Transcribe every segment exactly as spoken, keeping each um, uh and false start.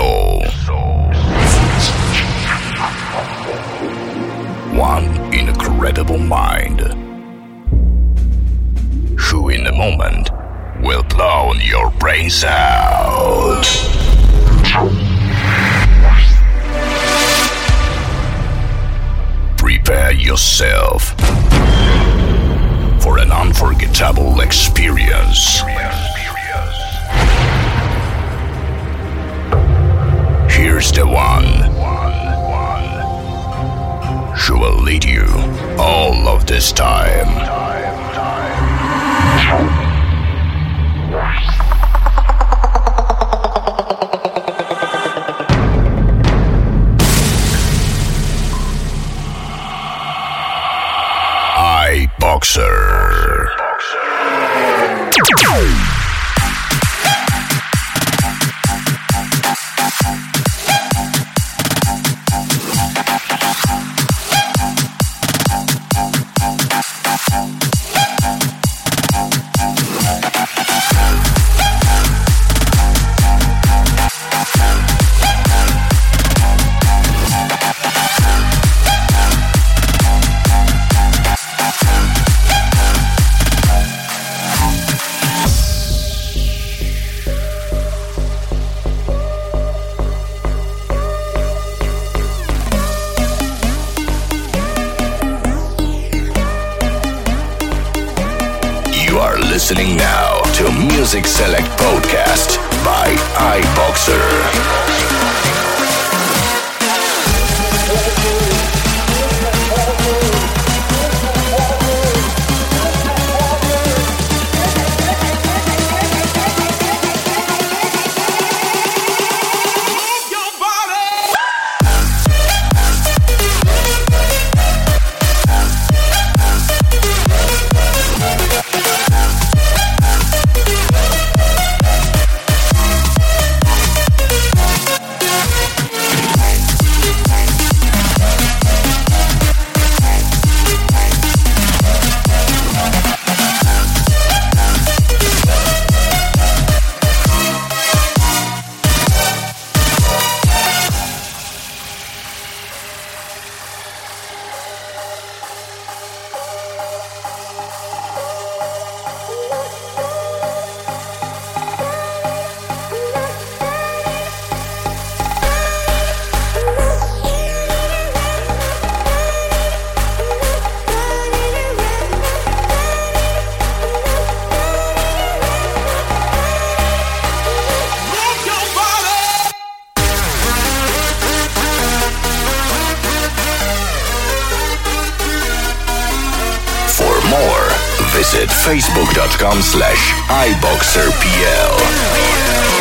soul. One incredible mind, who in a moment will blow your brains out. Prepare yourself for an unforgettable experience. Here's the one who will lead you all of this time. iBoxer. Listening now to Music Select Podcast by iBoxer. Visit facebook.com slash iBoxerPL.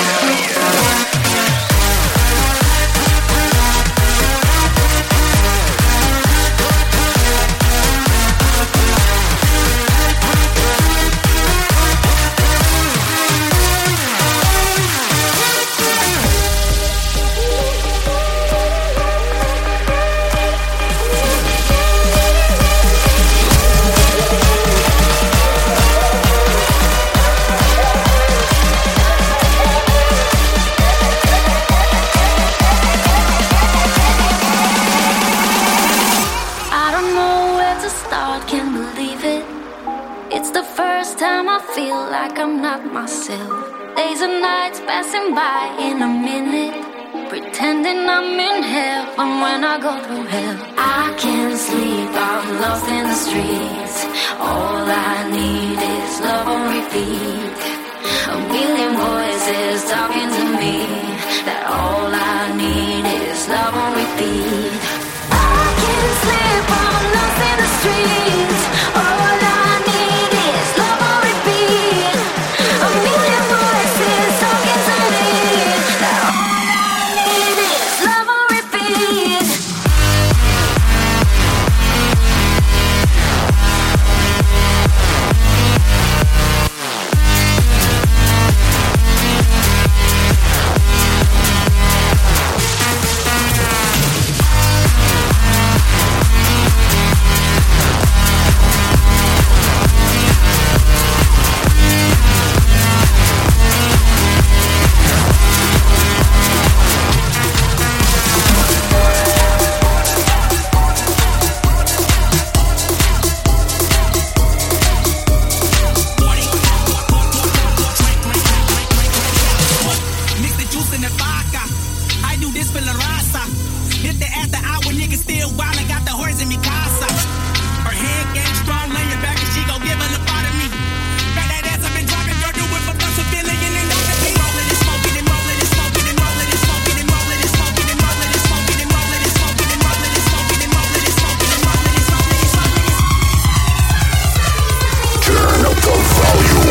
Days and nights passing by in a minute, pretending I'm in heaven when I go through hell. I can't sleep, I'm lost in the streets. All I need is love on repeat. A million voices talking to me, that all I need is love on repeat. I can't sleep, I'm lost in the streets. All I need is love on repeat. A million voices talking to me, that all I need is love on repeat. do this for La Raza. Hit the after hour, niggas still wild and got the horse in me casa. Her head game strong, lay your back and she gon' give a little part of me. Got that ass up and dropping, girl, do it for plus a billion and all that. Rolling and smoking and rolling and smoking and rolling and smoking and rolling and smoking and rolling and smoking and rolling and smoking and rolling and smoking and rolling and smoking and rolling and smoking and smoking. Turn up the volume.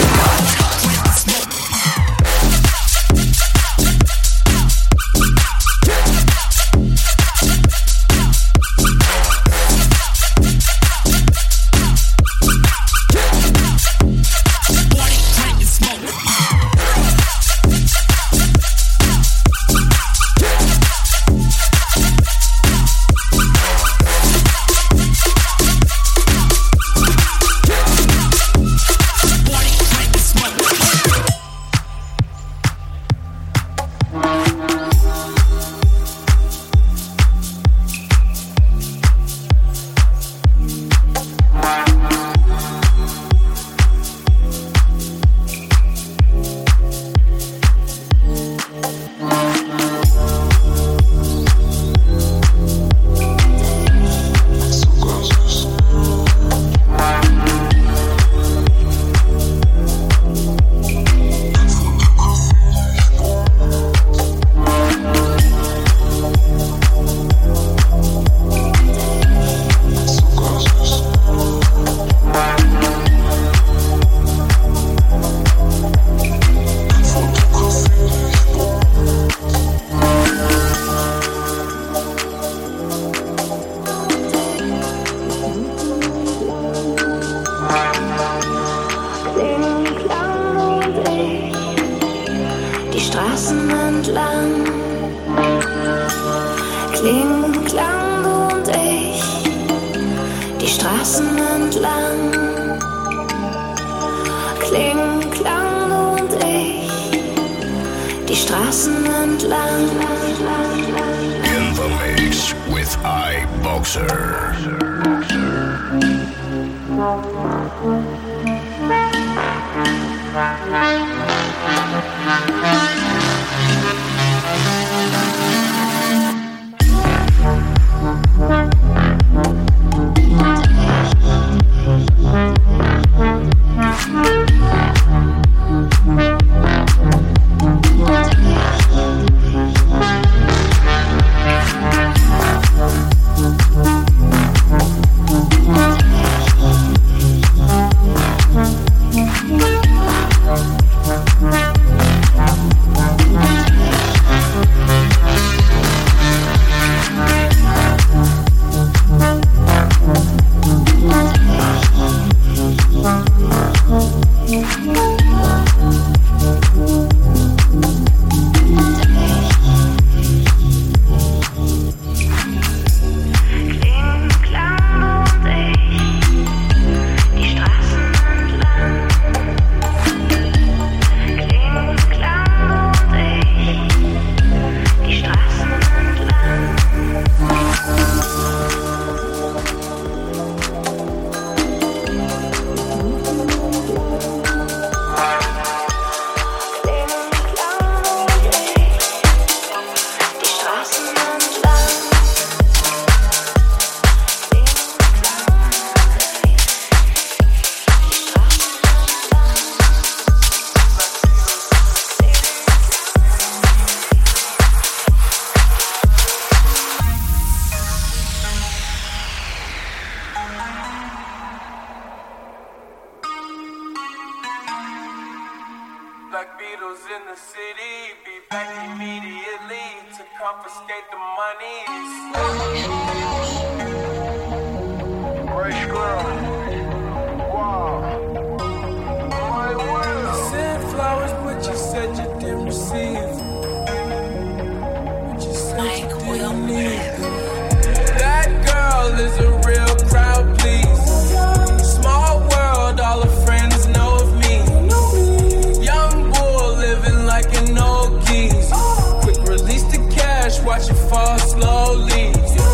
Watch it fall slowly.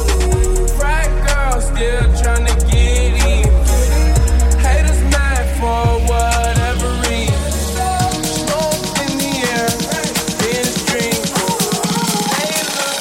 Frat girl still tryna get in. Haters mad for whatever reason. Smoke in the air, in a stream. They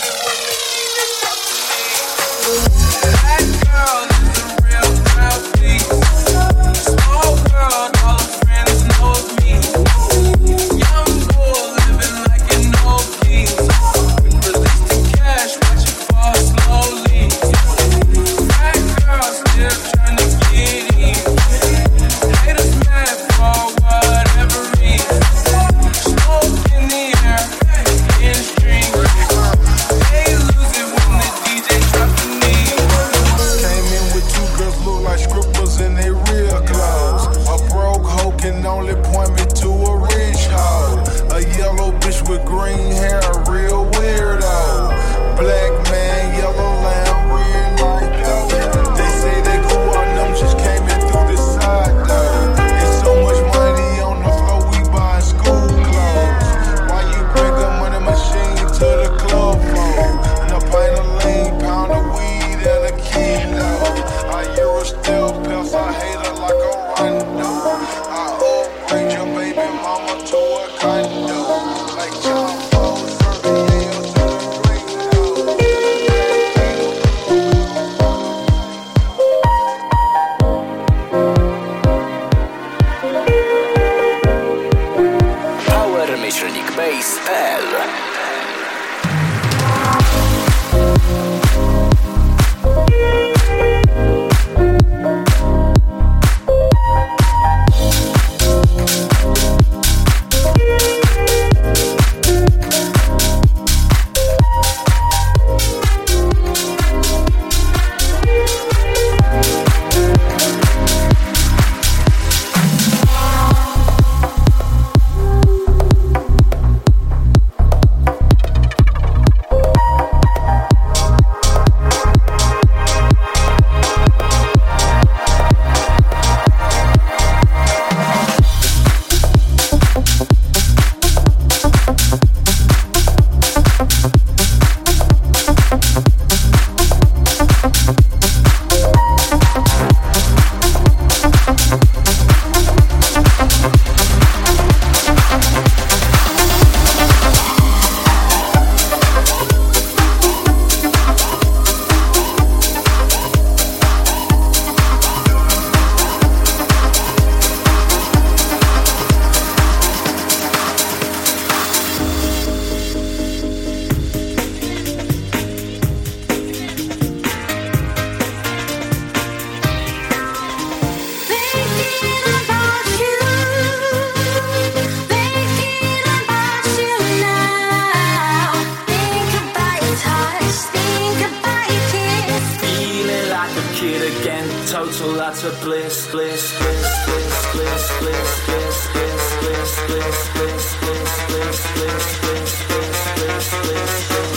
total utter bliss, bliss, bliss, bliss, bliss, bliss, bliss, bliss, bliss, bliss, bliss, bliss, bliss, bliss, bliss, bliss, bliss,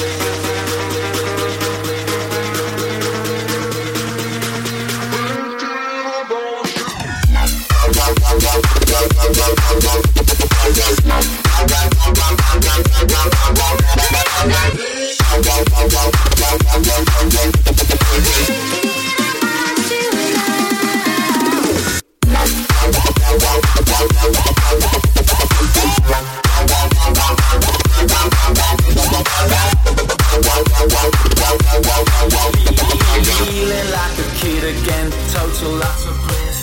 feeling like a kid again, total utter bliss.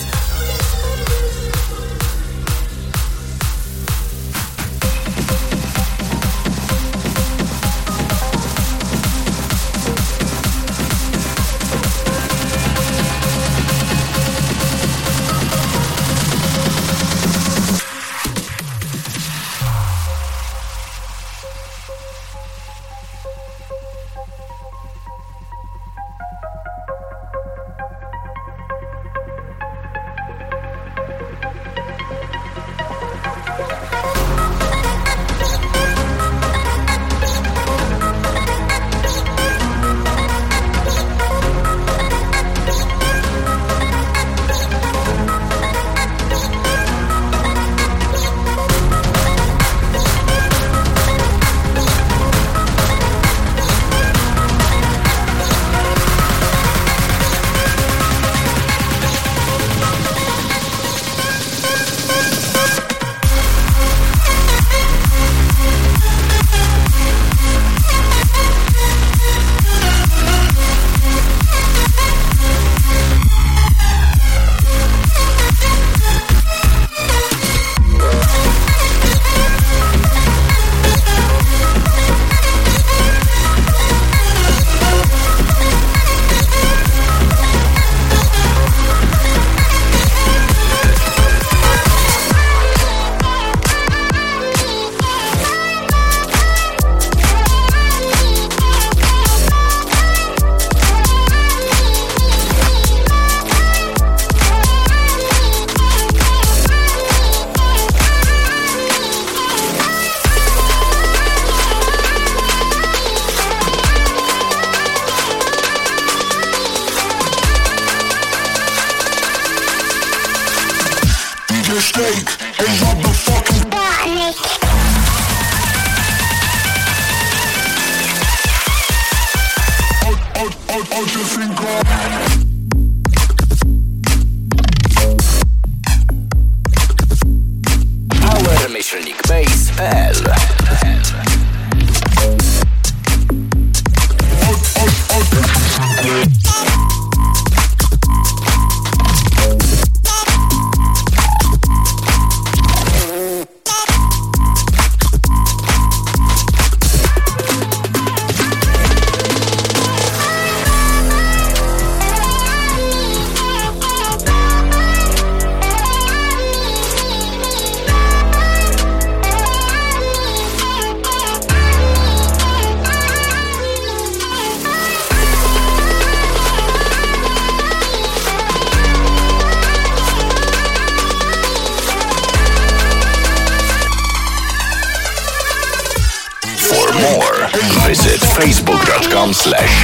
facebook.com slash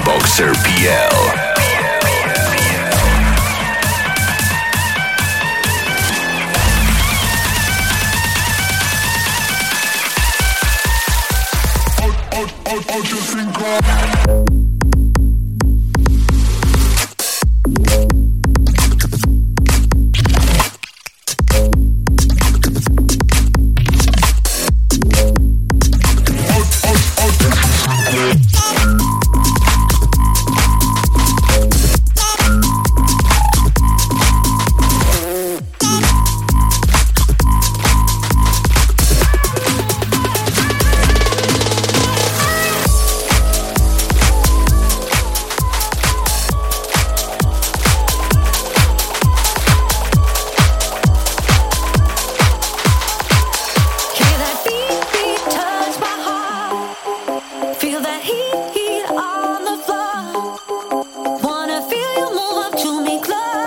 iboxerpl. Heat, heat on the floor. Wanna feel you move up to me close.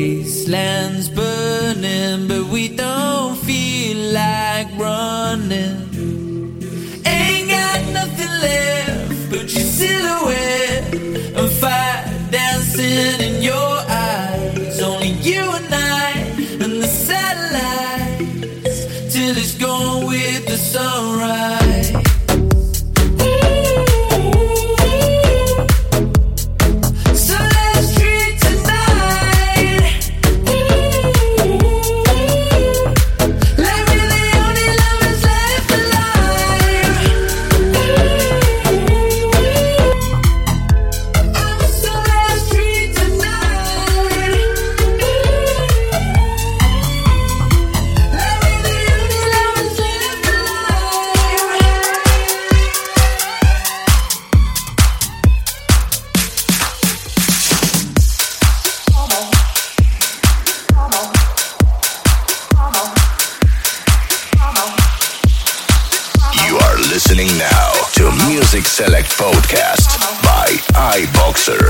wasteland's burning, but we don't feel like running. Ain't got nothing left but your silhouette and fire dancing in your eyes. Only you and I and the satellites till it's gone with the sunrise. Select podcast by iBoxer.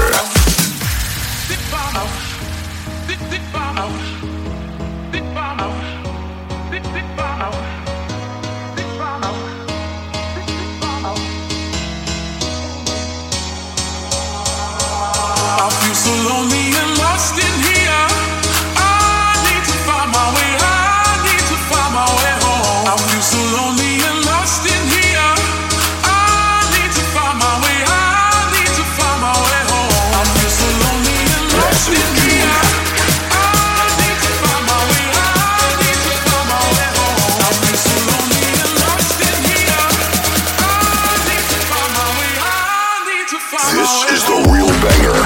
I feel so lonely and lost in here. I need to find my way. I need to find my way home. I feel so lonely and lost in here. I need to find my way. I need to find my way home. I feel so lonely and lost in here. I need to find my way. I need to find my way home. I feel so lonely and lost in here. I need to find my way. I need to find my way home. This is the real banger.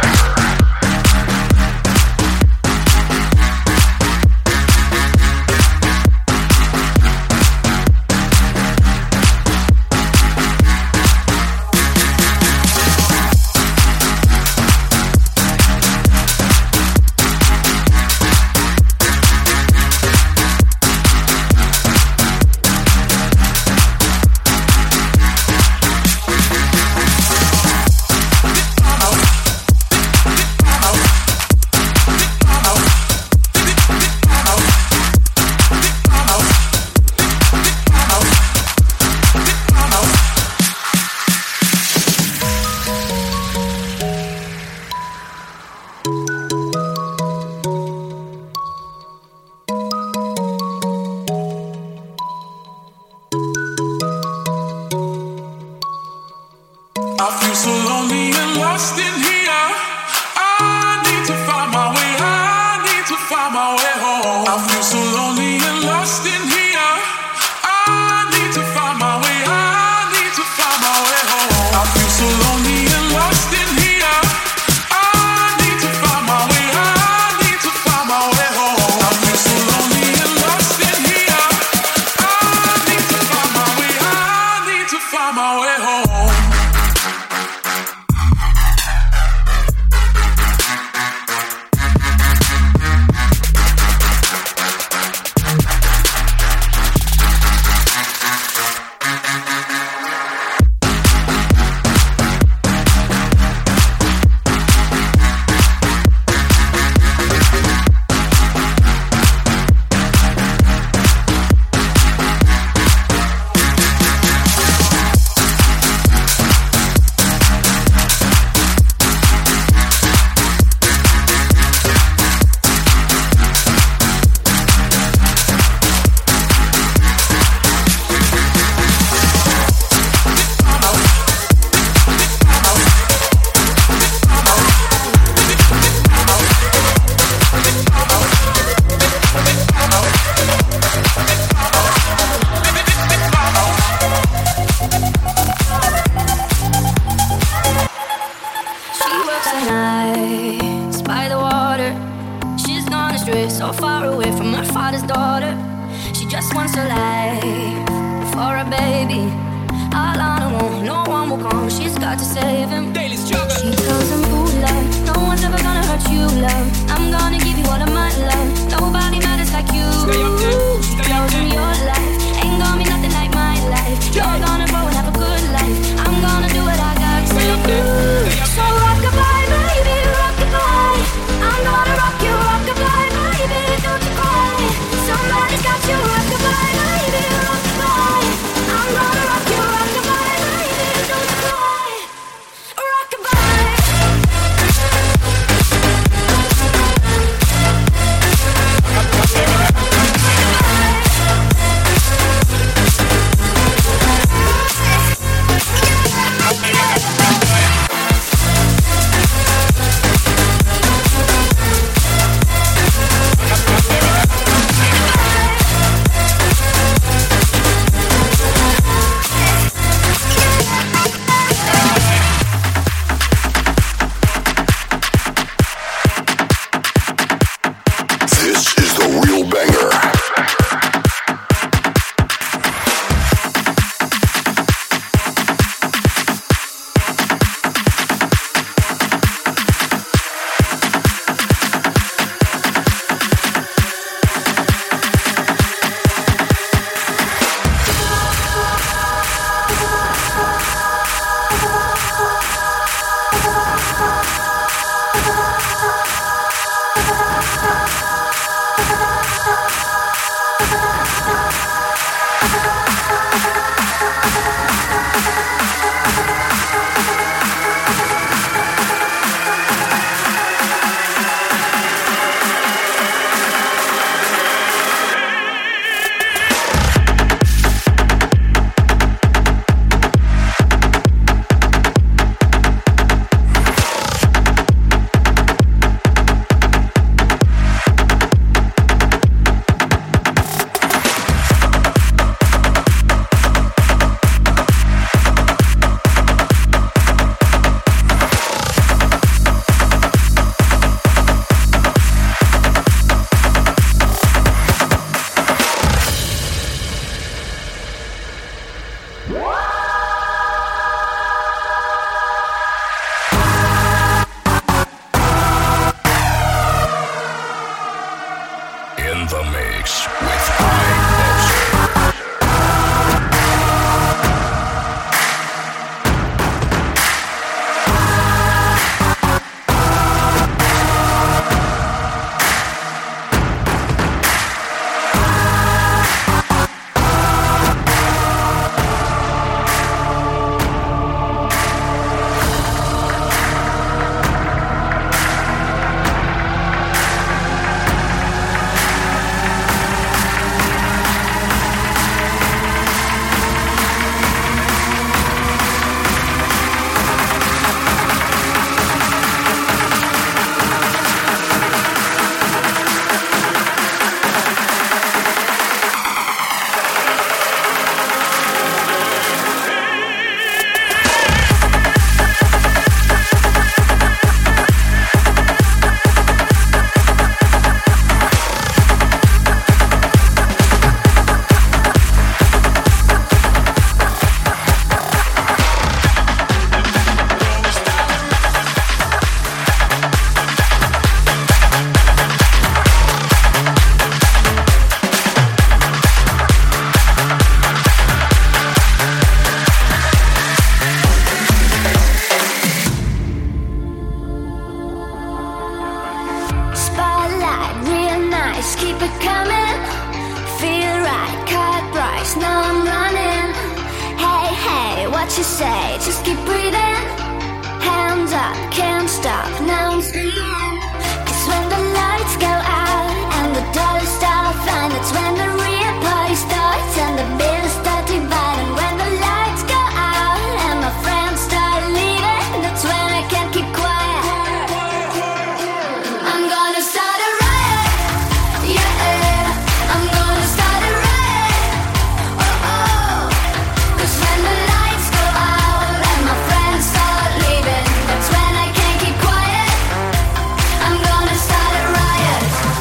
I feel so lonely and lost in here. I need to find my way. I need to find my way home. I feel so lonely and lost in here. I need to find my way. I need to find my way home. I feel so lonely and lost in here. I need to find my way. I need to find my way home. I feel so lonely and lost in here. I need to find my way. I need to find my way home. So far away from her father's daughter. She just wants a life for a baby. All on her own, no one will come. She's got to save him. Daily struggle. She tells him, ooh, love, no one's ever gonna hurt you, love. I'm gonna give you all of my love. Nobody matters like you. She tells him your life ain't gonna be nothing like my life. You're gonna grow and have a good life. I'm gonna do what I got to do. So rock-a-bye, baby, rock-a-bye. I'm gonna rock you, rock in the mix with iBoxer. Start a riot.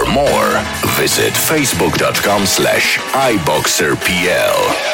more, visit facebook.com slash iboxerpl.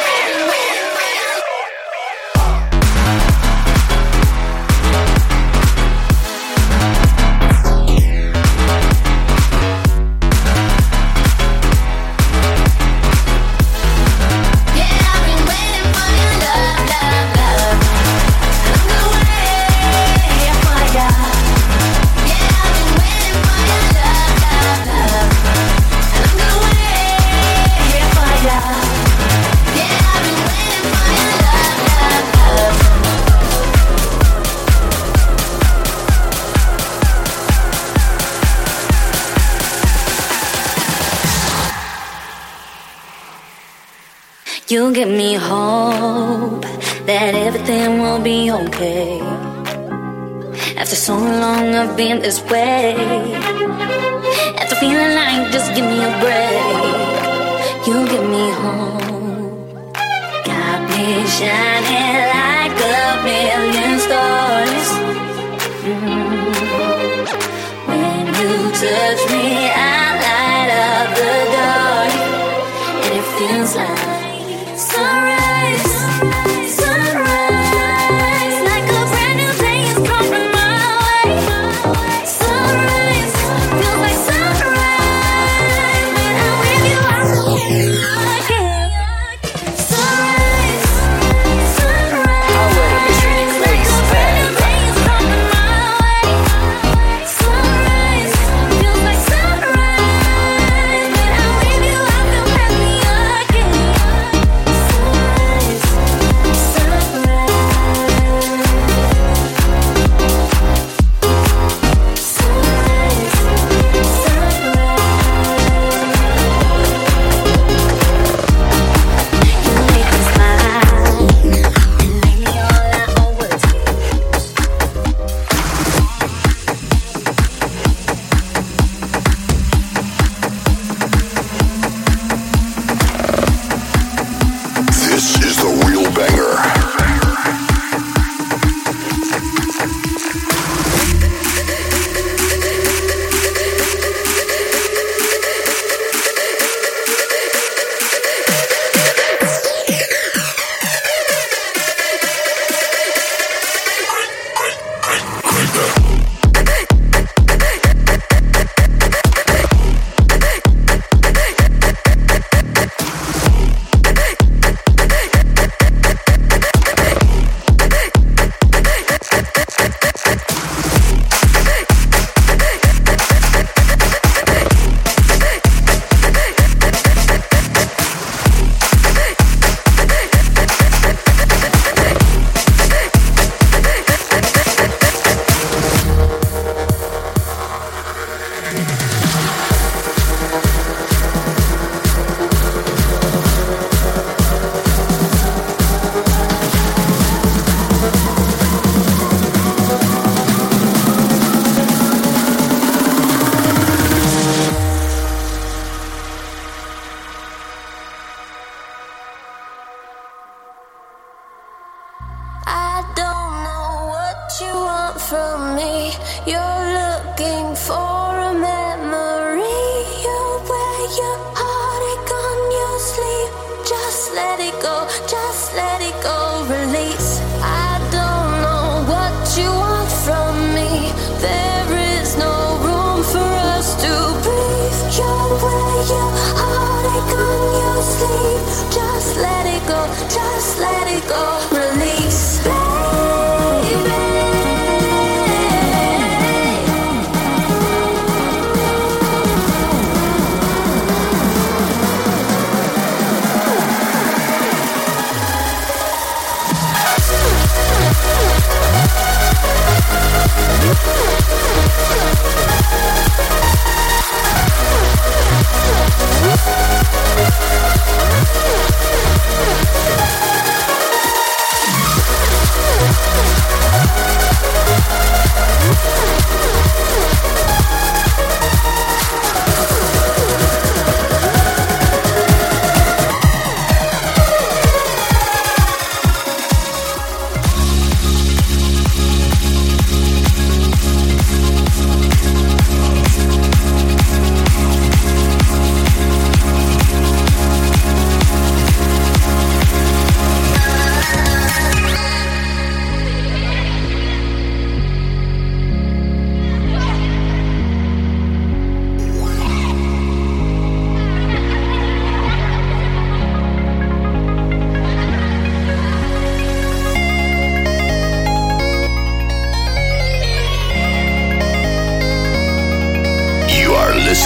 You give me hope that everything will be okay. After so long I've been this way, after feeling like just give me a break. You give me hope, got me shining like a million stars. mm. When you touch me I light up the dark, and it feels like sunrise, sunrise, like a brand new day is coming my way. Sunrise, feels like sunrise. When I'm with you, I can't. Sunrise, sunrise, like a brand new day is coming my way. Sunrise, feels like sunrise. When I'm with you, I feel happy again.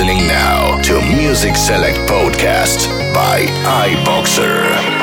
listening now to Music Select Podcast by iBoxer.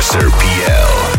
Boxer P L.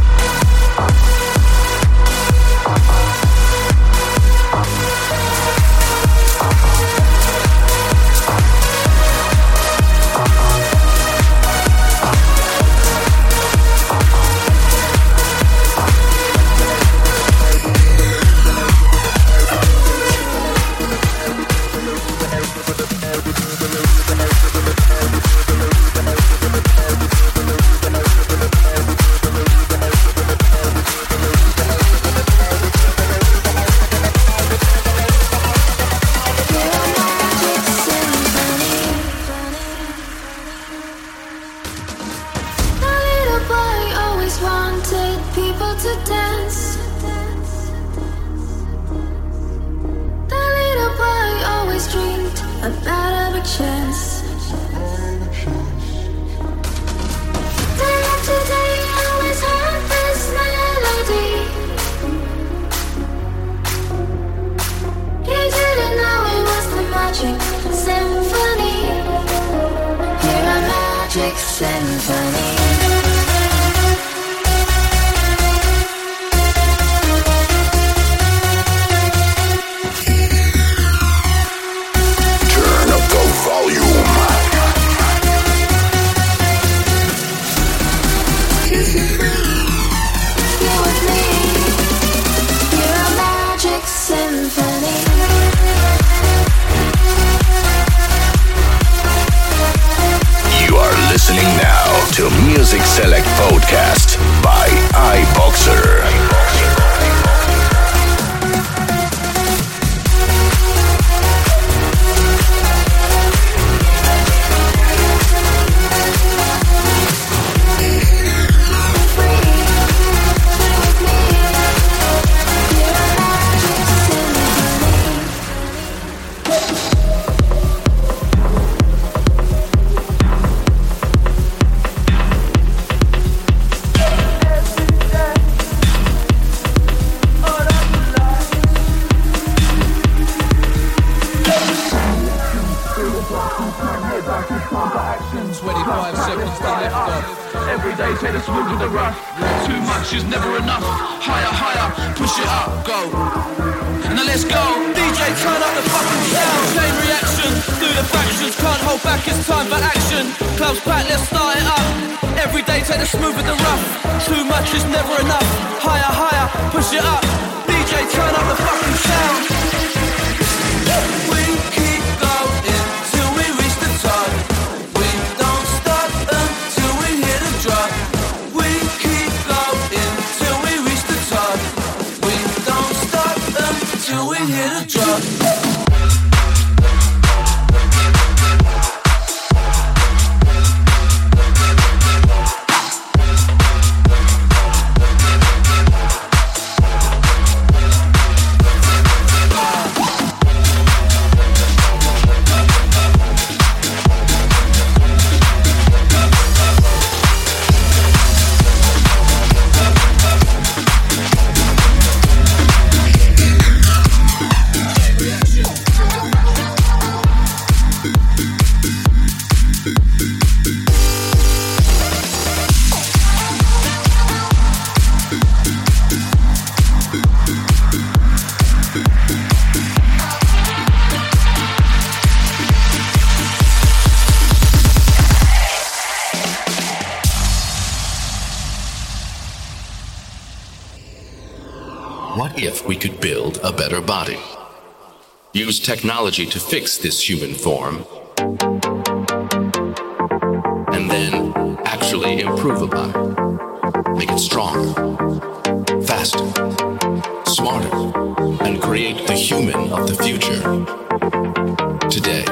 Music Select Podcast by iBoxer. What if we could build a better body? Use technology to fix this human form, and then actually improve upon it. Make it stronger, faster, smarter, and create the human of the future today.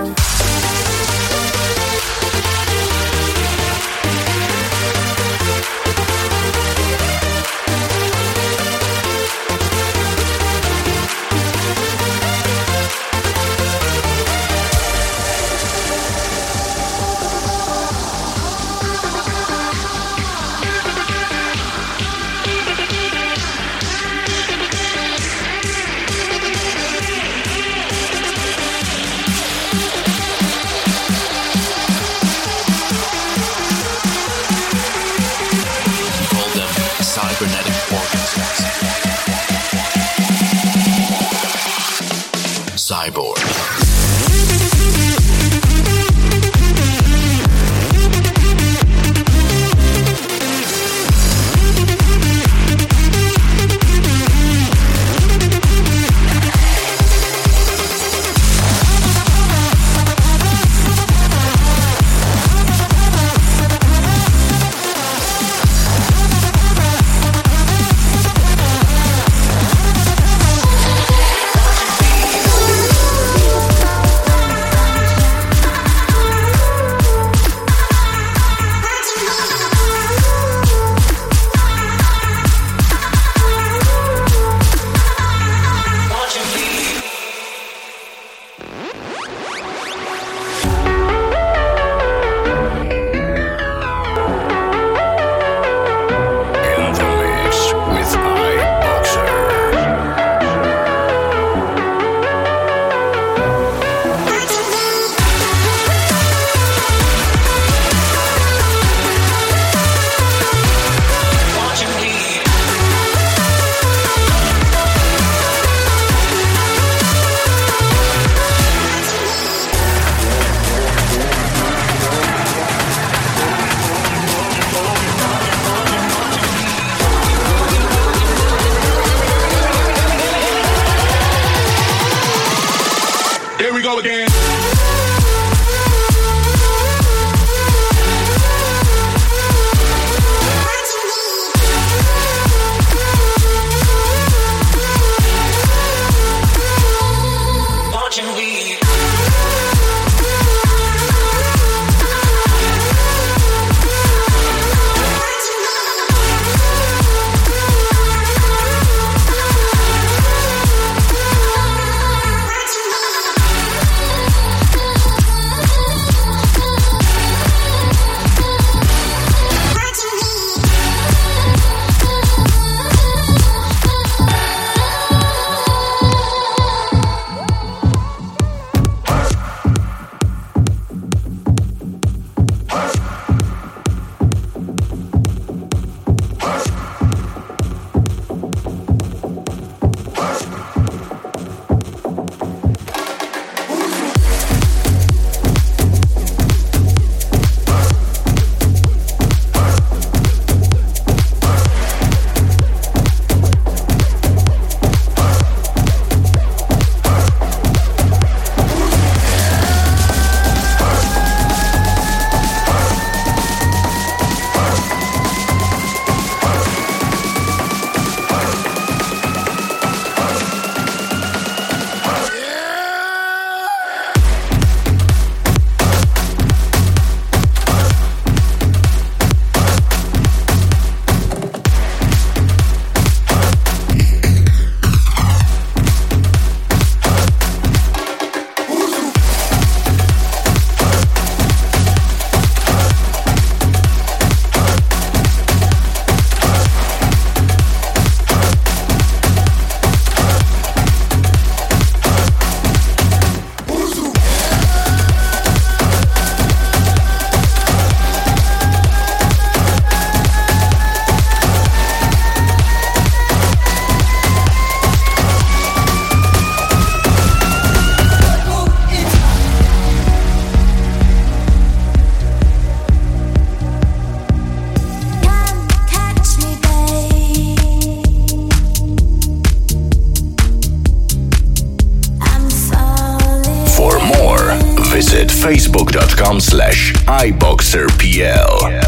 com slash iboxerpl.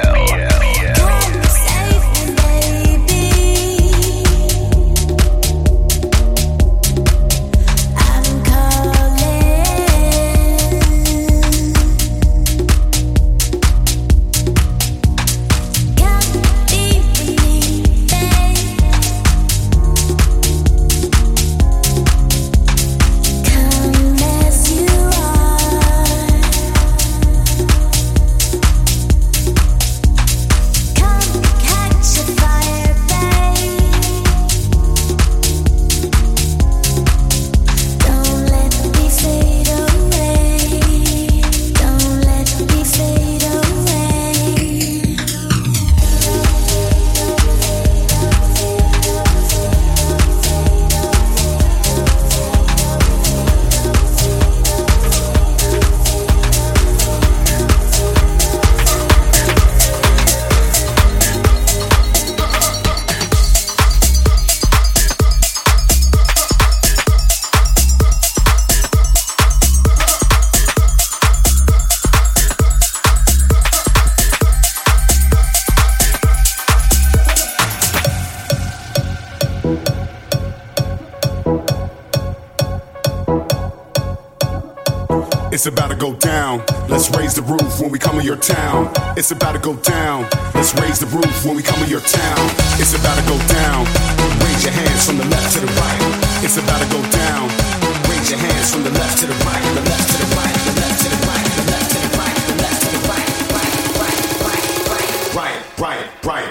It's about to go down. Let's raise the roof when we come in your town. It's about to go down. Let's raise the roof when we come in your town. It's about to go down. Raise your hands from the left to the right. It's about to go down. Raise your hands from the left to the right. The left to the right. The left to the right. The left to the right. The left to the right. Right, right, right, right, right, right, right.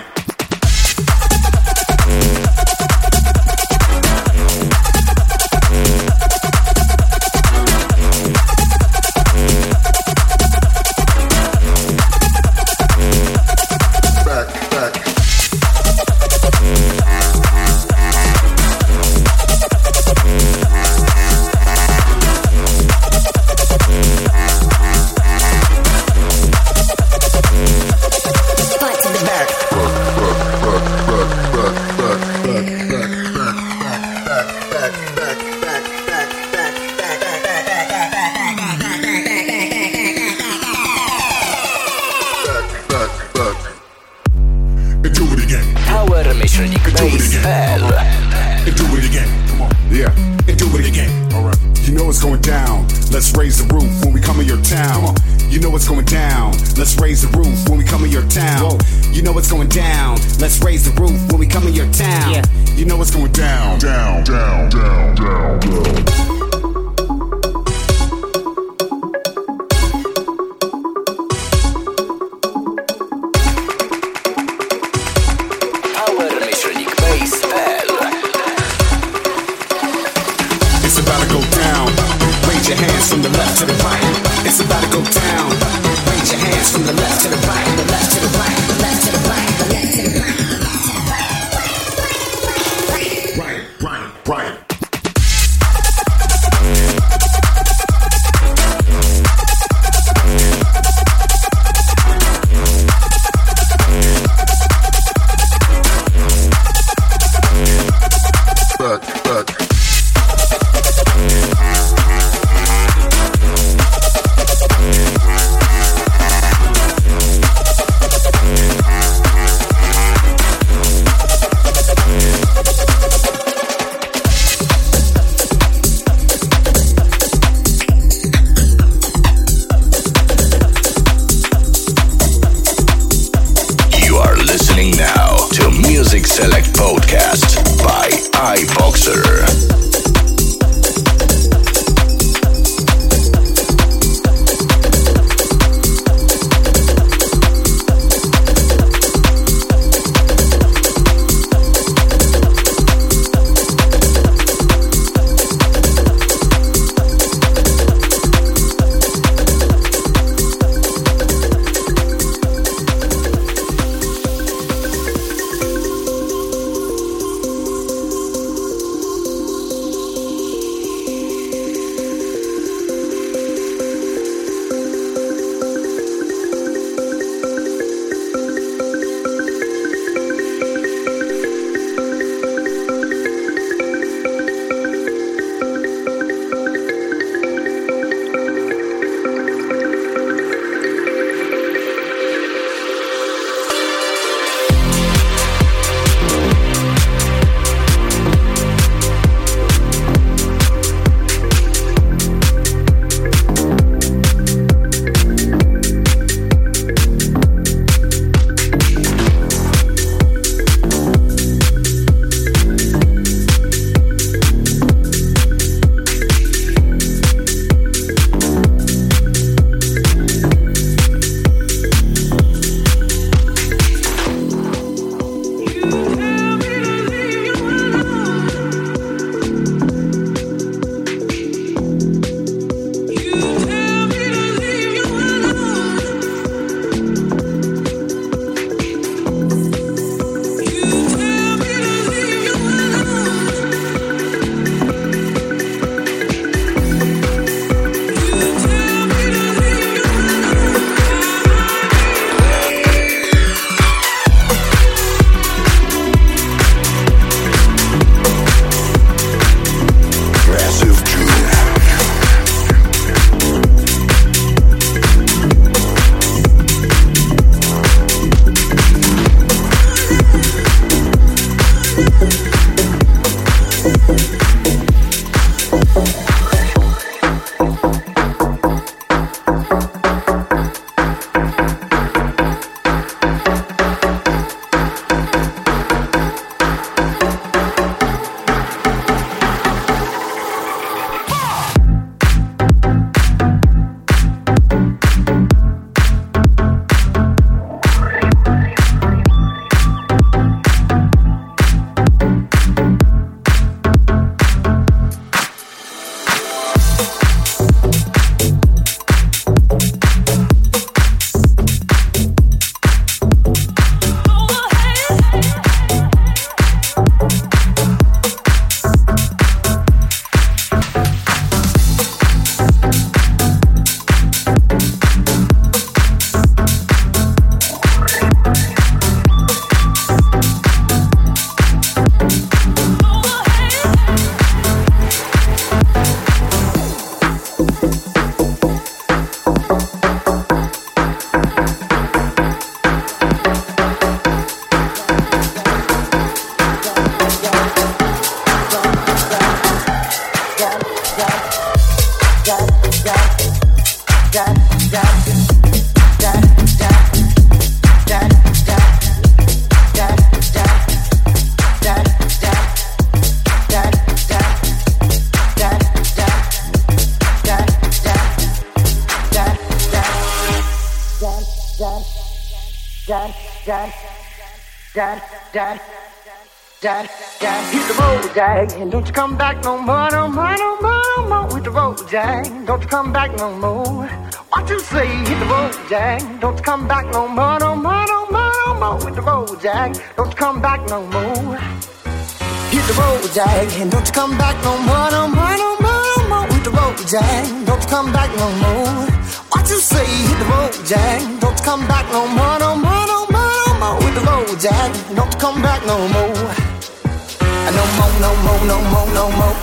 Jack, Jack, Jack, Jack, Jack, Jack. Hit the road, Jack, and don't you come back no more, no more, no more, no more. Hit the road, Jack, don't you come back no more. What you say? Hit the road, Jack, don't you come back no more, no more, no more, no more. Hit the road, Jack, don't you come back no more. Hit the road, Jack, and don't you come back no more, no more, no more, no more. Hit the road, Jack, don't you come back no more. What you say? Hit the road, Jack, don't you come back no more, no more, no more, no more. Hit the road, Jack, don't you come back no more. No more, no more, no more, no more.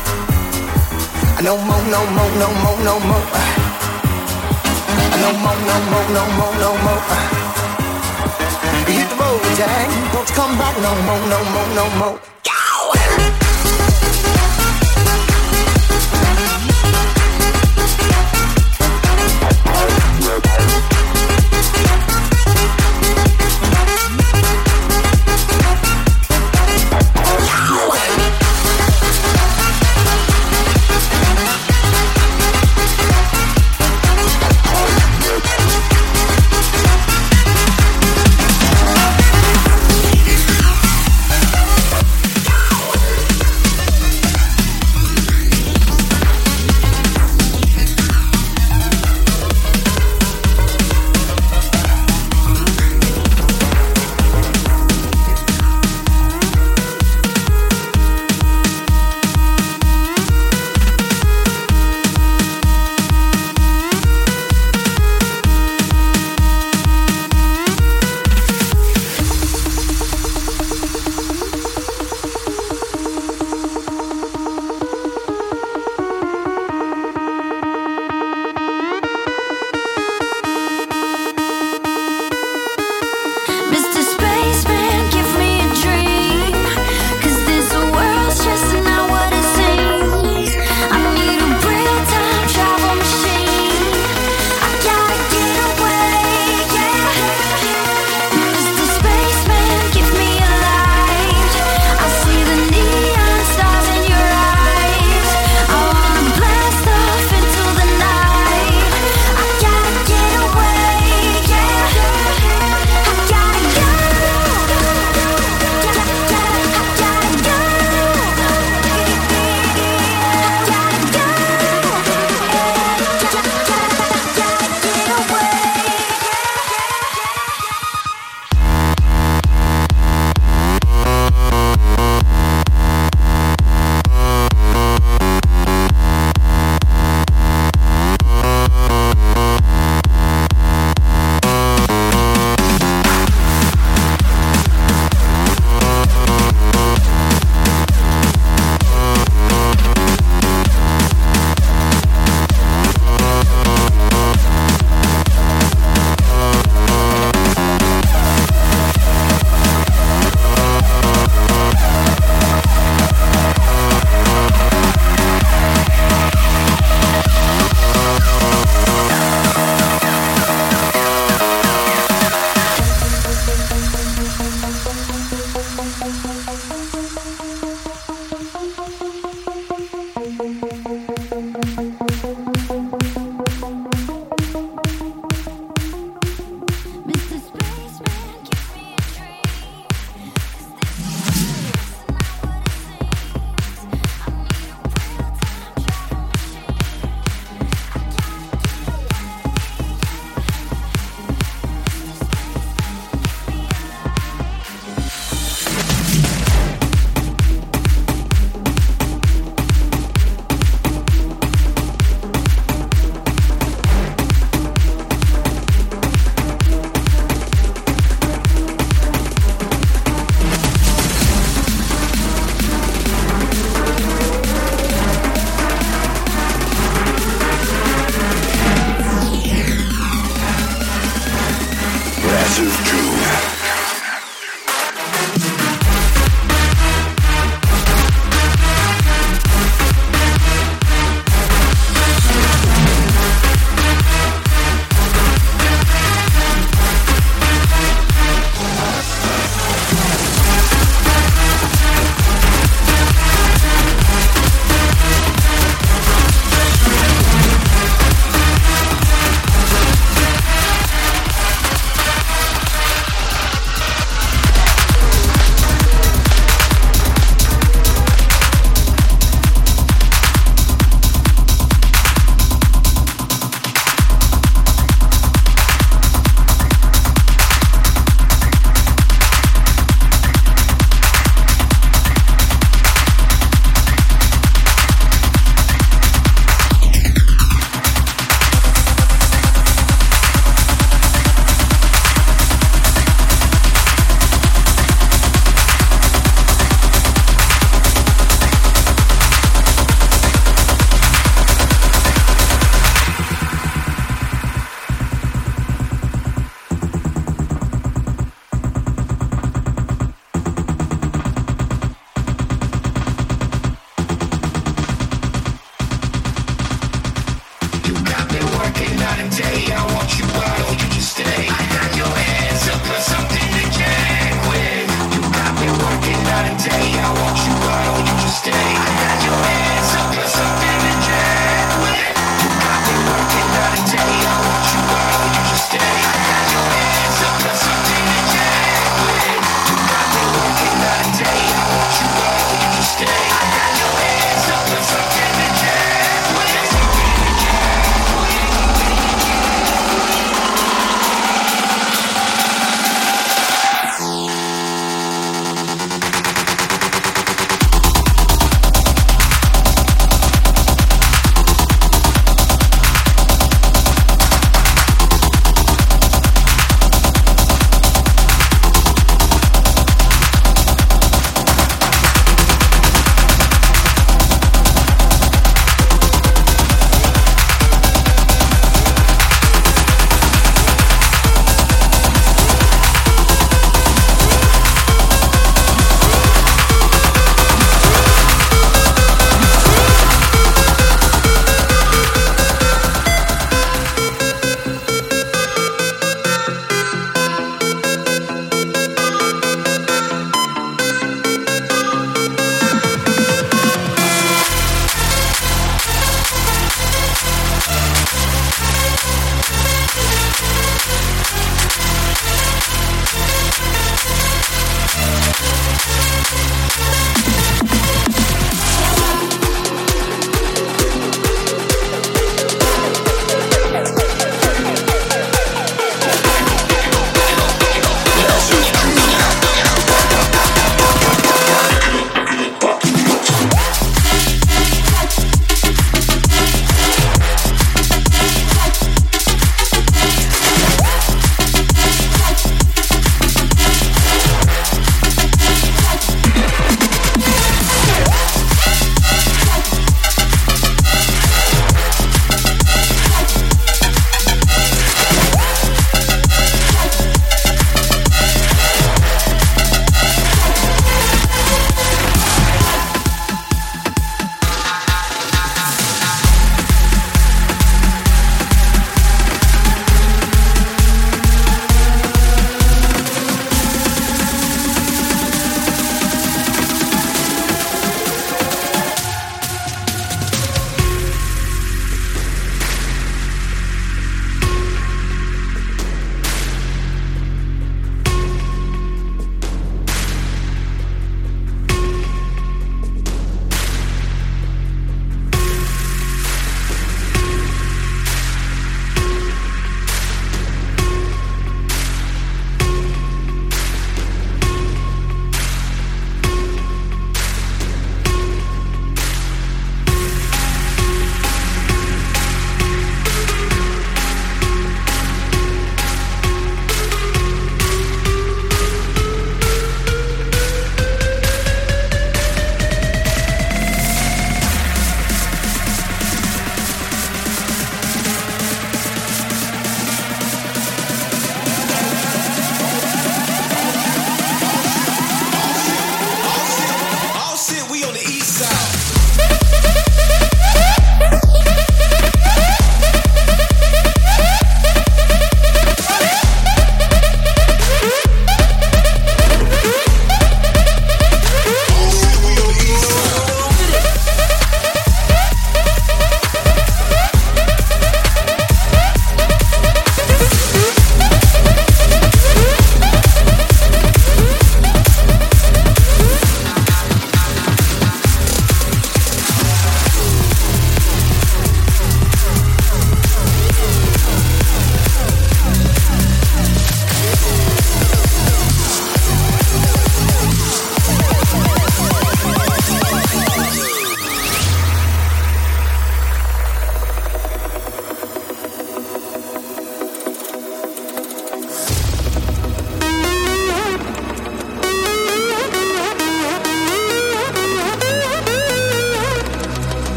No more, no more, no more, no more. No more, no more, no more, no more. Hit the road, Jack, don't you come back no more, no more, no more.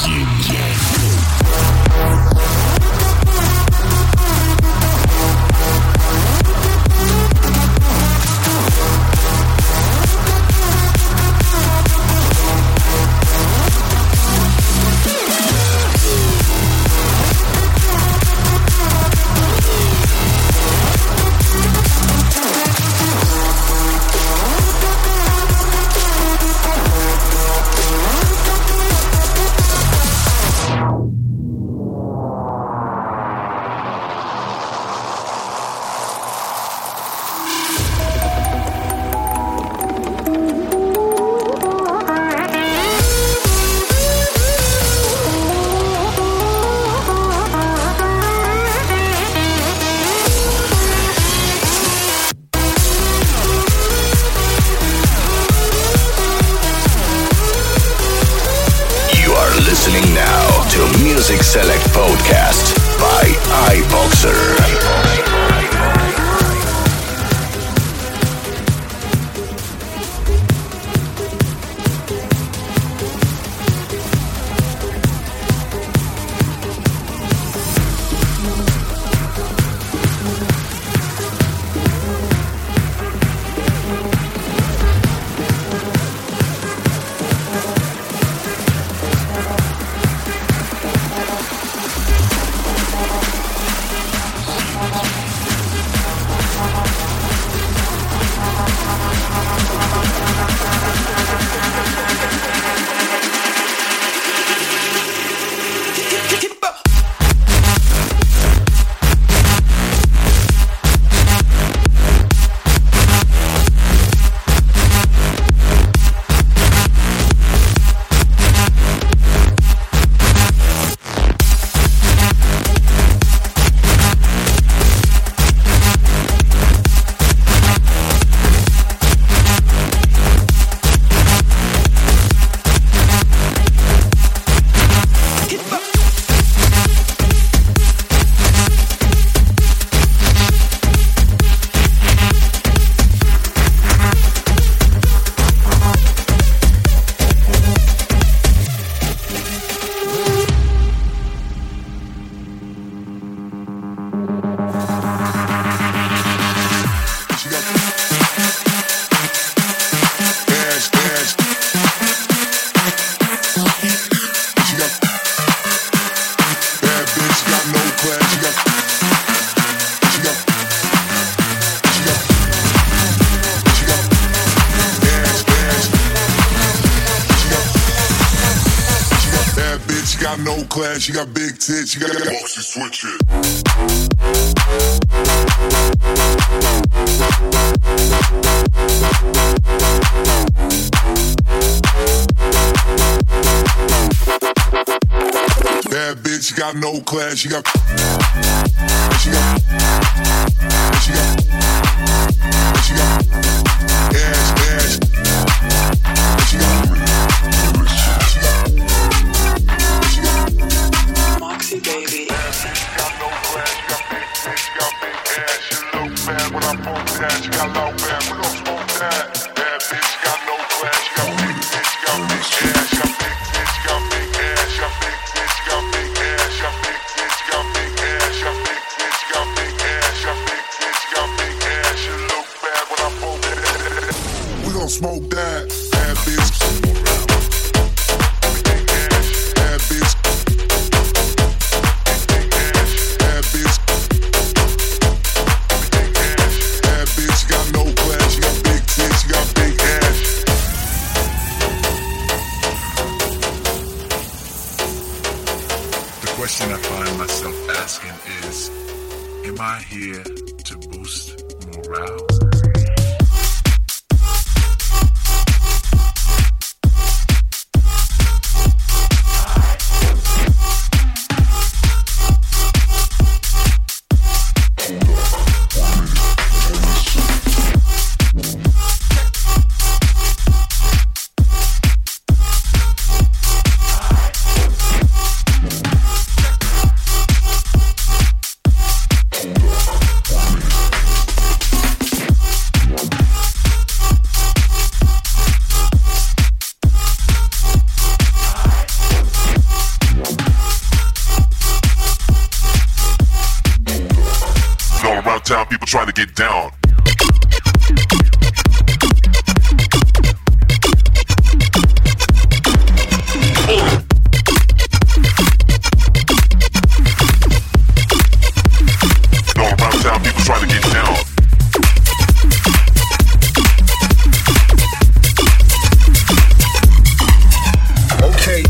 Select Podcast by iBoxer. Class, you got big tits, you got boxy switch it. Bad bitch, you got no class, you got she got she got she got ass, ass she got baby. Got no class, got big tits, got big ass. You look bad when I bump that. You got low bad, we gon' smoke that. Bad bitch, got no class, got big tits, got big ass. Got big tits, got big ass. Got big tits, got big ass. Got big tits, got big ass. Got big tits, got big ass. Got big tits, got big ass. You look bad when I bump that. We gon' smoke that. Bad bitch. Bad bitch. The question I find myself asking is, am I here to boost morale? town people trying to get down. All around town people trying to get down. Okay.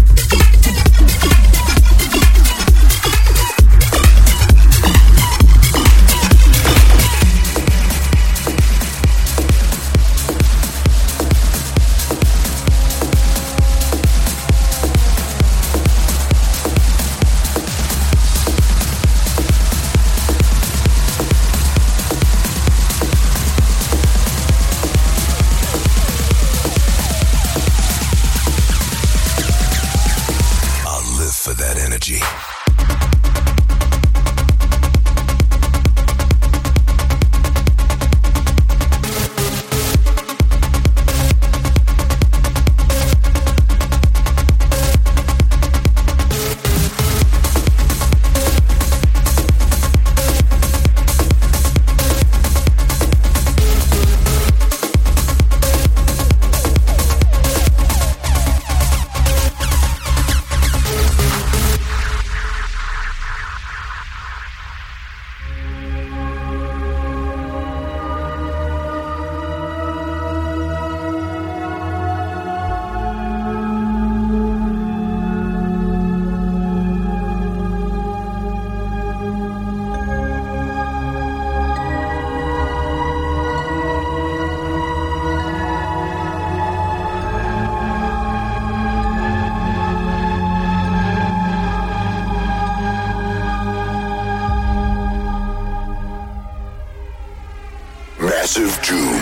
Massive June.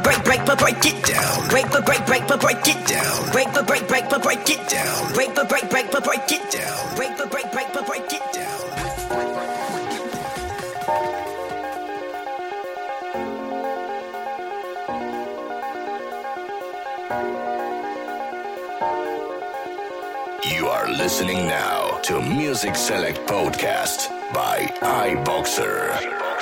break, break, but break it down. Break, but break, break, but break it down. Break, but break, break, but break it down. Break, but break, break, but break it down. Break, but break, break, but break it down. You are listening now to Music Select Podcast by iBoxer.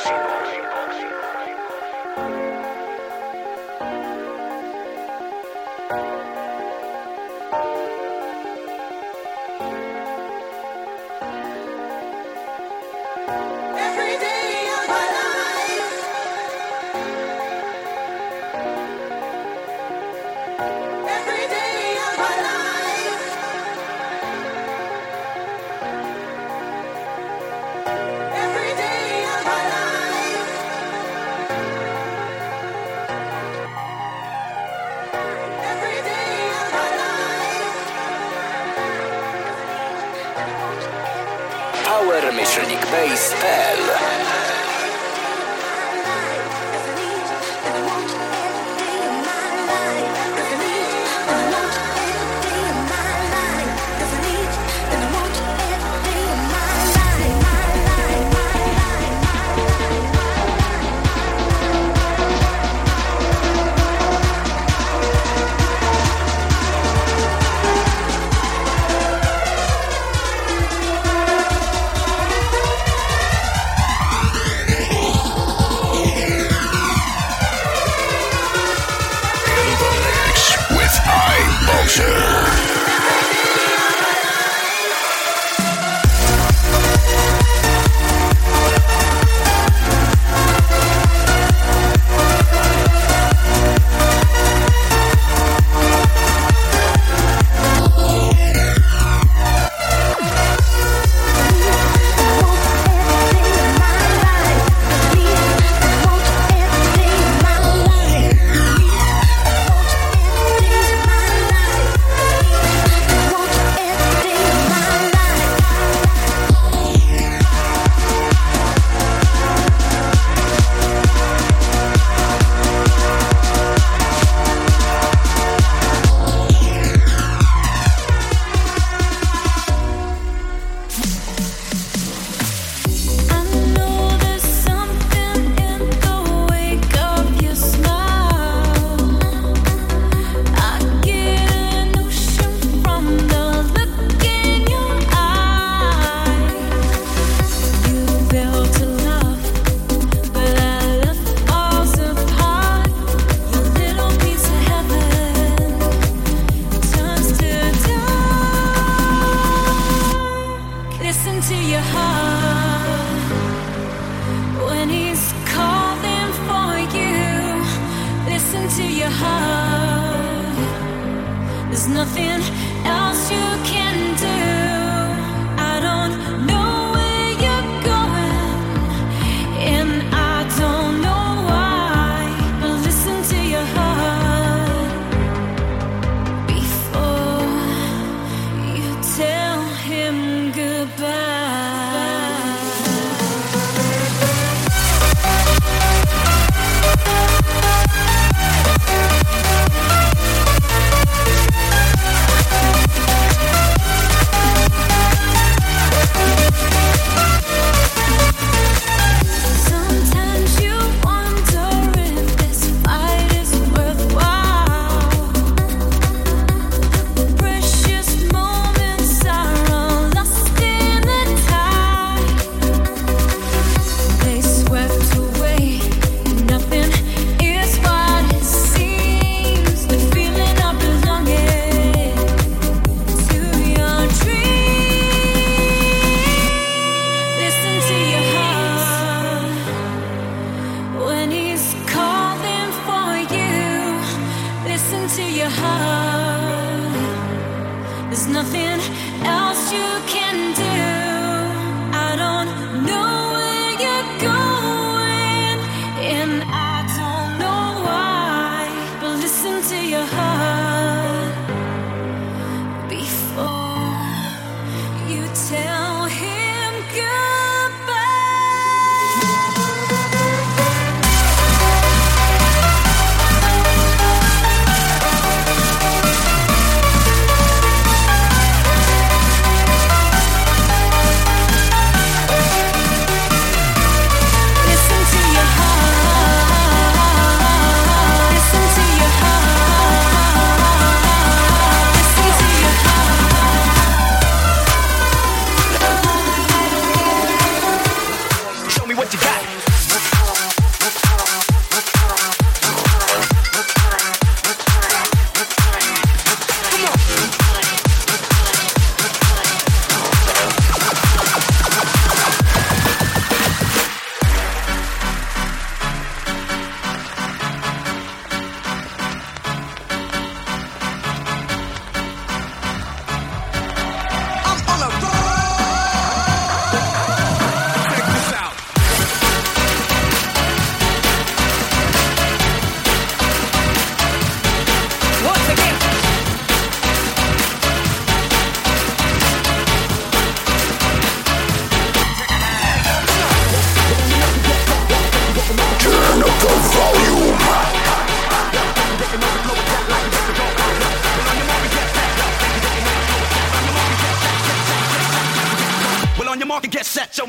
power myślnik base kropka p l.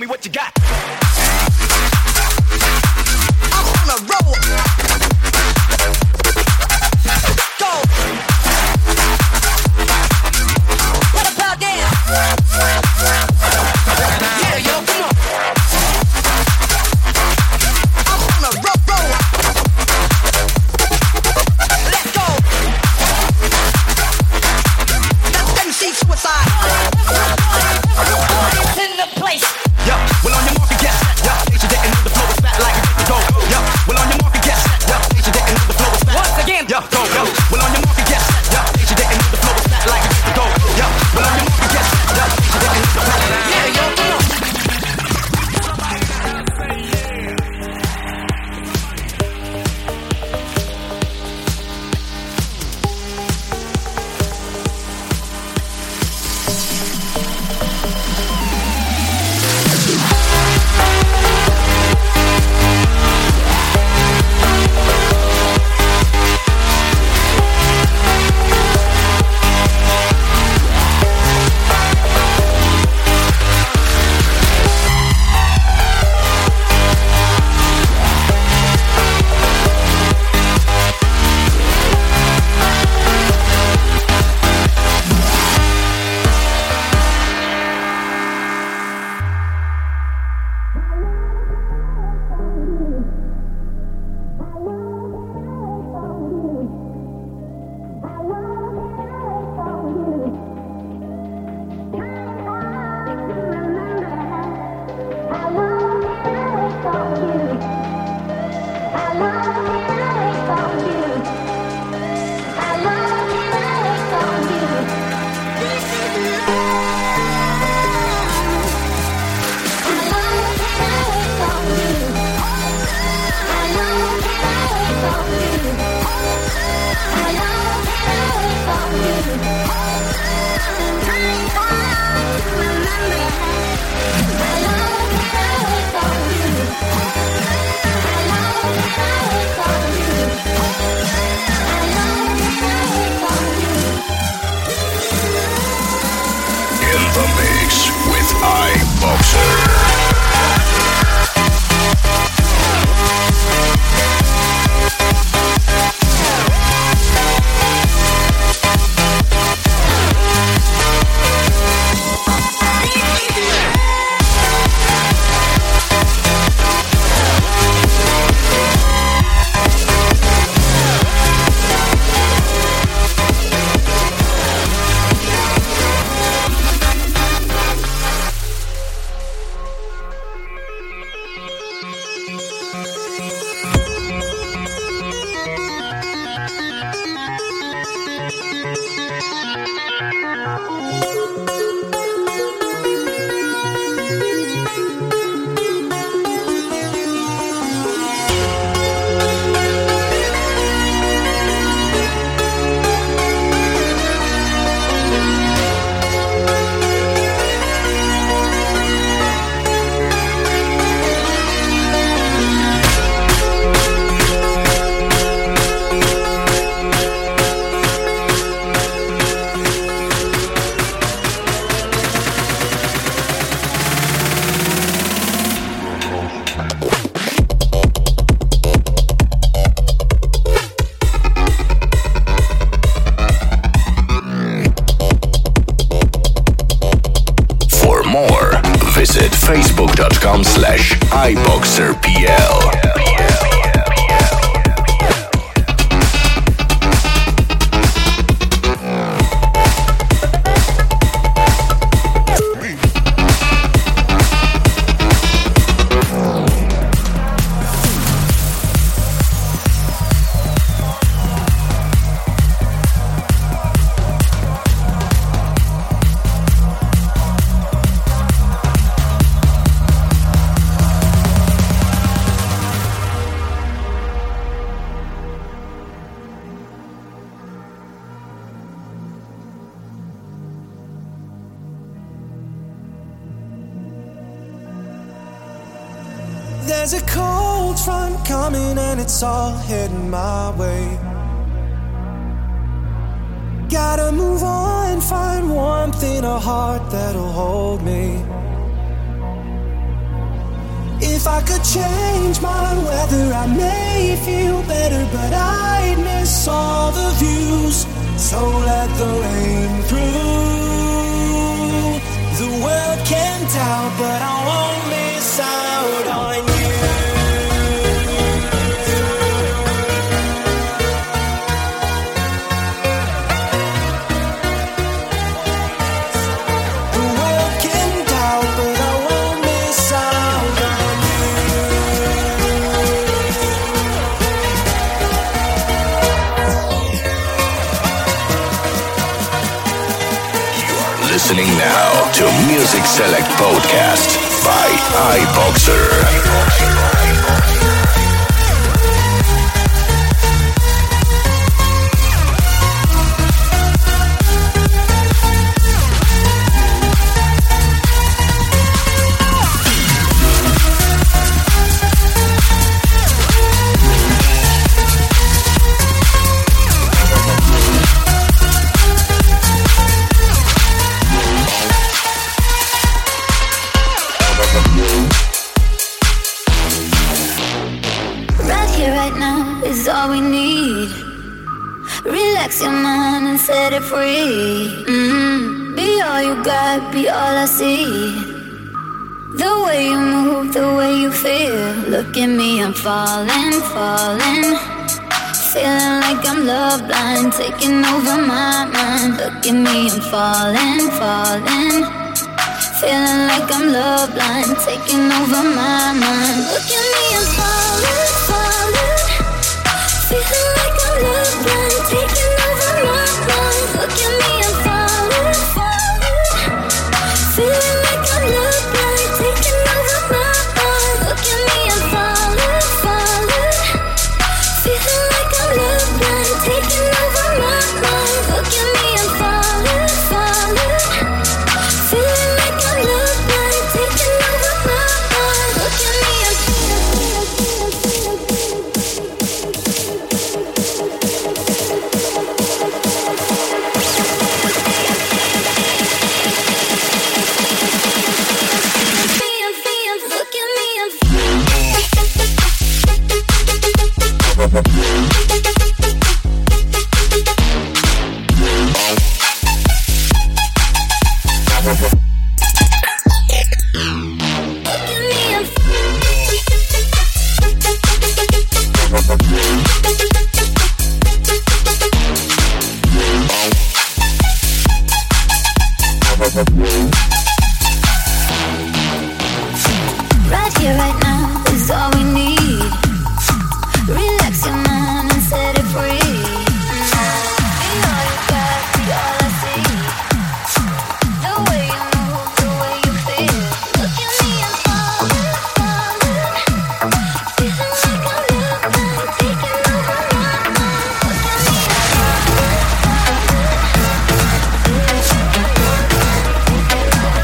what you got. I'm on a roll. Go. Put a pound down. Yeah, yo, come on. I'm on a roll, roll. Let's go. That's M C Suicide. In the place. Yo, well on your market, get set. Yo, in case you didn't know the flow was fat like a to go. Yo, well on your market, get set. Yo, in case you didn't know the flow was fat. Once again, yo, go, yo. Well on your market, get set. Yo, in case you didn't know the flow was fat like a to go. Yo, well on your market, get set. Yo, in case you didn't know the flow was fat. Yeah, yo, come on. facebook.com slash iboxerpl. There's a cold front coming and it's all heading my way. Gotta move on, find warmth in a heart that'll hold me. If I could change my weather, I may feel better, but I'd miss all the views. So let the rain through. The world can tell, but I won't miss out on you. Listening now to Music Select Podcast by iBoxer. Your mind and set it free. Mm-hmm. Be all you got, be all I see. The way you move, the way you feel. Look at me, I'm falling, falling. Feeling like I'm love blind, taking over my mind. Look at me, I'm falling, falling. Feeling like I'm love blind, taking over my mind. Look at me, I'm falling, falling. Feeling like I'm love blind, taking look at me, I'm falling, falling. Feeling like I'm love blind, taking over my mind. Look at me, I'm falling, falling. Feeling like I'm love blind, taking over my mind. Look at me, I'm falling, falling. Feeling like I'm love blind, taking over my mind. Look at me, I'm right here, right now is all we need. Relax your mind and set it free. Be all you got, be all I see. The way you move, the way you feel. Look at me, I'm falling, falling. Feeling like I'm love blind, taking over my mind. Look at me, I'm falling, falling. Feeling like I'm love blind, taking over my mind.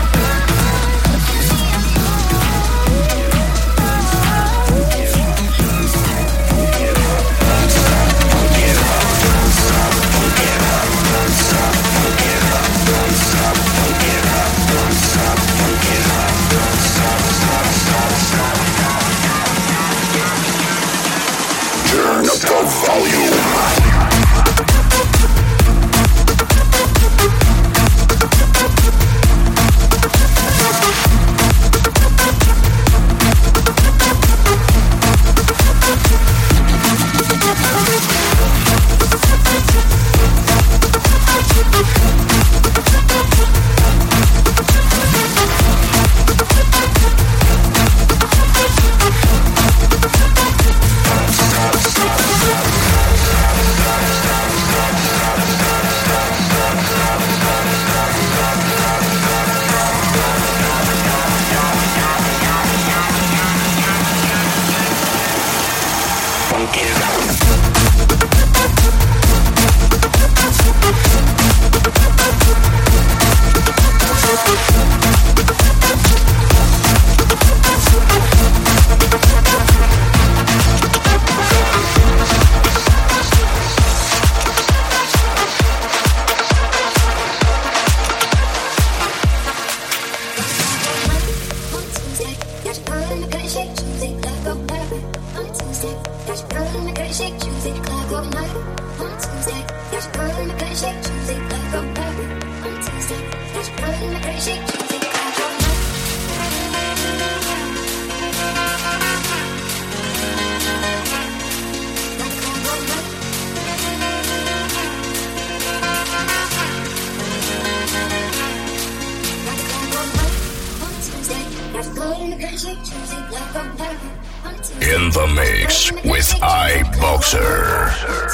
In the mix with iBoxer.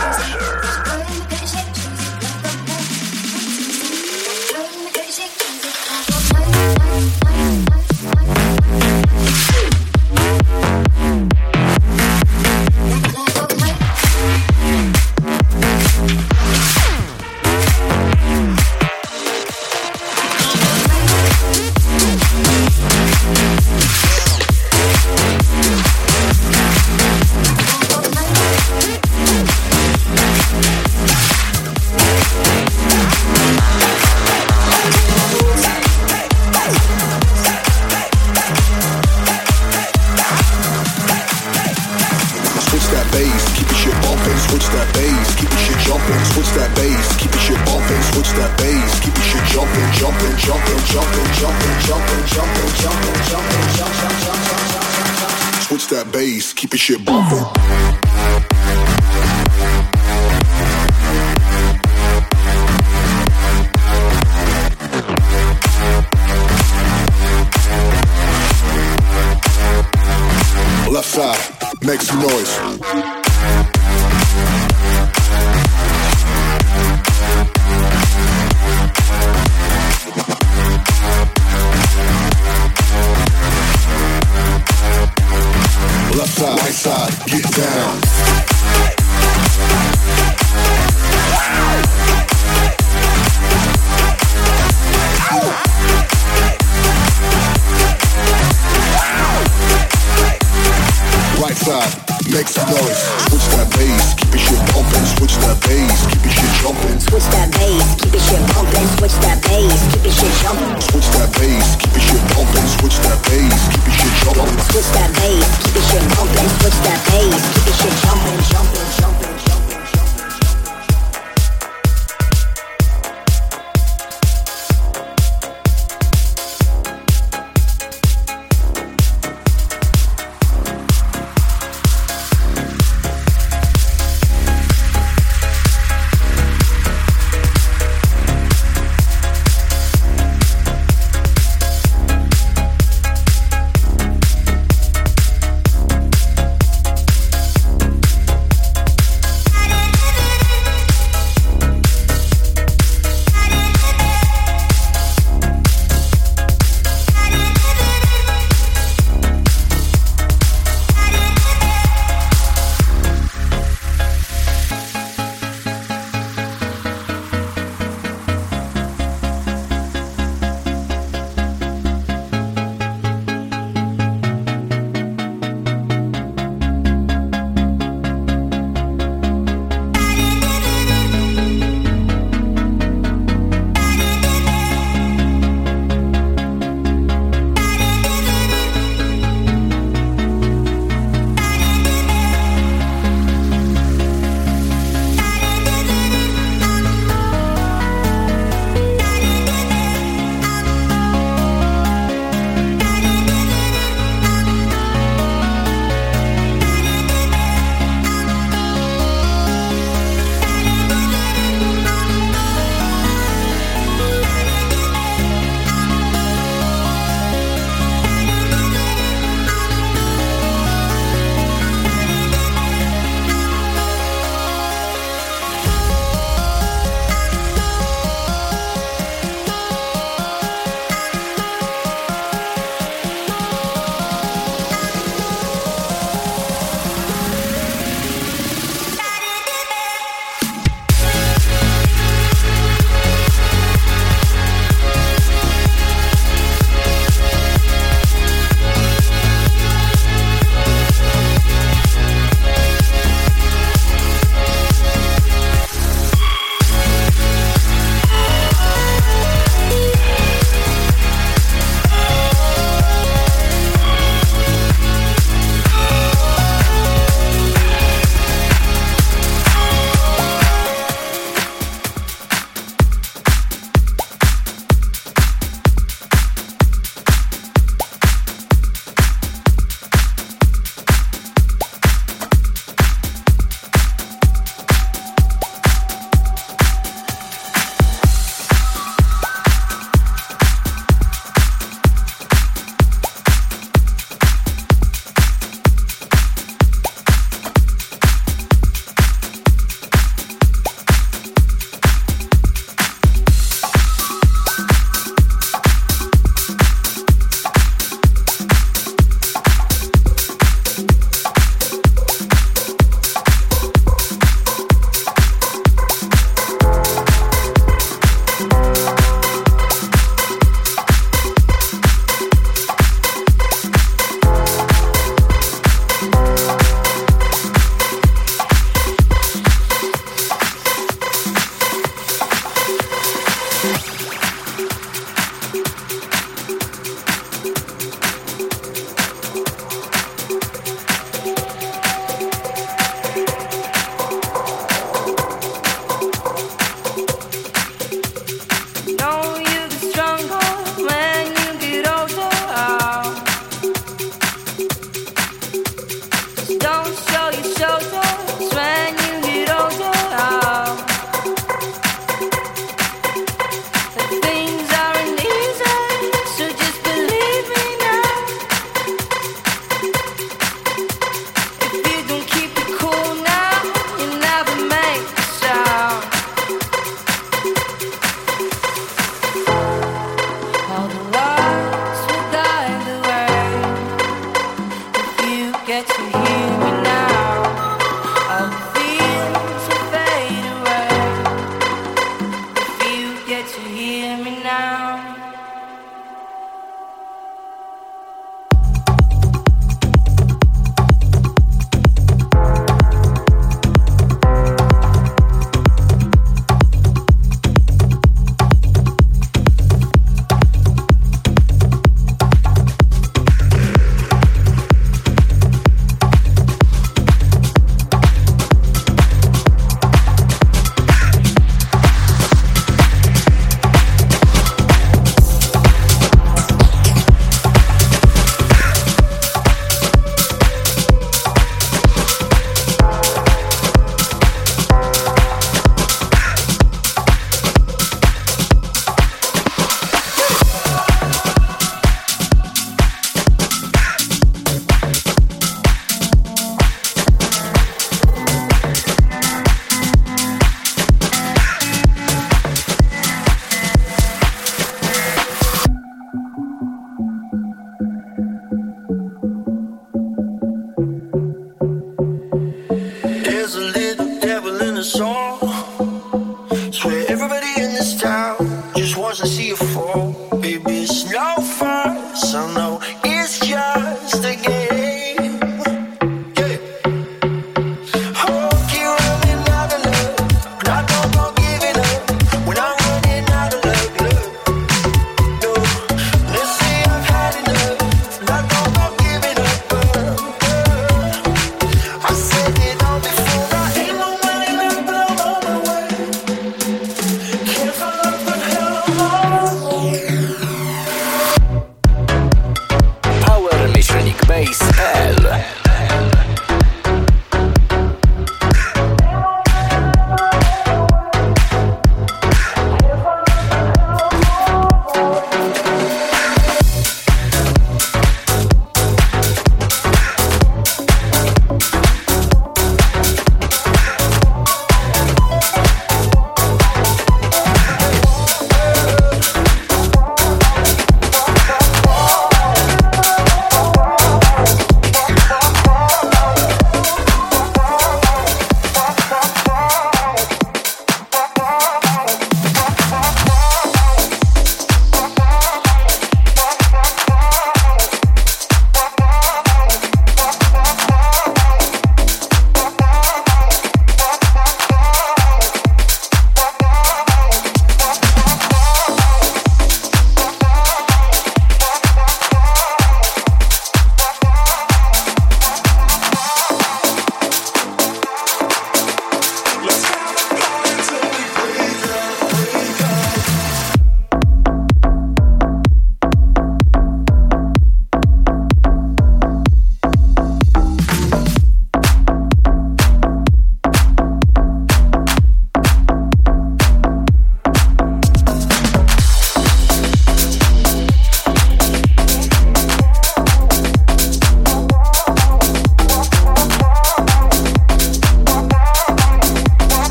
Keep your shit bumping. Left side, make some noise. Left side, right side, get down. Right side, make some noise. Switch that bass, keep your shit bumping. Switch that bass, keep your shit jumping. Switch that bass, keep your shit bumping. Switch that bass, keep your shit jumping. Switch that bass, keep your shit bumping. Switch that bass, keep your shit jumping. Switch that bass, keep your shit bumping. Switch that bass, keep your shit jumping, jumping, jumping, jumping.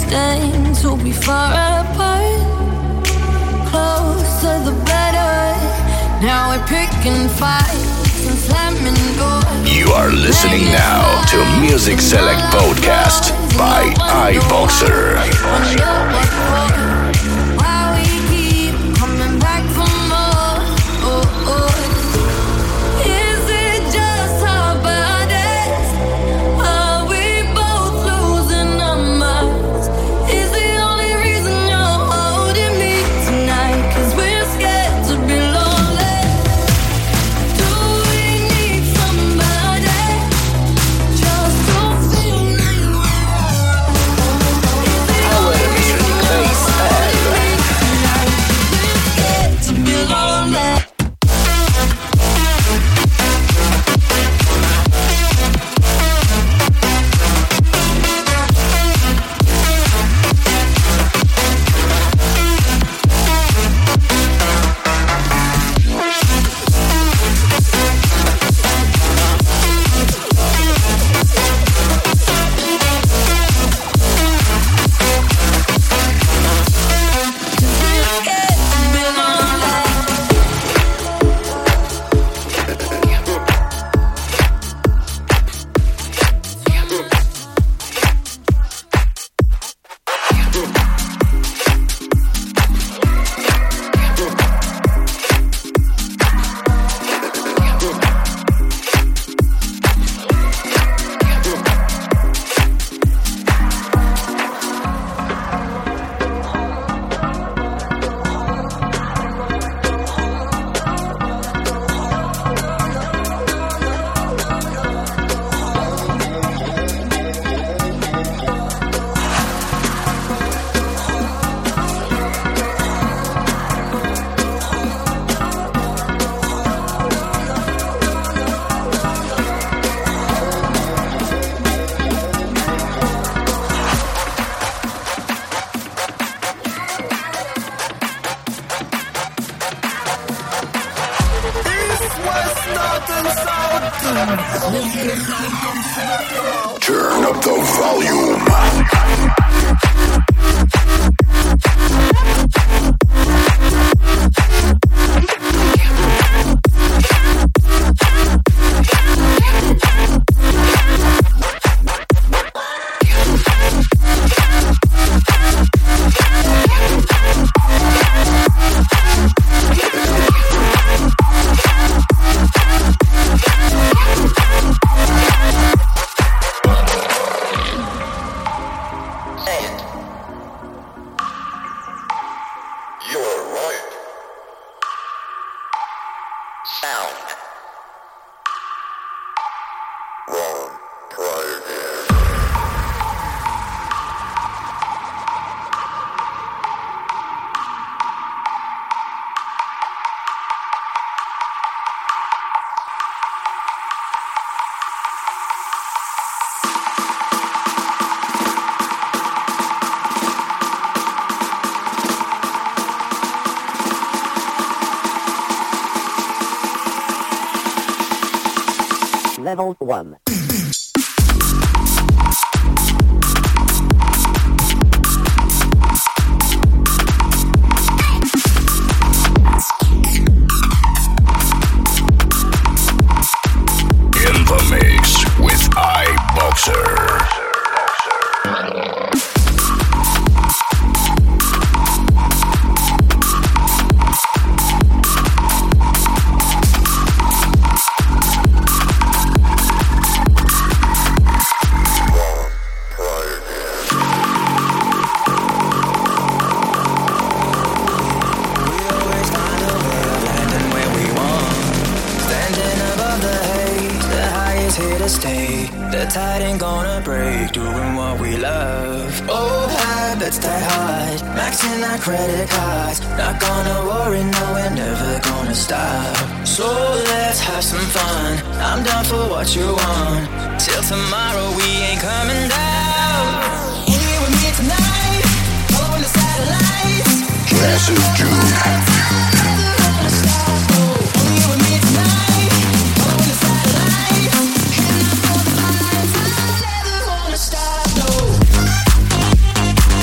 destined to be far apart. Closer the better. Now we're picking fights and slamming doors. You are listening now to Music Select Podcast by iBoxer. Why we keep coming back for more? Oh, oh. Is it just our bodies? Are we both losing our minds? Is the only reason you're holding me tonight? 'Cause we're scared to be lonely. Do we need somebody just to feel you? Power Music Base L. We're scared to be lonely. Turn up the volume. Level one. In the mix with iBoxer. The tide ain't gonna break, doing what we love. Old habits die hard, maxing our credit cards. Not gonna worry, no, we're never gonna stop. So let's have some fun, I'm down for what you want. Till tomorrow we ain't coming down. Here with me tonight, over the satellites. Massive June. Stop, no.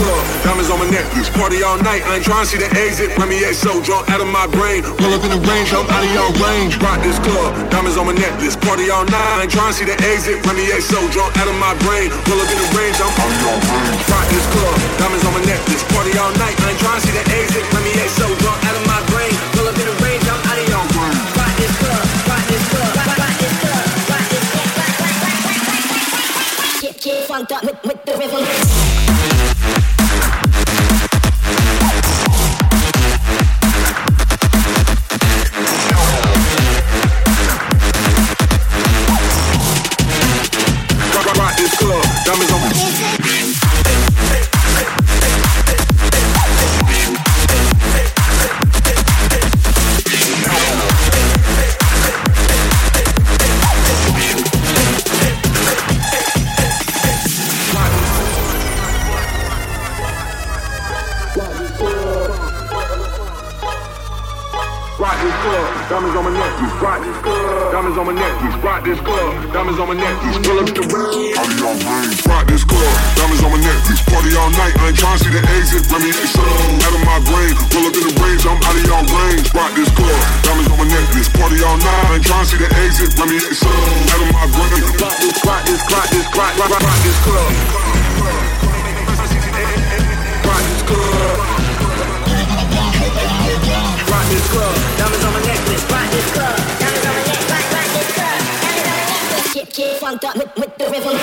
club, diamonds on my necklace. Party all night, I ain't tryna see the exit. Remy A so drunk out of my brain. Pull up in the range, I'm out of your range. Rock this club, diamonds on my necklace. Party all night, I ain't tryna see the exit. Remy A so drunk out of my brain. Pull up in the range, I'm out of your range. Rock this club, diamonds on my necklace. Party all night, I ain't tryna see the exit. Remy A so drunk out of my brain. Pull up in the range, I'm out of your range. Rock this club, rock this club, rock, rock this club, rock this club, rock, rock, rock, rock, rock, rock. Get, get funked up with, with the rhythm. Diamonds on my Diamonds on my necklace, rock this club. Diamonds on my necklace, rock this club. Diamonds on my necklace, pull up the range. Out of your range, rock this club. Diamonds on my necklace, party all night. I ain't tryna see the exit. Let me get some out of my brain. Pull up in the range, I'm out of your range. Rock this club. Diamonds on my necklace, party all night. I ain't tryna see the exit. Let me get some out of my brain. Rock this, rock this, rock this, rock, rock, rock this club. Rock this club. Rock this club, diamonds on my necklace. Rock this club, diamonds on my neck. Rock, rock this club, diamonds on my necklace. Get, get funked up with, with the rhythm.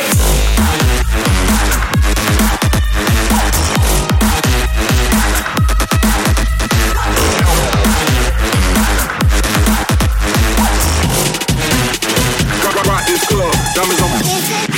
Rock, rock this club, diamonds on my necklace.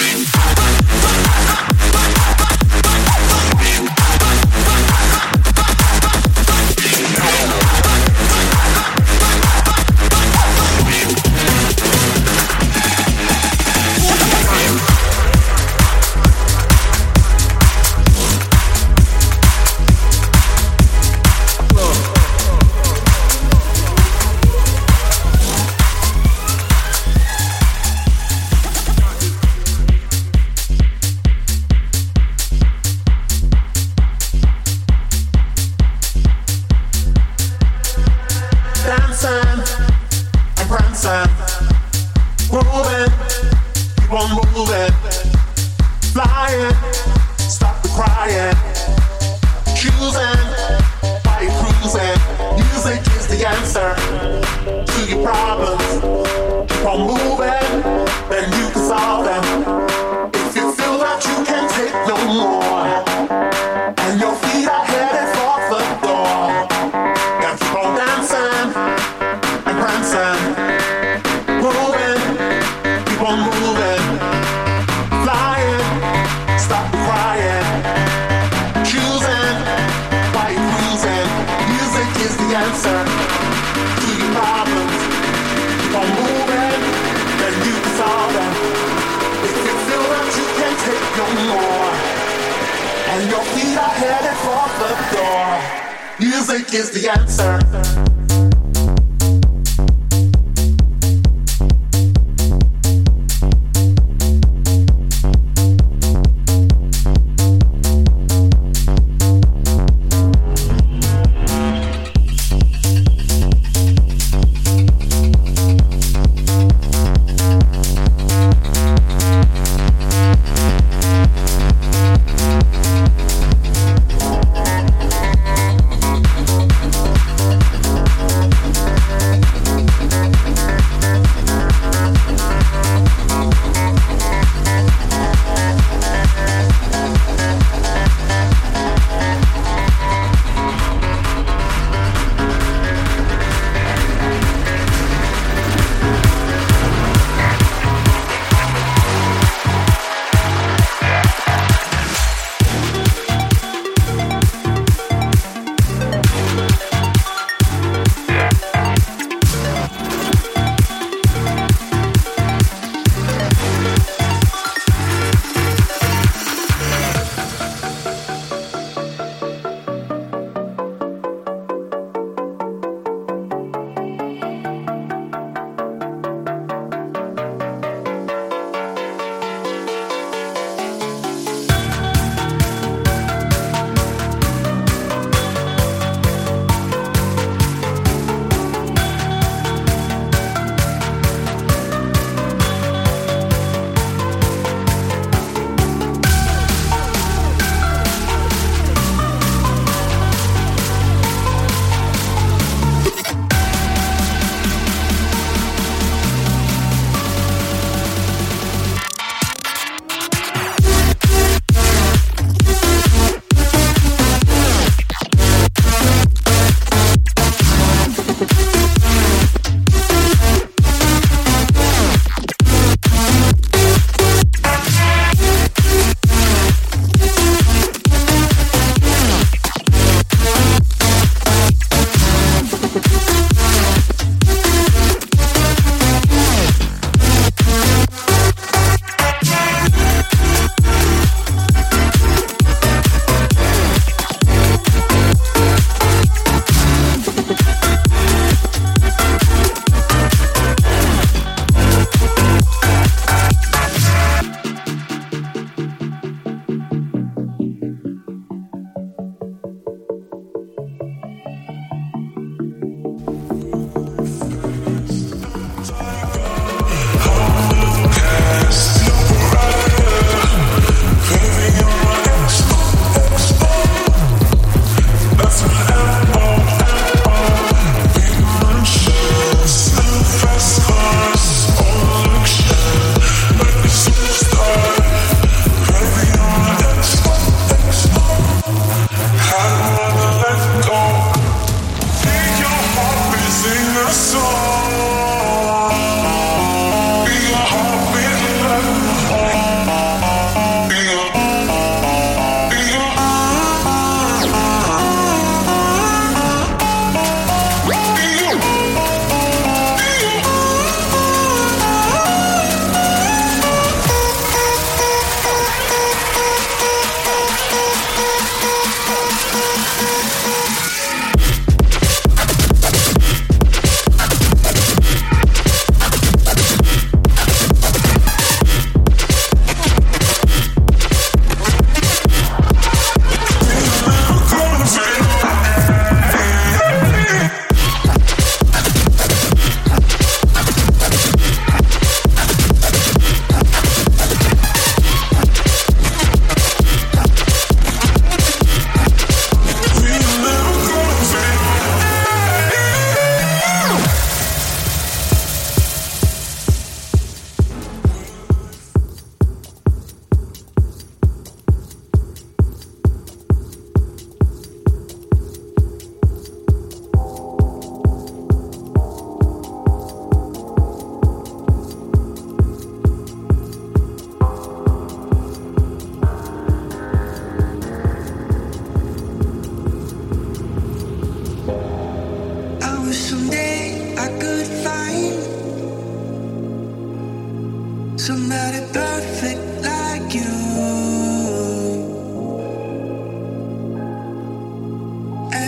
Music is the answer.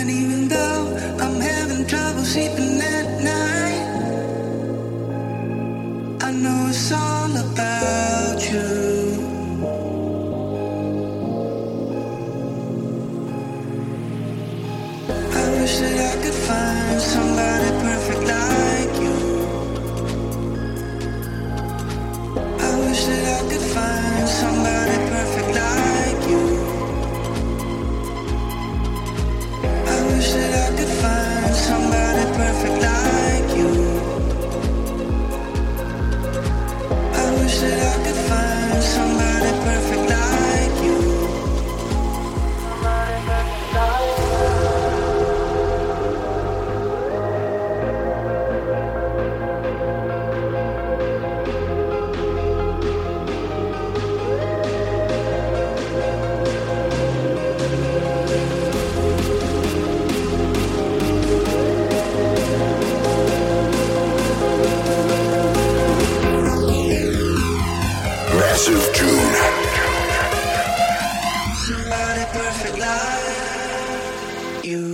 And even though I'm having trouble sleeping at night, I know it's all about you. I wish that I could find somebody perfect like you. I wish that I could find somebody perfect like you. I wish that I could find somebody perfect like you. I wish that I could find somebody perfect like you. Somebody perfect like you. Massive June. Somebody perfect like you.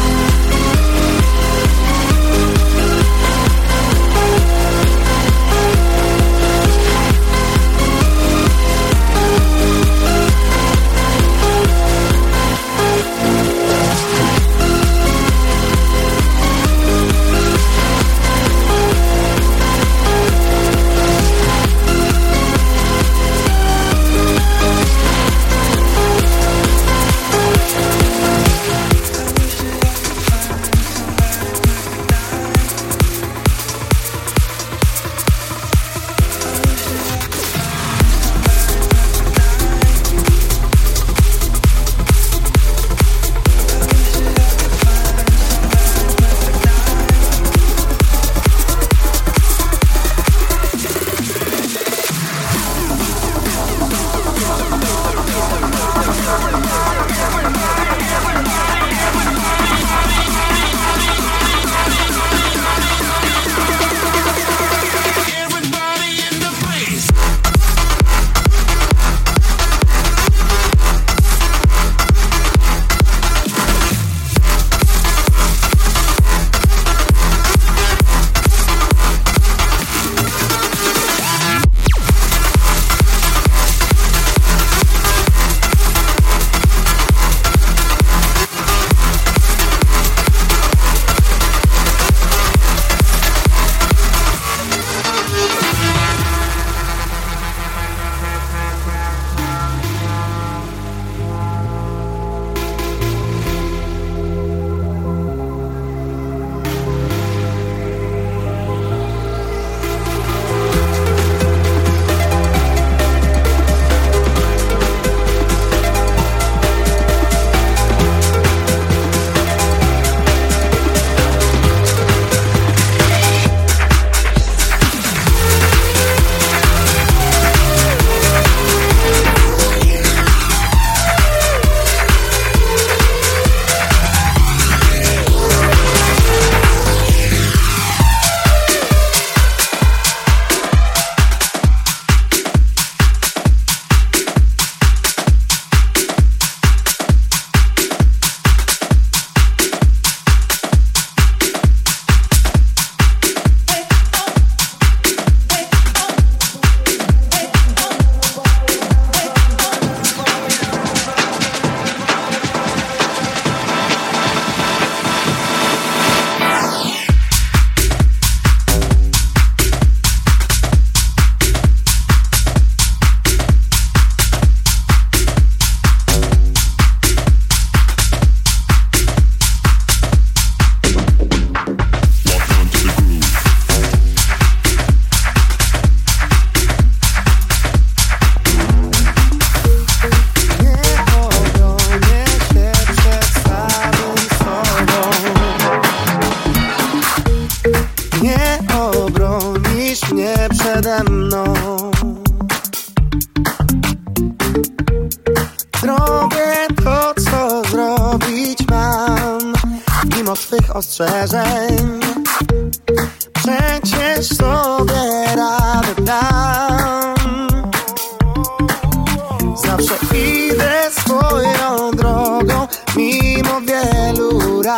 przede mną. Zrobię to, co zrobić mam, mimo twych ostrzeżeń. Przecież sobie radę dam. Zawsze idę swoją drogą, mimo wielu ran.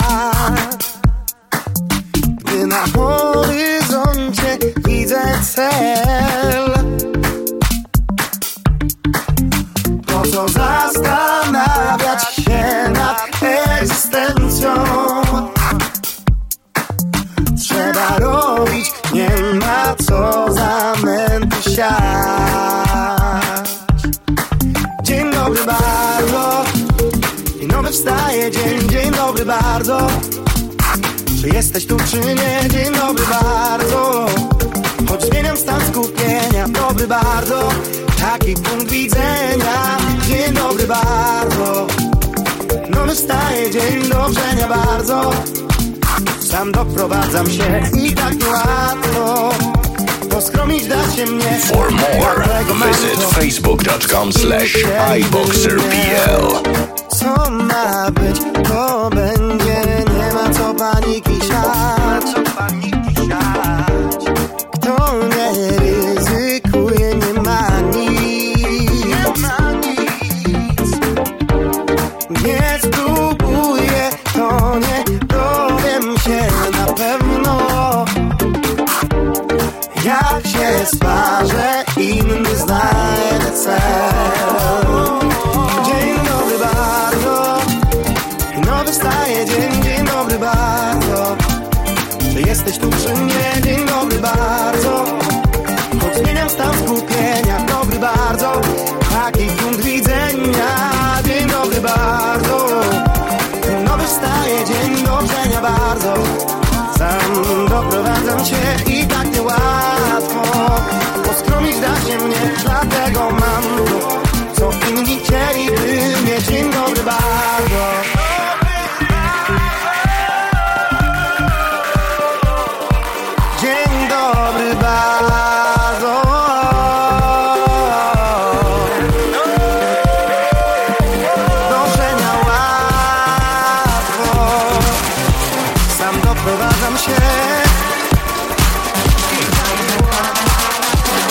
wstaje dzień, dzień dobry bardzo. Czy jesteś tu, czy nie? Dzień dobry bardzo. Choć zmieniam stan skupienia, dobry bardzo. Taki punkt widzenia, dzień dobry bardzo. Nowy wstaje dzień, dobrzenia bardzo. Sam doprowadzam się i tak niełatwo poskromić da się mnie. For more, visit facebook dot com slash iboxerpl. Co ma być, to będzie. Nie ma co paniki siać. Kto nie ryzykuje, nie ma nic. Nie spróbuję, to nie dowiem się na pewno. Jak się sparzę, inny znajdę cel. Dzień dobry bardzo. Nowy wstaje dzień, dzień dobry bardzo. Czy jesteś tu, czy nie? Dzień dobry bardzo. Choć zmieniam stan skupienia, dobry bardzo. Taki punkt widzenia, dzień dobry bardzo. Nowy wstaje dzień, dobrzenia bardzo. Sam doprowadzam się i tak niełatwo poskromić da się mnie, dlatego mam to, co inni chcieliby mieć. Dzień dobry bardzo. Dzień dobry bardzo. Dążenia łatwo. Sam doprowadzam się.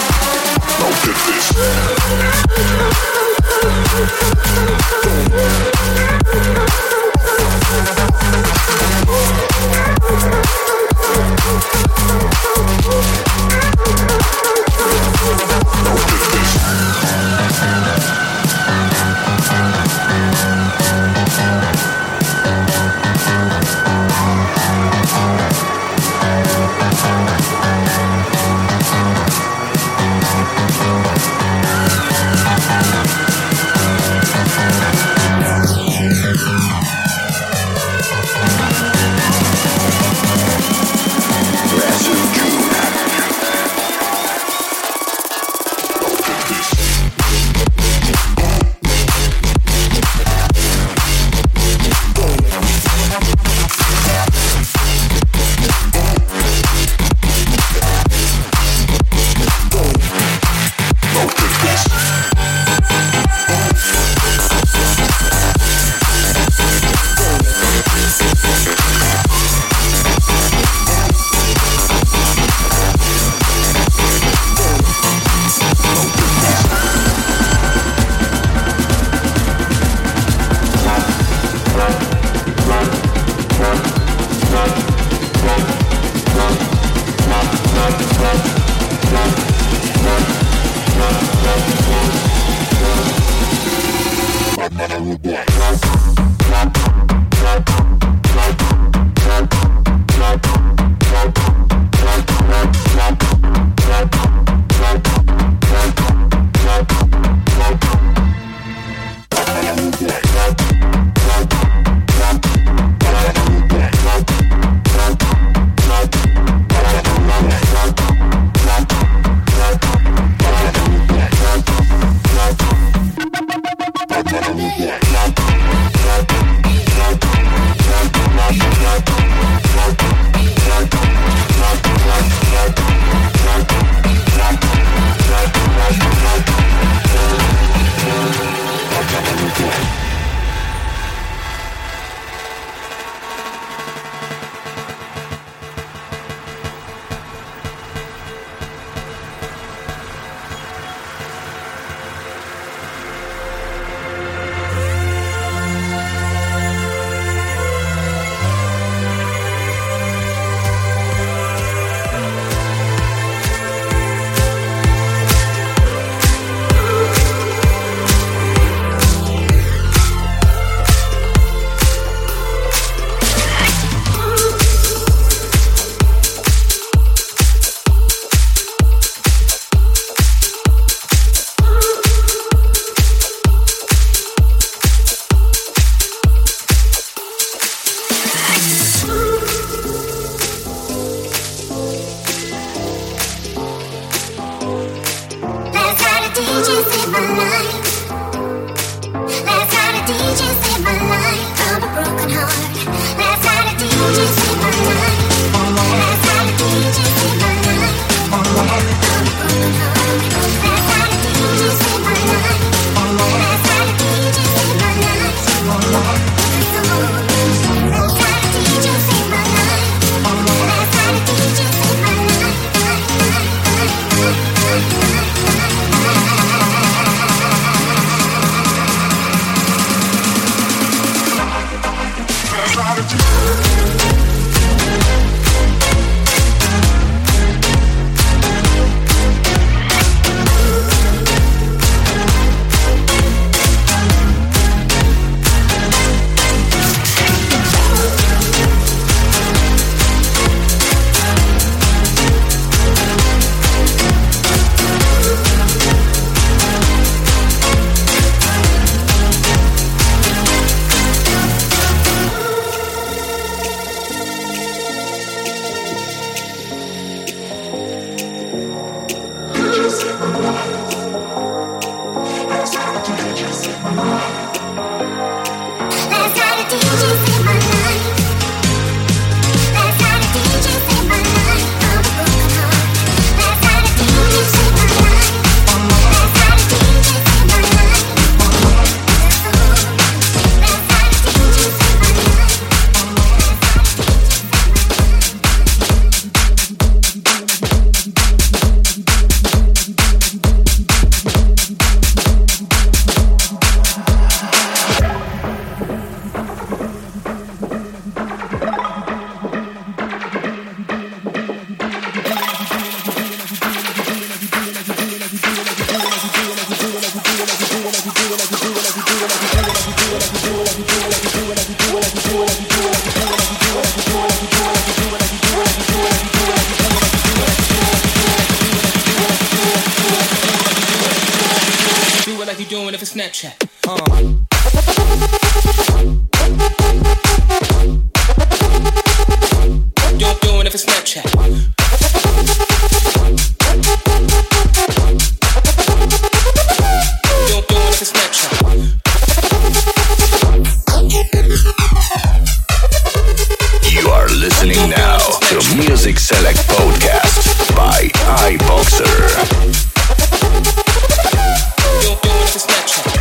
Snapchat. Uh. You're doing it for Snapchat. You're doing it for Snapchat. You are listening now to Music Select Podcast by iBoxer. You're doing it for Snapchat.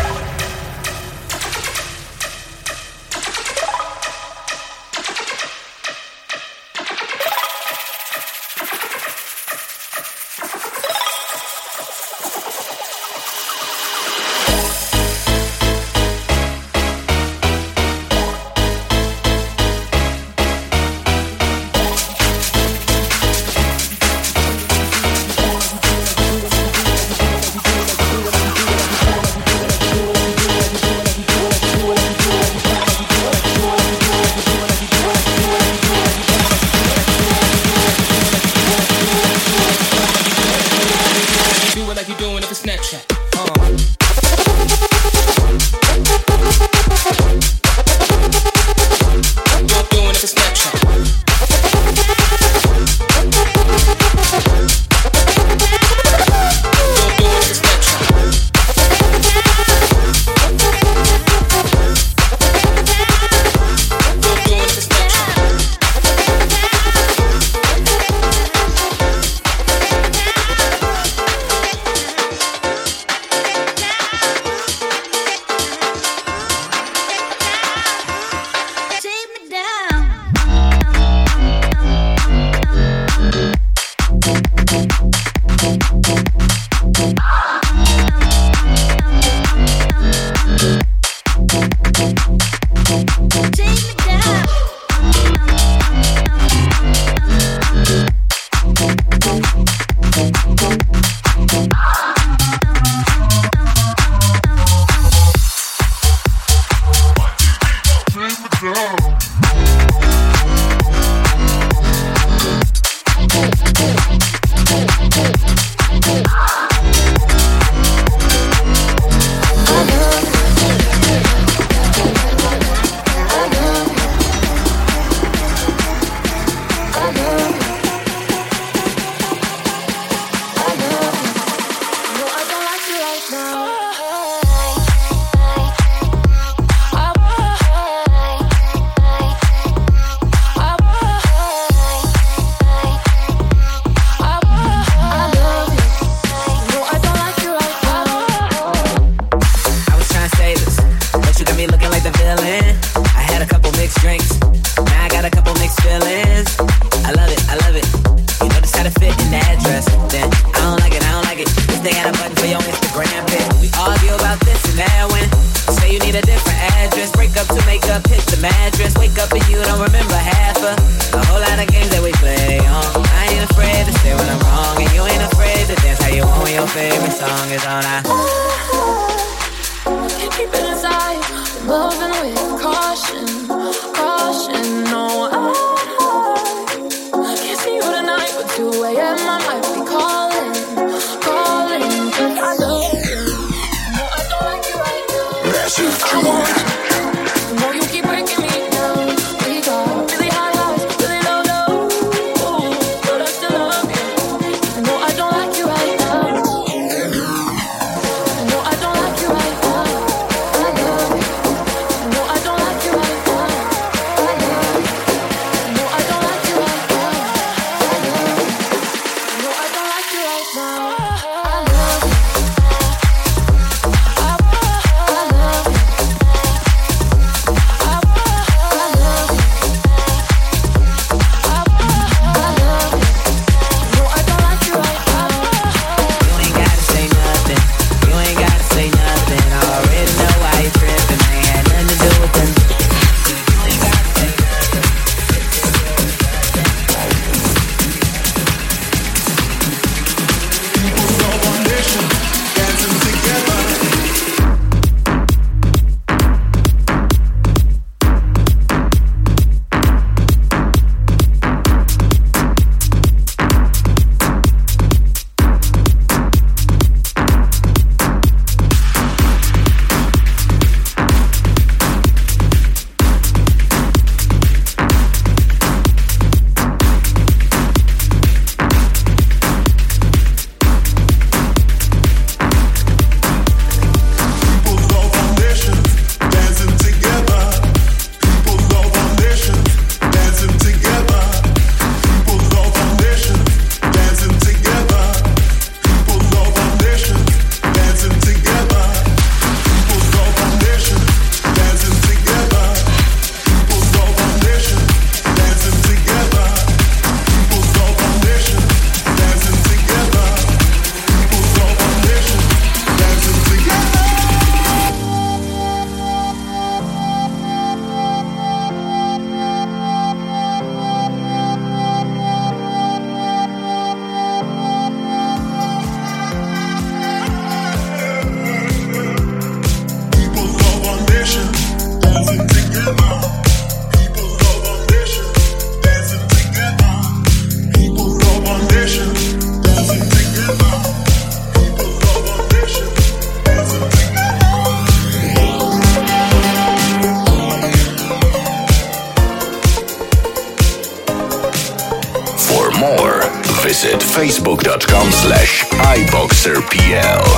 facebook.com slash iboxerpl.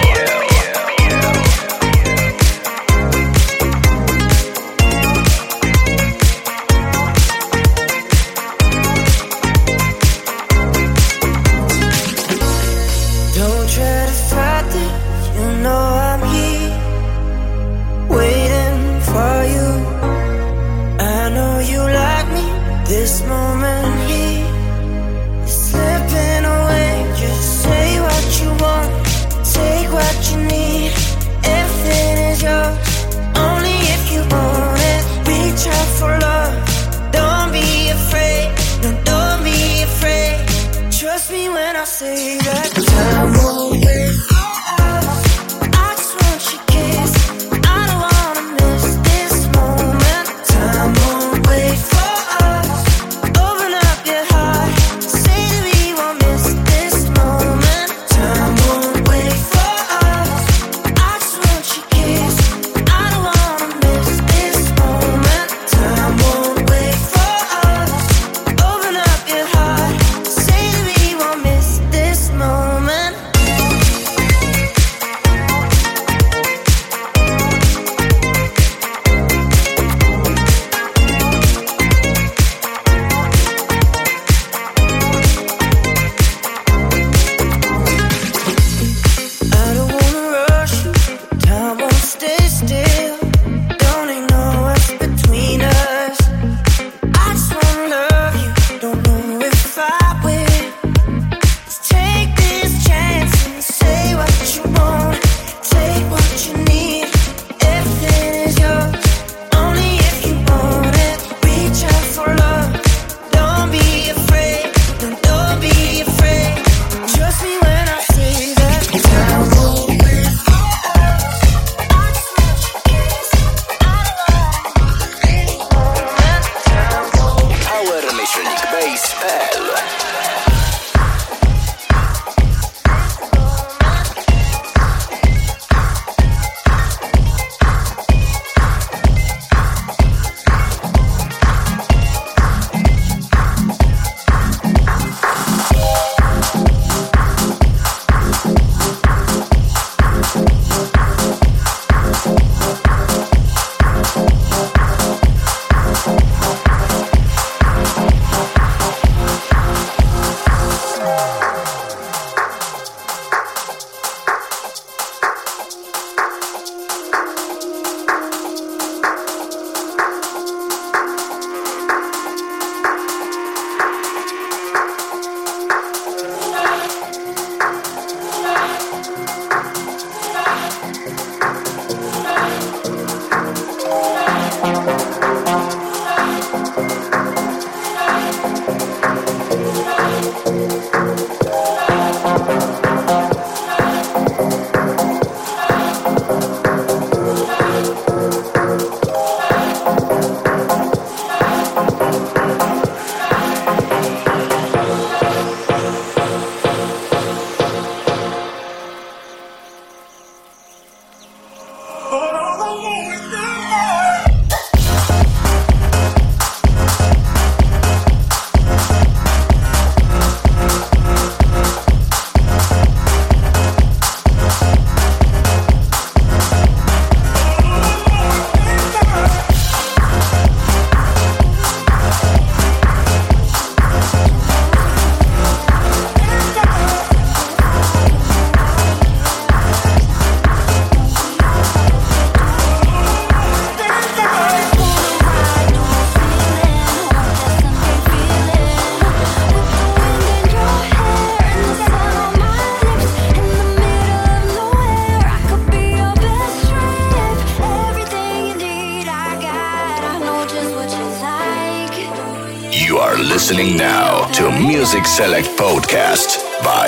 Listening now to Music Select Podcast by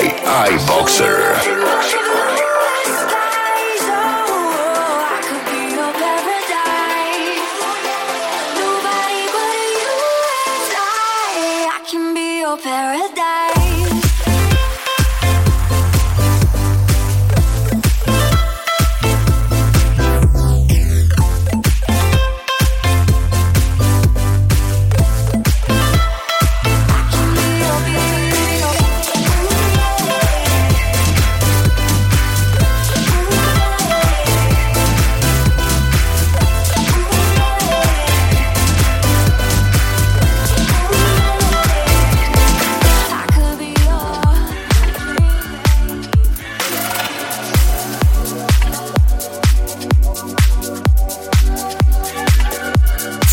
iBoxer. We'll be right back.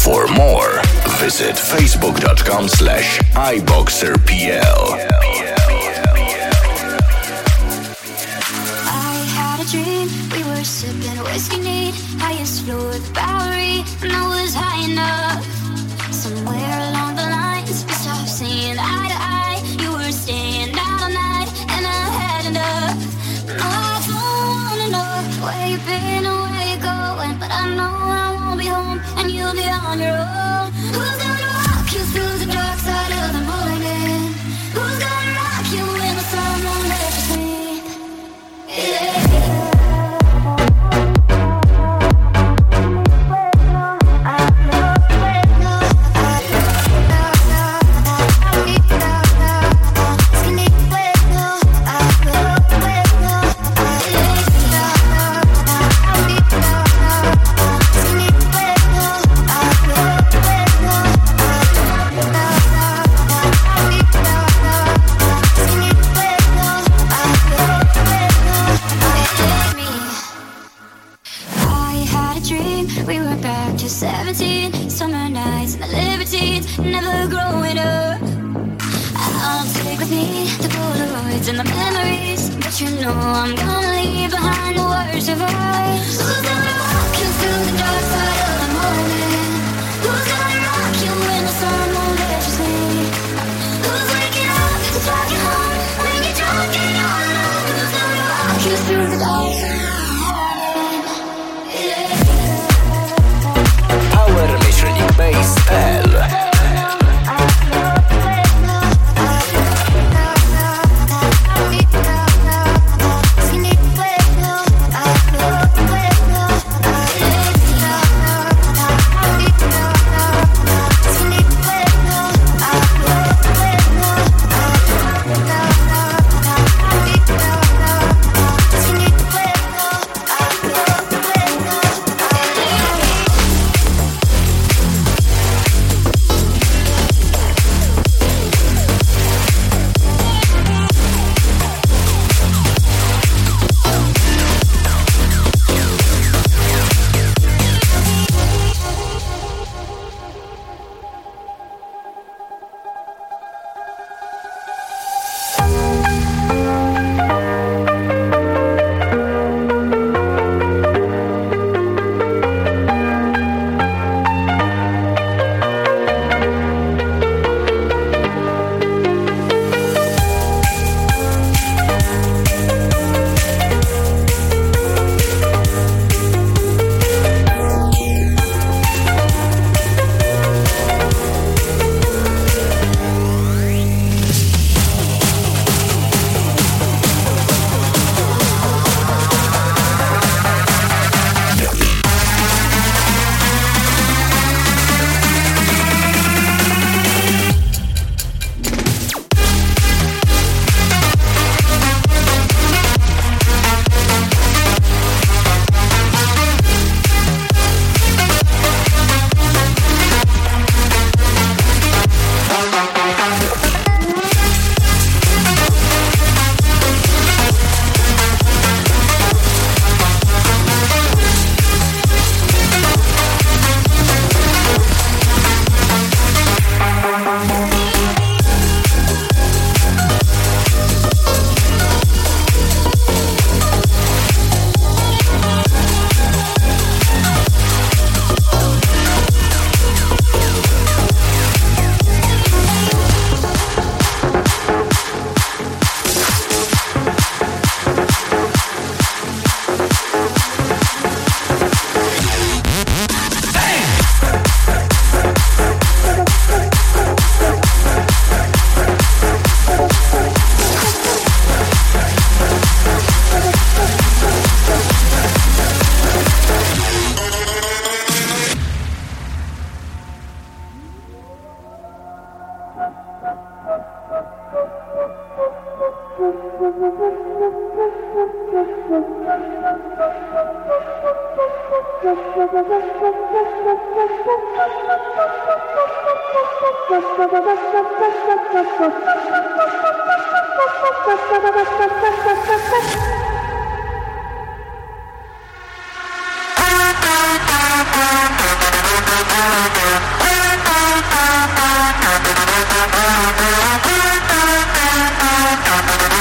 For more, visit facebook.com slash iboxerpl. I had a dream, we were sipping whiskey neat, highest floor of the Bowery, and I was high enough. Somewhere along the lines, we stopped seeing eye to eye. You were staying out all night, and I had enough. No, I don't wanna know where you've been or where you're going, but I know I won't be home, and you'll be on your own. Who's gonna walk you through the dark side of the morning? Who's gonna rock you when the sun won't let you sleep? Yeah. seventeen, summer nights and the libertines, never growing up. I'll take with me the Polaroids and the memories, but you know I'm gonna leave behind the worst of us. Who's gonna walk you through the dark side of the morning? Who's gonna rock you when the sun won't let you sleep? Who's waking up to drive you home when you're drunk and you're alone? Who's gonna walk you through the dark side of the morning? Power Electronic Bass L. We'll be right back.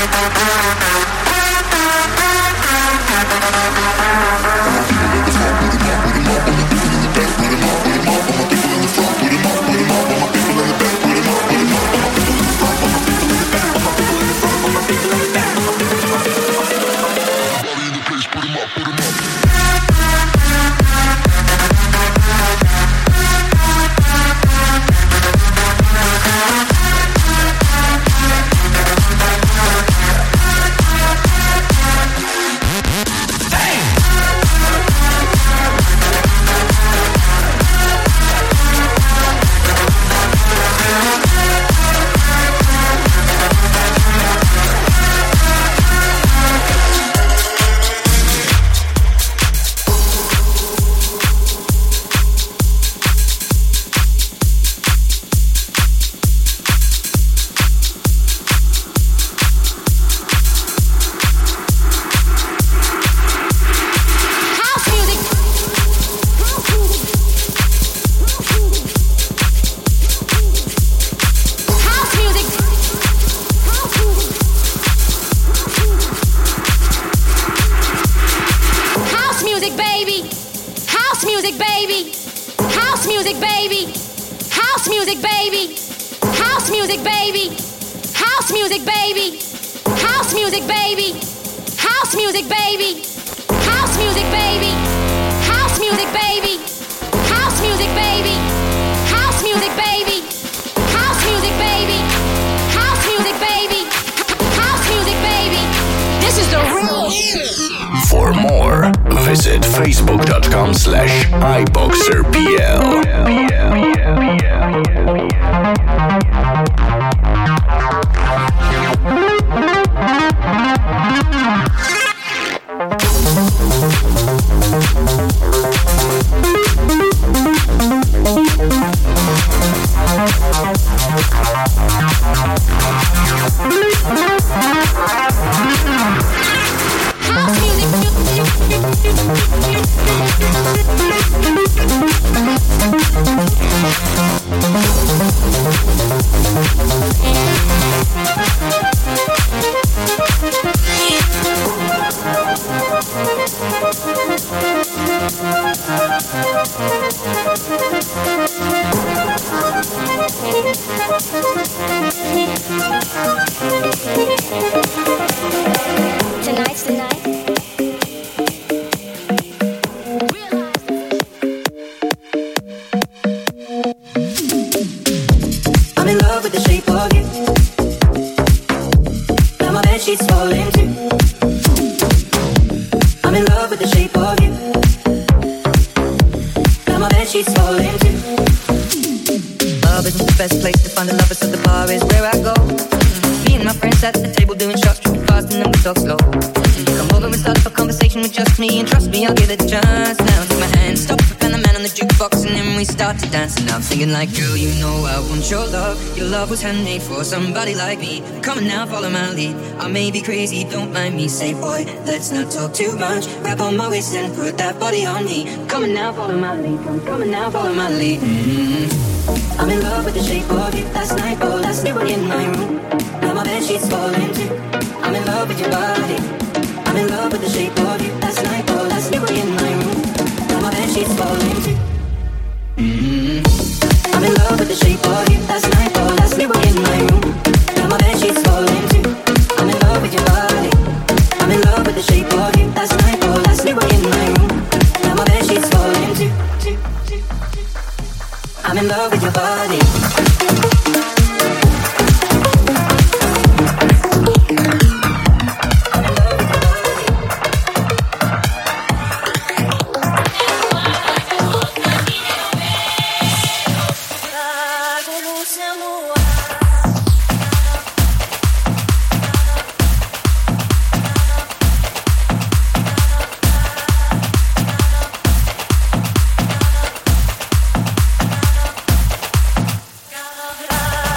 Like, girl, you know I want your love. Your love was handmade for somebody like me. Come on now, follow my lead. I may be crazy, don't mind me. Say, boy, let's not talk too much. Grab on my waist and put that body on me. Come on now, follow my lead. Come, come on now, follow my lead. Mm-hmm. I'm in love with the shape of you. Last night, oh, last night, we're in my room. Now my bed sheets falling too. I'm in love with your body. I'm in love with the shape of you. Last night, oh, last night, we're in my room. Now my bed sheets falling too. Mm-hmm. I'm in love with the shape of you. Last night, oh, last night, we're in my room. Now my bed sheets falling too. I'm in love with your body. I'm in love with the shape of you. Last night, oh, last night, we're in my room. Now my bed sheets falling too. I'm in love with your body. Gotta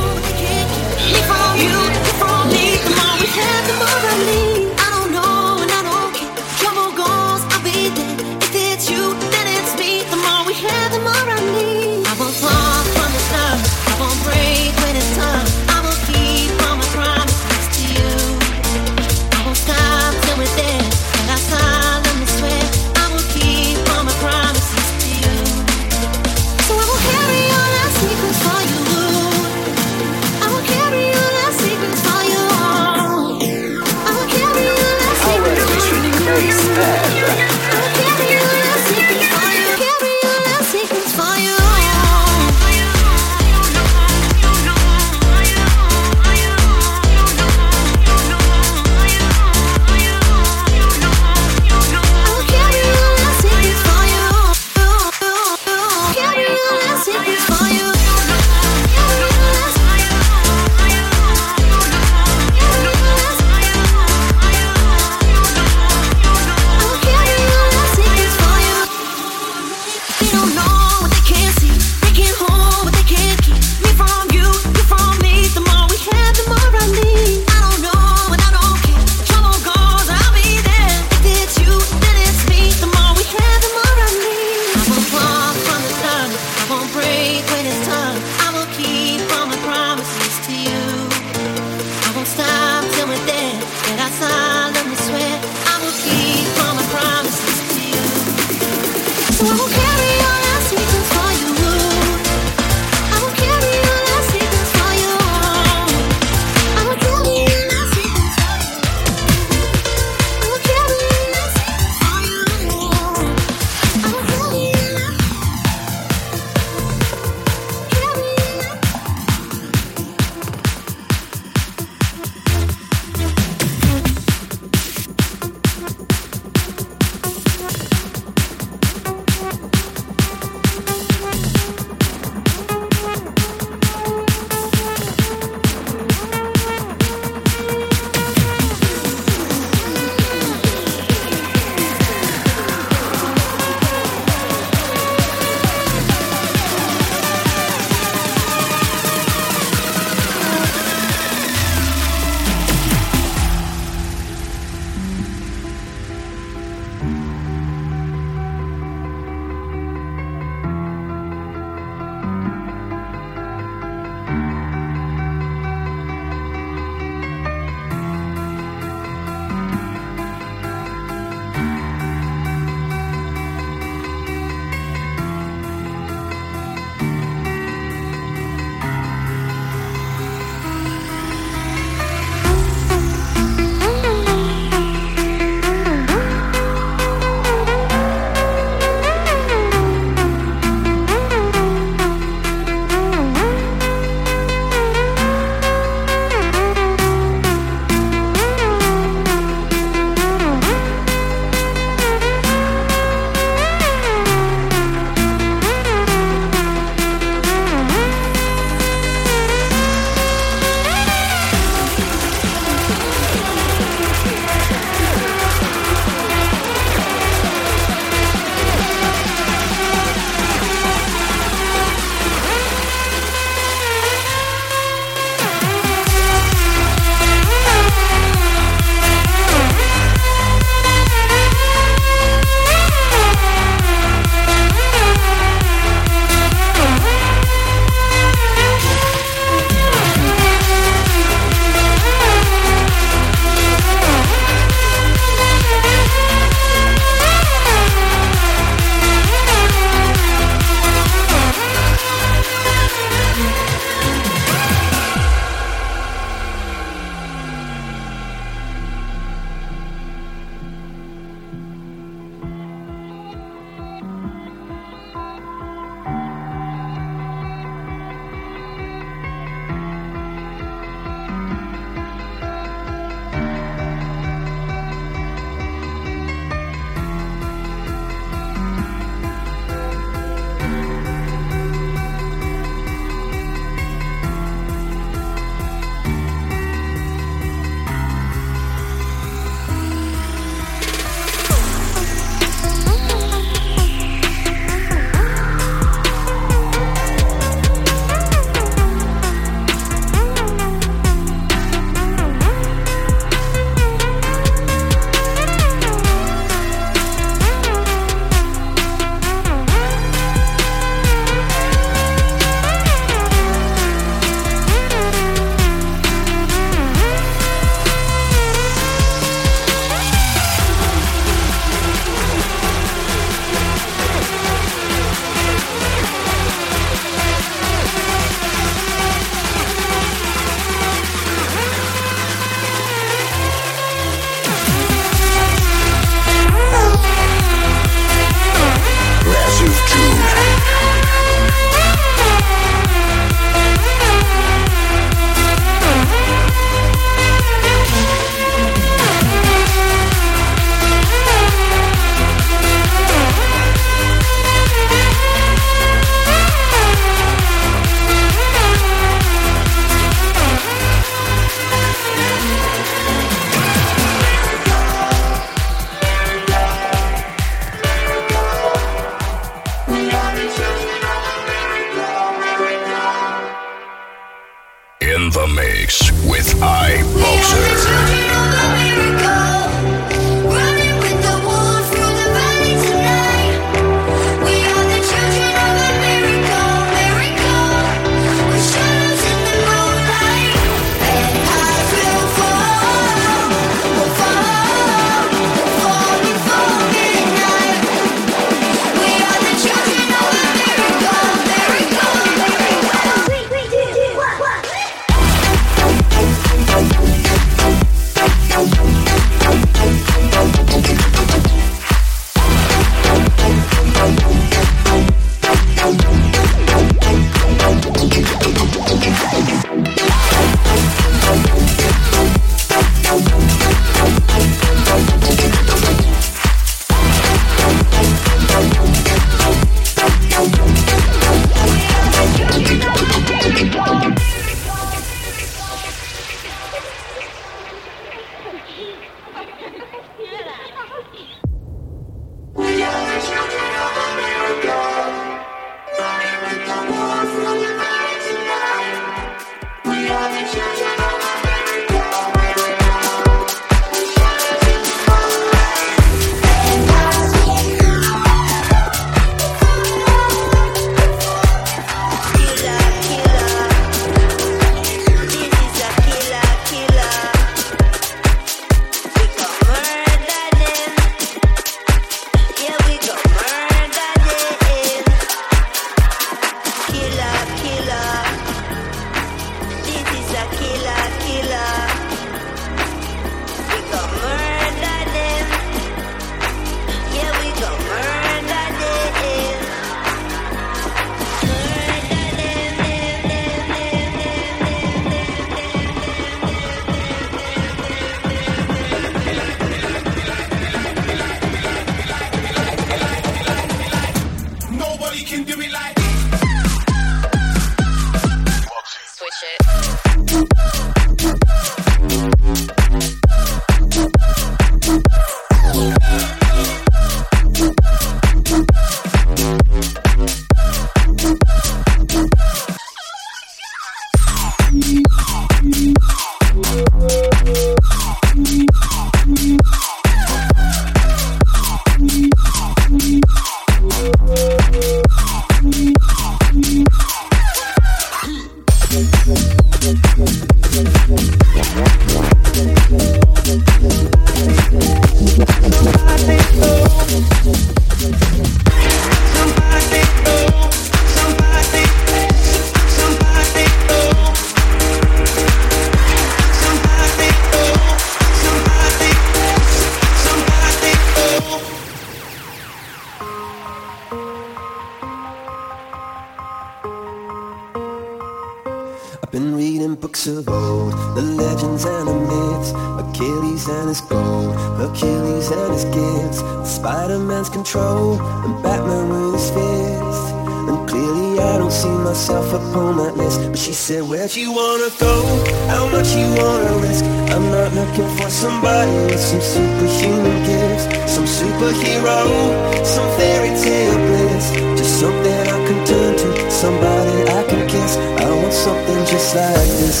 Where'd you wanna go? How much you wanna risk? I'm not looking for somebody with some superhuman gifts, some superhero, some fairy tale bliss. Just something I can turn to, somebody I can kiss. I want something just like this.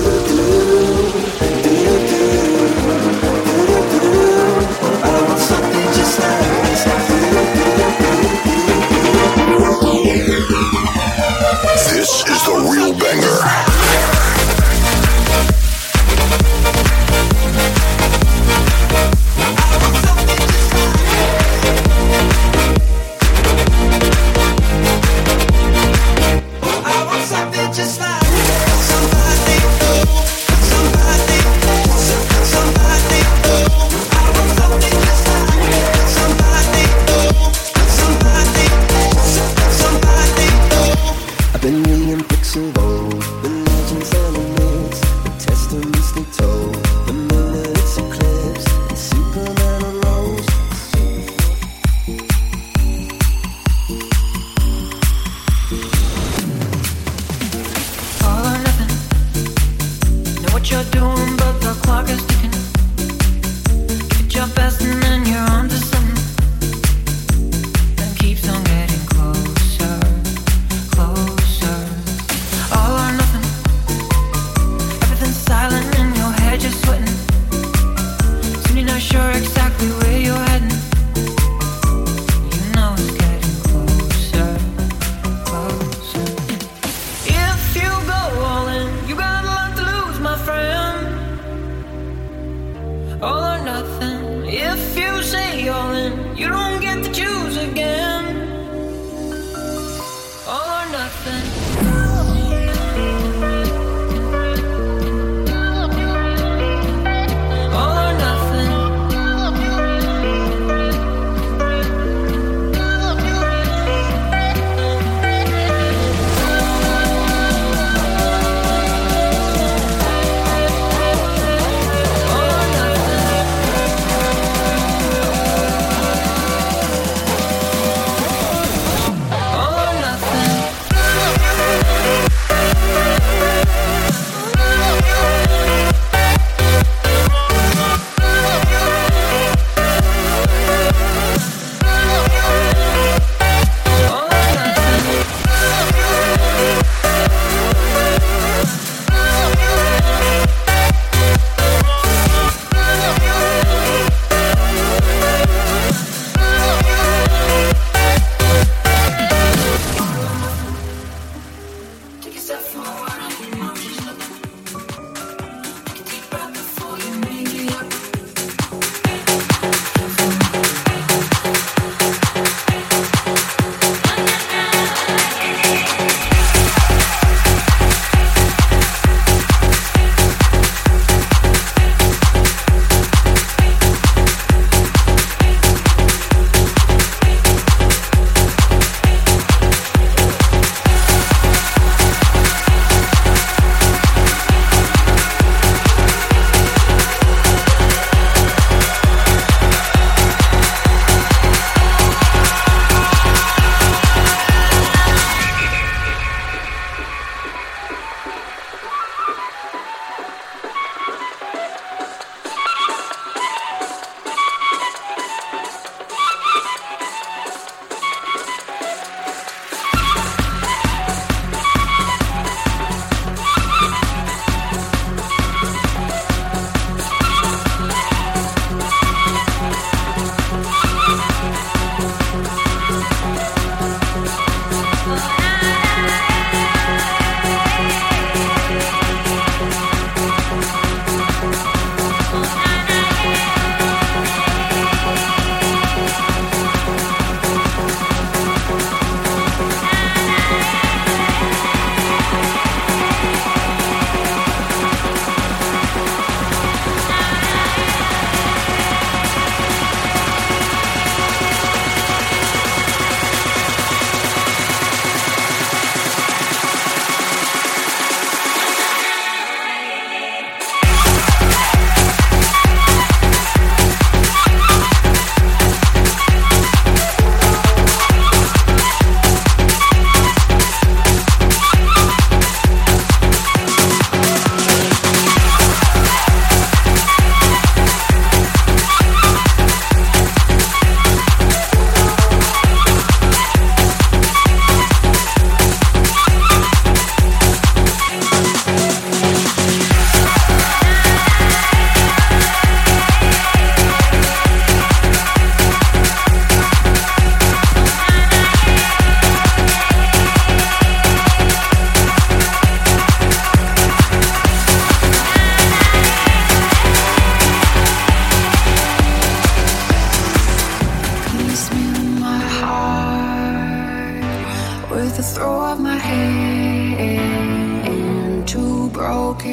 I want something just like this. This is the real banger.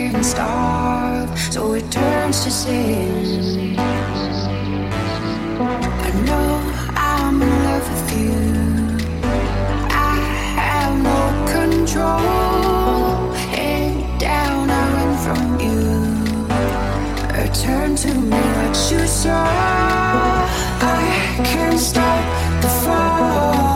can't stop, so it turns to sin. I know I'm in love with you. I have no control. Head down, I run from you. Return to me what you saw. I can't stop the fall.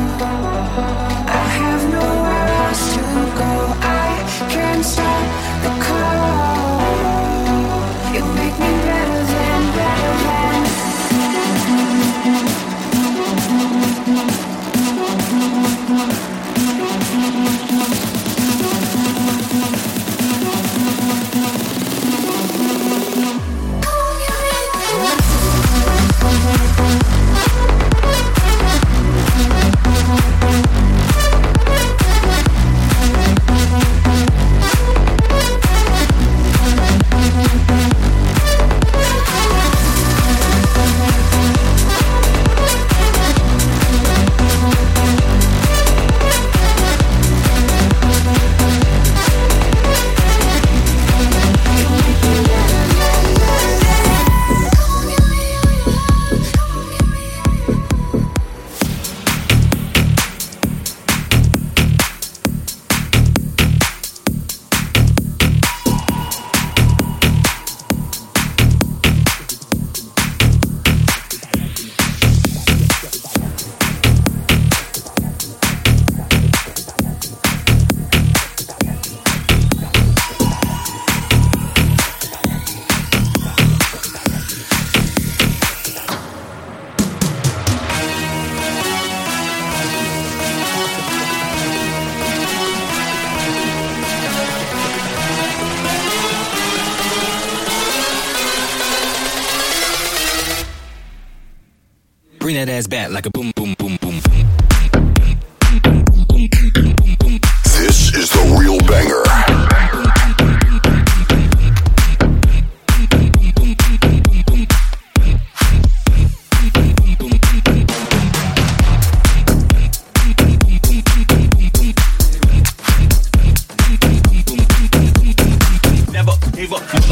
I have nowhere else to go. I can't stop the call. You make me better than, better than. Bring that ass back like a boom, boom, boom, boom, boom. This is the real banger. Never gave up, never.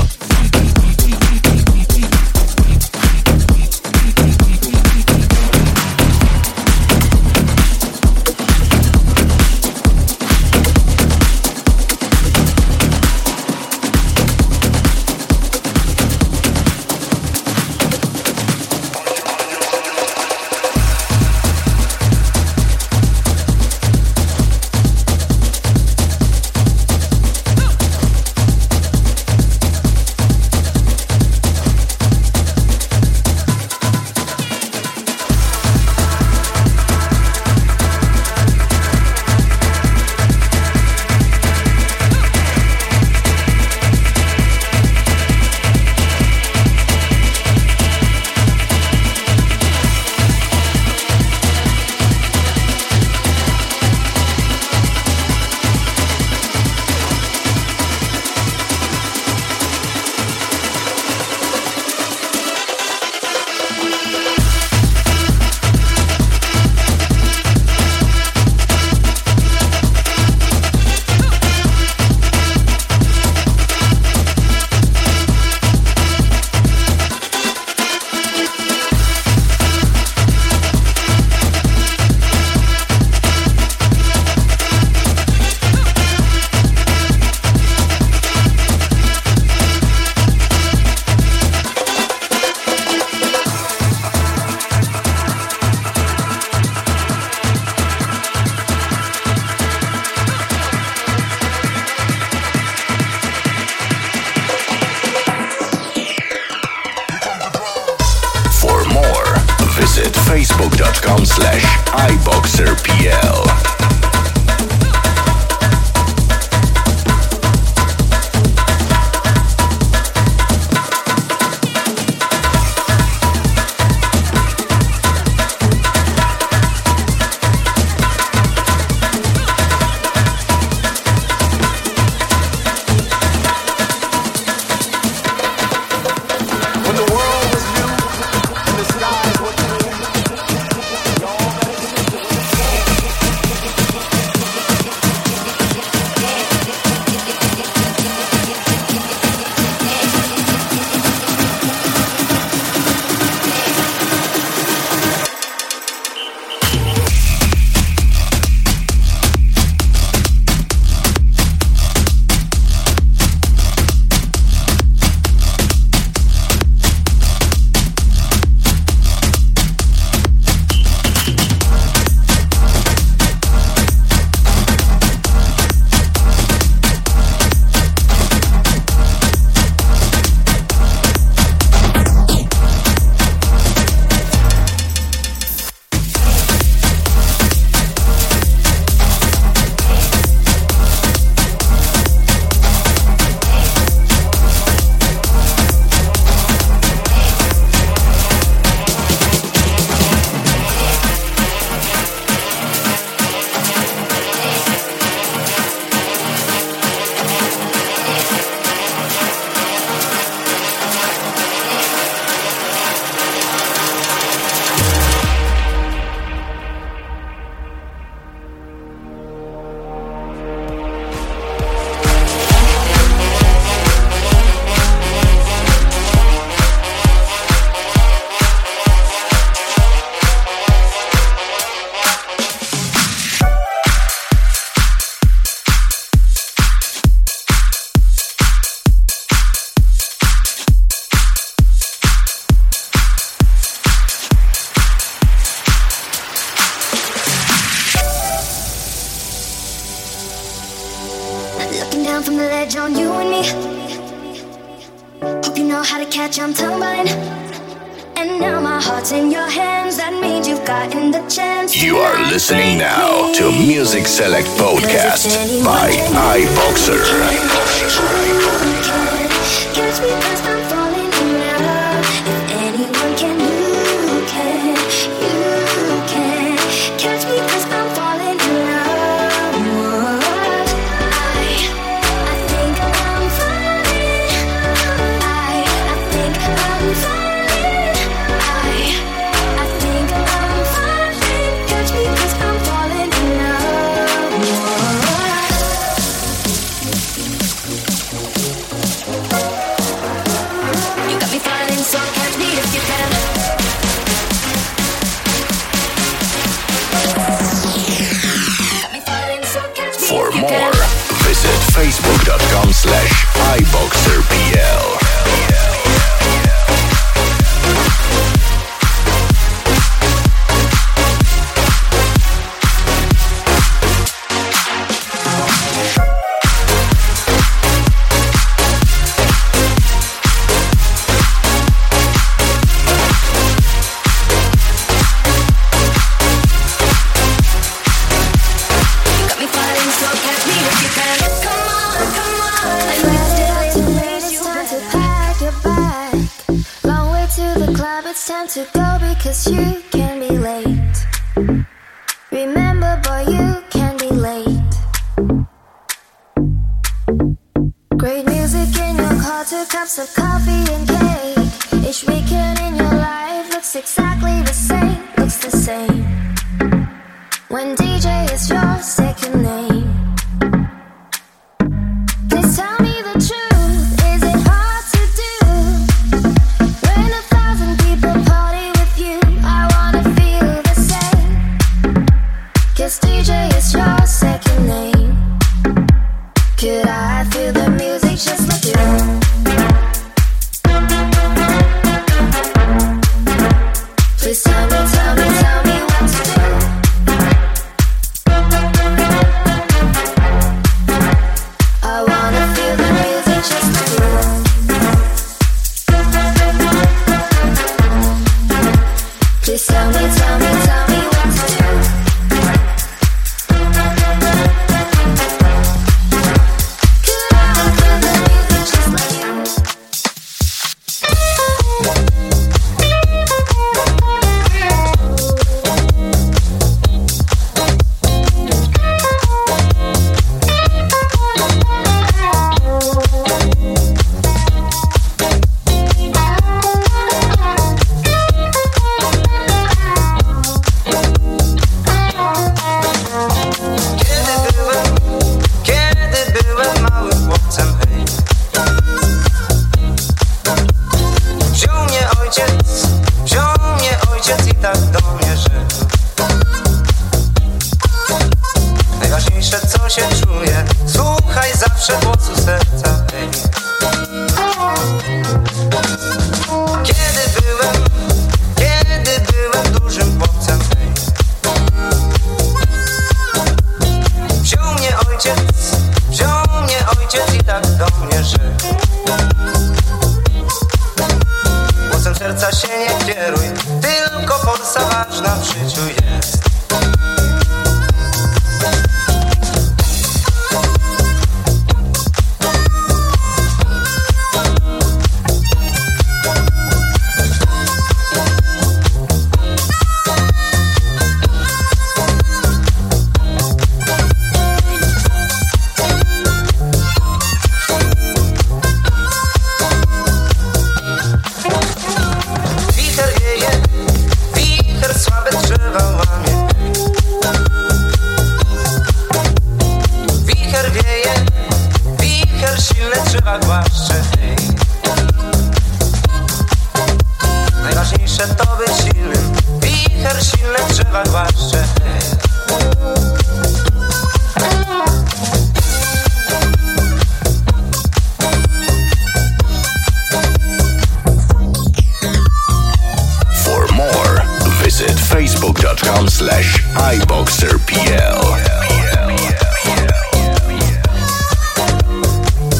Facebook.com slash iBoxerPL. edge on you and me. Hope you know how to catch, I'm tumbling. And now my heart's in your hands. That means you've gotten the chance. You are listening now to Music Select Podcast by iBoxer. Catch me first, I'm falling in love. If anyone can, you can, you can. Catch me first, I'm falling in love. I, I think I'm falling. I, I think I'm falling. I, I think I'm falling. Catch me first, I'm falling in love. You got me falling, so catch me if you can. Got me falling, so catch me For if you more, can. visit facebook.com slash iBoxerPL. Got me falling, so catch me if you can. Come on, come on. I'm ready to race. It's time to pack your bag. Long way to the club. It's time to go because you can be late. Remember, boy, you can be late. Great music in your car, two cups of coffee and cake. Each weekend in your life looks exactly the same. Looks the same. When D J is your second name. Please tell me the truth, is it hard to do? When a thousand people party with you, I wanna feel the same. Cause D J is your second name. Could I feel the music just like you? Please tell me, tell me, tell me what to do. I wanna feel the music just like you. Please tell me, tell me, tell me what to do. Could I feel the music just like you? Kiedy byłem, kiedy byłem małym chłopcem, hej, wziął mnie ojciec, wziął mnie ojciec i tak do mnie rzekł: najważniejsze co się czuje, słuchaj zawsze głosu serca, hej. Kiedy byłem, kiedy byłem dużym chłopcem, hej, wziął mnie ojciec, wziął mnie ojciec i tak do mnie rzekł: głosem serca się nie kieruj, tylko Polska ważna w życiu jest. Wicher wieje, wicher słabe drzewa łamie. Wicher wieje, wicher silne drzewa głaszcze, hej. Najważniejsze to być silnym, wicher silne drzewa głaszcze, hej. For more, visit facebook.com slash iBoxerPL.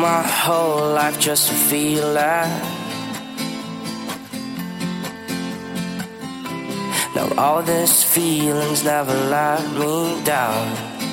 my whole life just to feel that. Now all these feelings never let me down.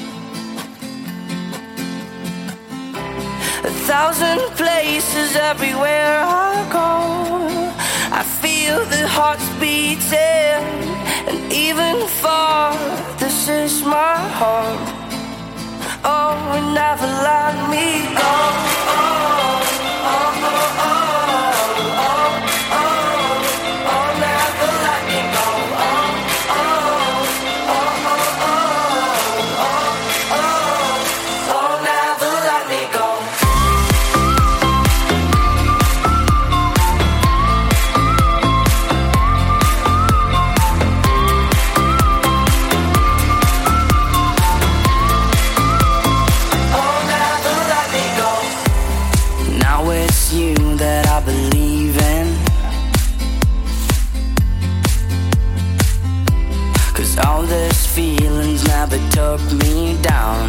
A thousand places everywhere I go, I feel the hearts beating, and even far, this is my home. Oh, it never let me go. Oh, oh, oh, oh, oh, oh, oh, oh, never let me go. Oh, oh, oh, oh, oh, oh, oh, oh, never let me go. All these feelings never took me down.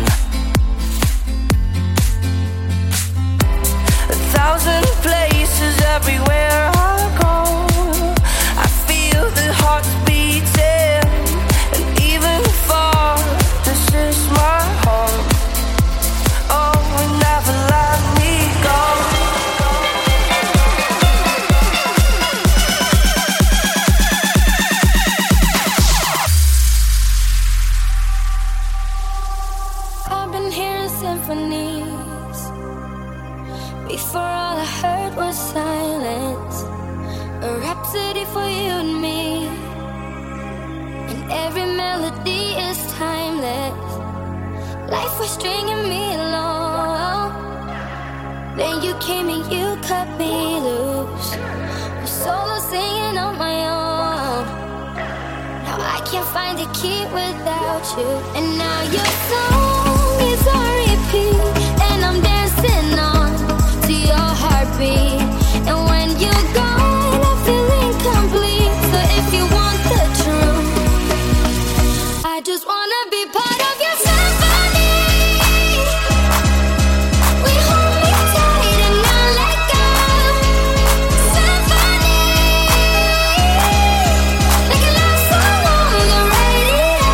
A thousand places everywhere I go, I feel the hearts beating, and even far, this is my home. Oh, it never let me go. Symphonies. Before all I heard was silence, a rhapsody for you and me, and every melody is timeless. Life was stringing me along, then you came and you cut me loose. I'm solo singing on my own. Now I can't find a key without you, and now your song is on repeat, and I'm dancing on to your heartbeat. And when you're gone, I feel incomplete. So if you want the truth, I just wanna be part of your symphony. We hold me tight and not let go. Symphony, like a love song on the radio.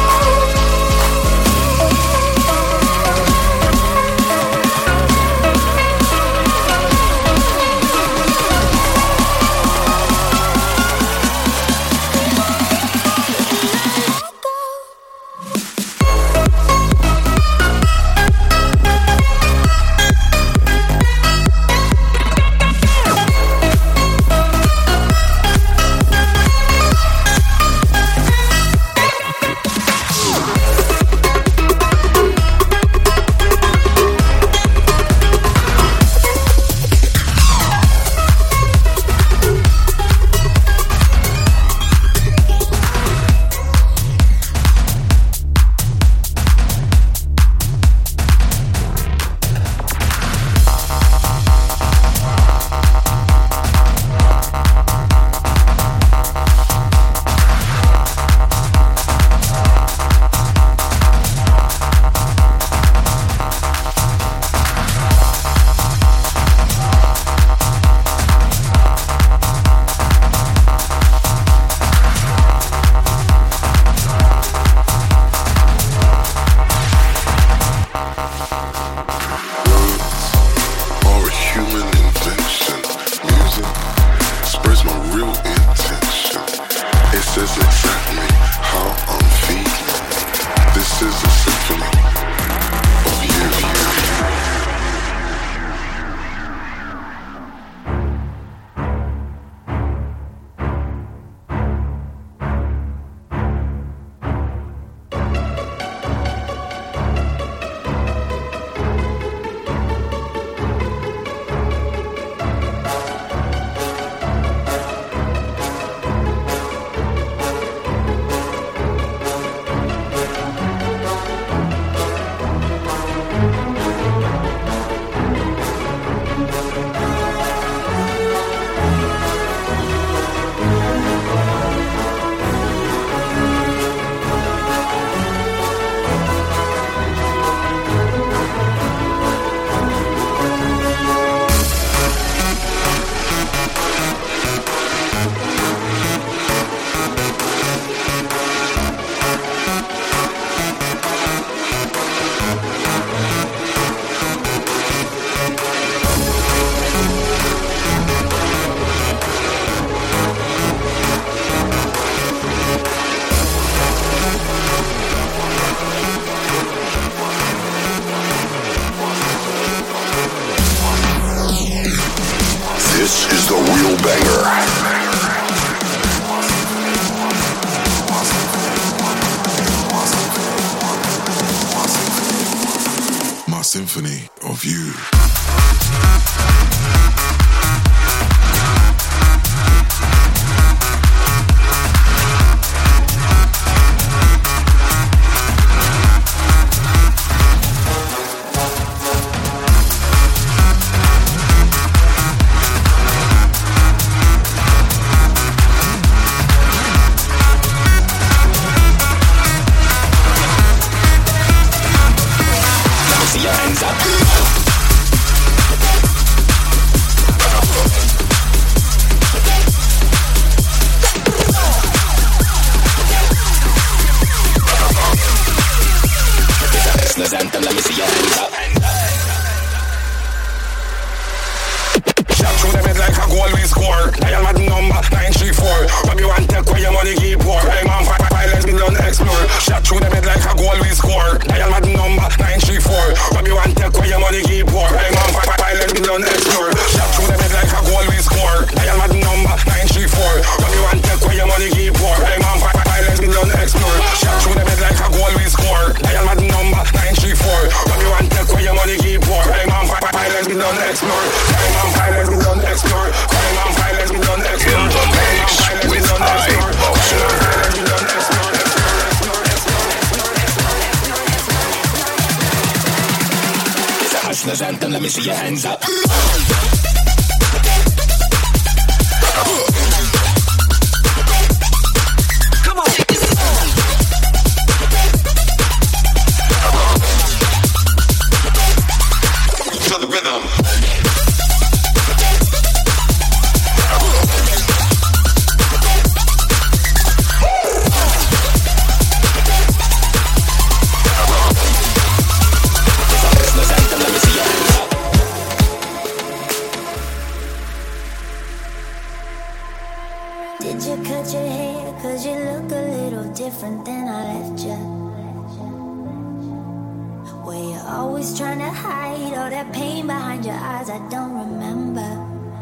symphony of you. Anthem, let me see your hands up. Shot through the bed like a goal we score. Dial my number nine three four. What you want take where your money keep pour. Hey man, violence we don't explore. Shot through the bed like a goal we score. Dial my number nine three four. What you want take where your money keep pour. Hey man, violence we don't explore. Shot through the bed like a goal we score. Dial my number nine three four. What you want take where your money keep pour. Hey man, violence we don't explore. Shot through the bed like a goal we score. Dial my number nine three four. What you want take where your money keep pour. Hey man, violence we don't explore. Hey man, violence we don't explore. Crime and violence we don't explore. In the mix with iBoxer. It's a hustler's anthem, let me see your hands up. Come on. To the rhythm. Did you cut your hair? Cause you look a little different than I left you. Were you always trying to hide all that pain behind your eyes? I don't remember.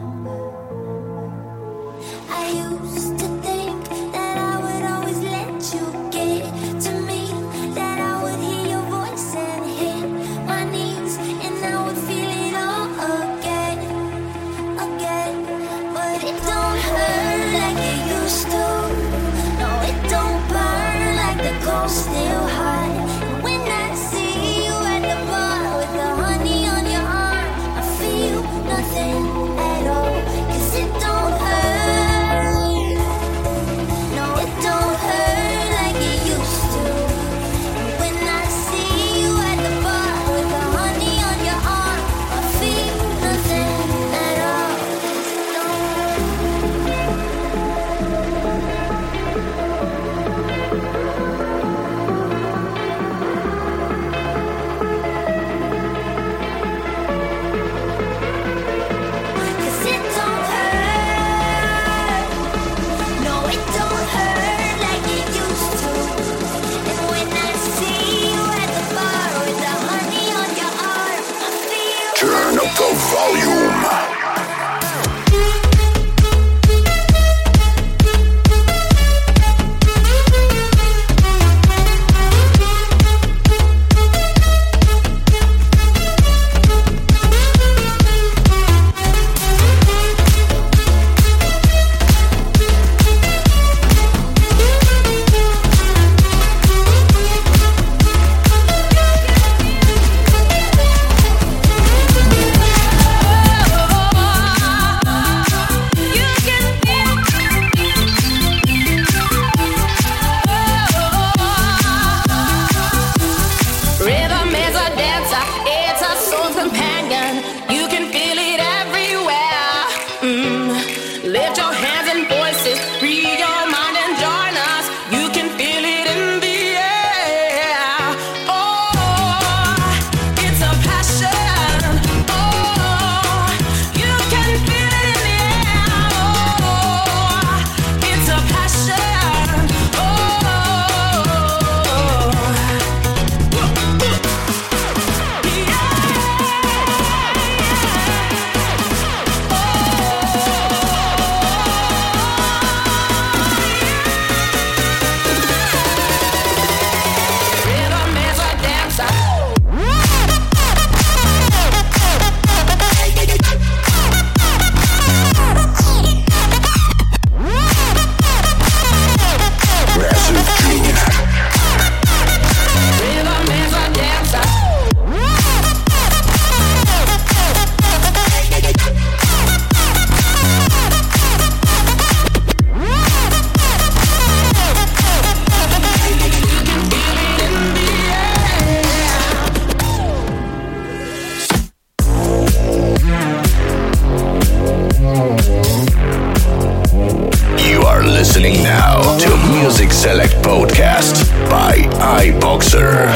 I used to think that I would always let you get to me, that I would hear your voice and hit my knees, and I would feel it all again, again. But it don't hurt like it used to. No, it don't burn like the cold still hot. And when I see you at the bar with the honey on your arm, I feel nothing at all. Cause it don't hurt. No, it don't hurt like it used to. And when I see you at the bar with the honey on your arm, I feel nothing at all. Cause it don't hurt. Podcast by iBoxer.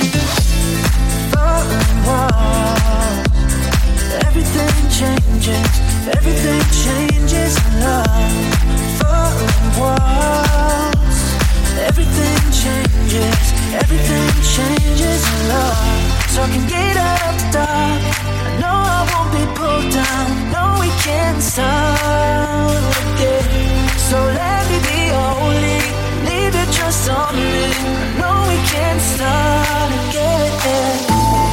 changes Everything changes in love. Falling walls. Everything changes. Everything changes in love. So I can get out of the dark. I know I won't be pulled down. No, we can't start again. So let me be holy. Leave your trust on me. I know we can't start again.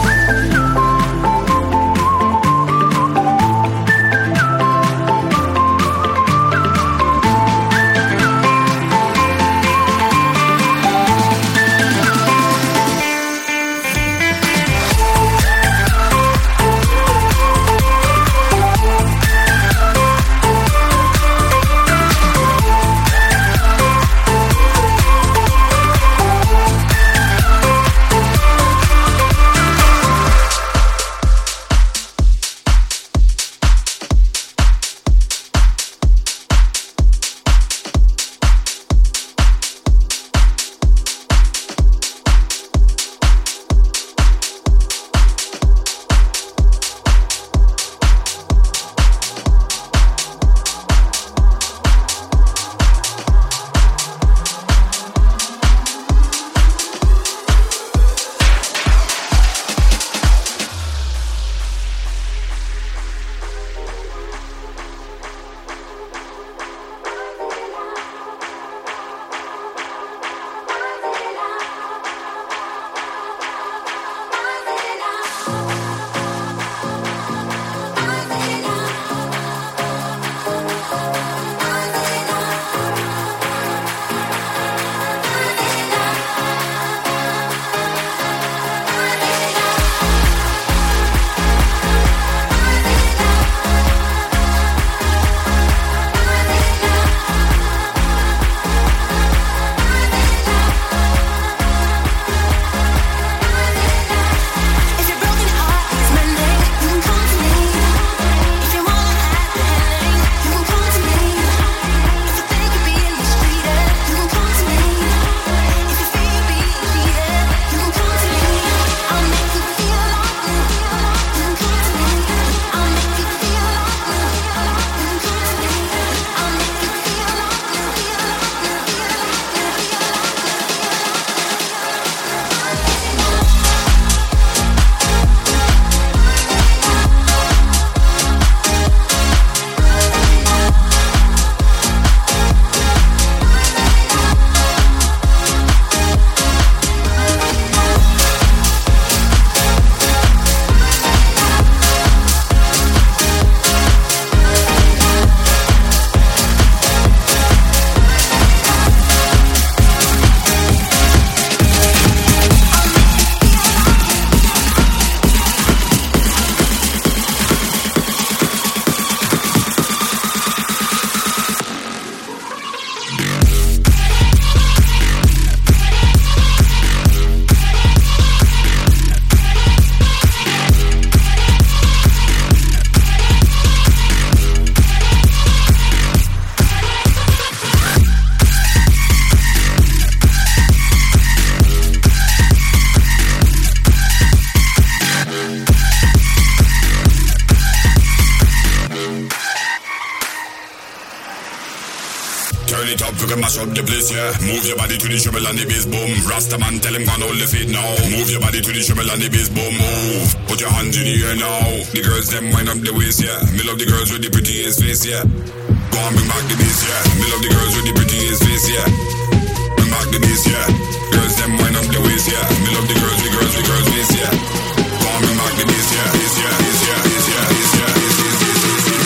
Mash up the place, yeah. Move your body to the treble and the bass, boom. Rasta man, tell him gone hold the feet now. Move your body to the treble and the bass, boom. Move. Put your hands in the air now. The girls them wind up the waist, yeah. Me love the girls with the prettiest face, yeah. Go on, bring back the bass, yeah. Me love the girls with the prettiest face, yeah. Bring back the bass, yeah. Girls them wind up the waist, yeah. Me love the girls, the girls, the girls face, yeah. Go on, bring back the bass, yeah. Bass, yeah, bass, yeah, bass, yeah, bass, yeah, bass, bass, bass,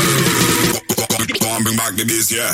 bass. Go on, bring back the bass, yeah.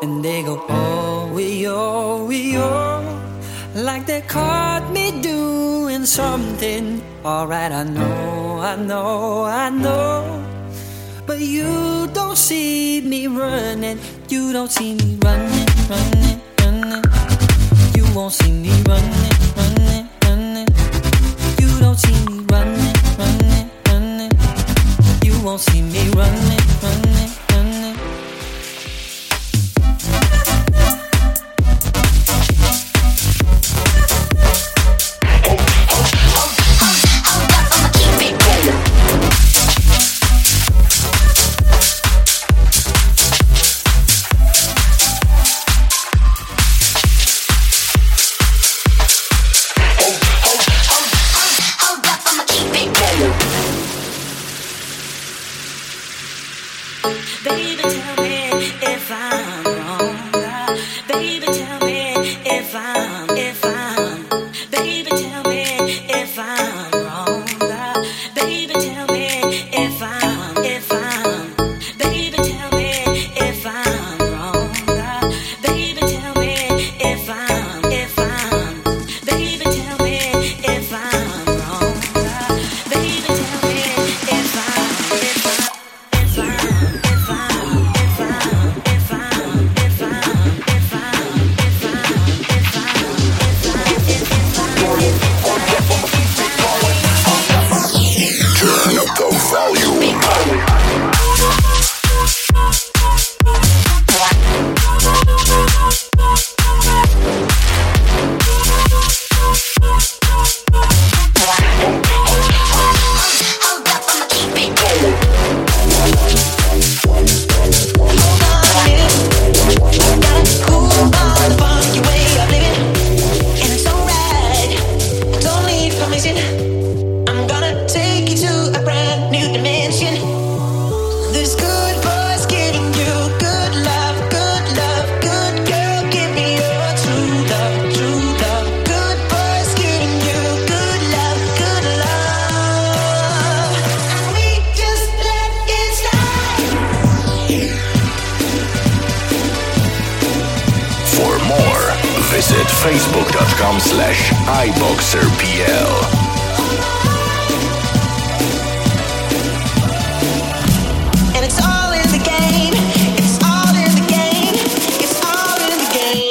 And they go, oh, we, oh, we, oh, like they caught me doing something. Alright, I know, I know, I know. But you don't see me running. You don't see me running, running, running. You won't see me running, running, running. You don't see me running, running, running. You won't see me running, running, running. Baby, tell me if I'm wrong. Baby, tell me if I'm, if I'm. Baby, tell me if I'm wrong. Baby, tell me if I'm, if I'm. Baby, tell me if I'm wrong. Baby, tell me if I'm, if I'm. Baby, tell me if I'm wrong. Baby, tell me if I'm, if I'm, if I'm Turn up the volume. I'm gonna take you to a brand new dimension. This good boy's giving you good love, good love, good girl, give me your true love, true love. Good boy's giving you good love, good love. And we just let it slide. For more, visit facebook.com slash iboxerpl. And it's all in the game. It's all in the game. It's all in the game.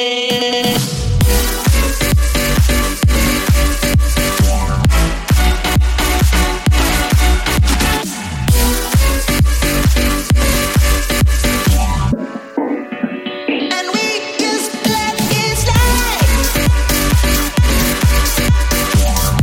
And we just let it slide.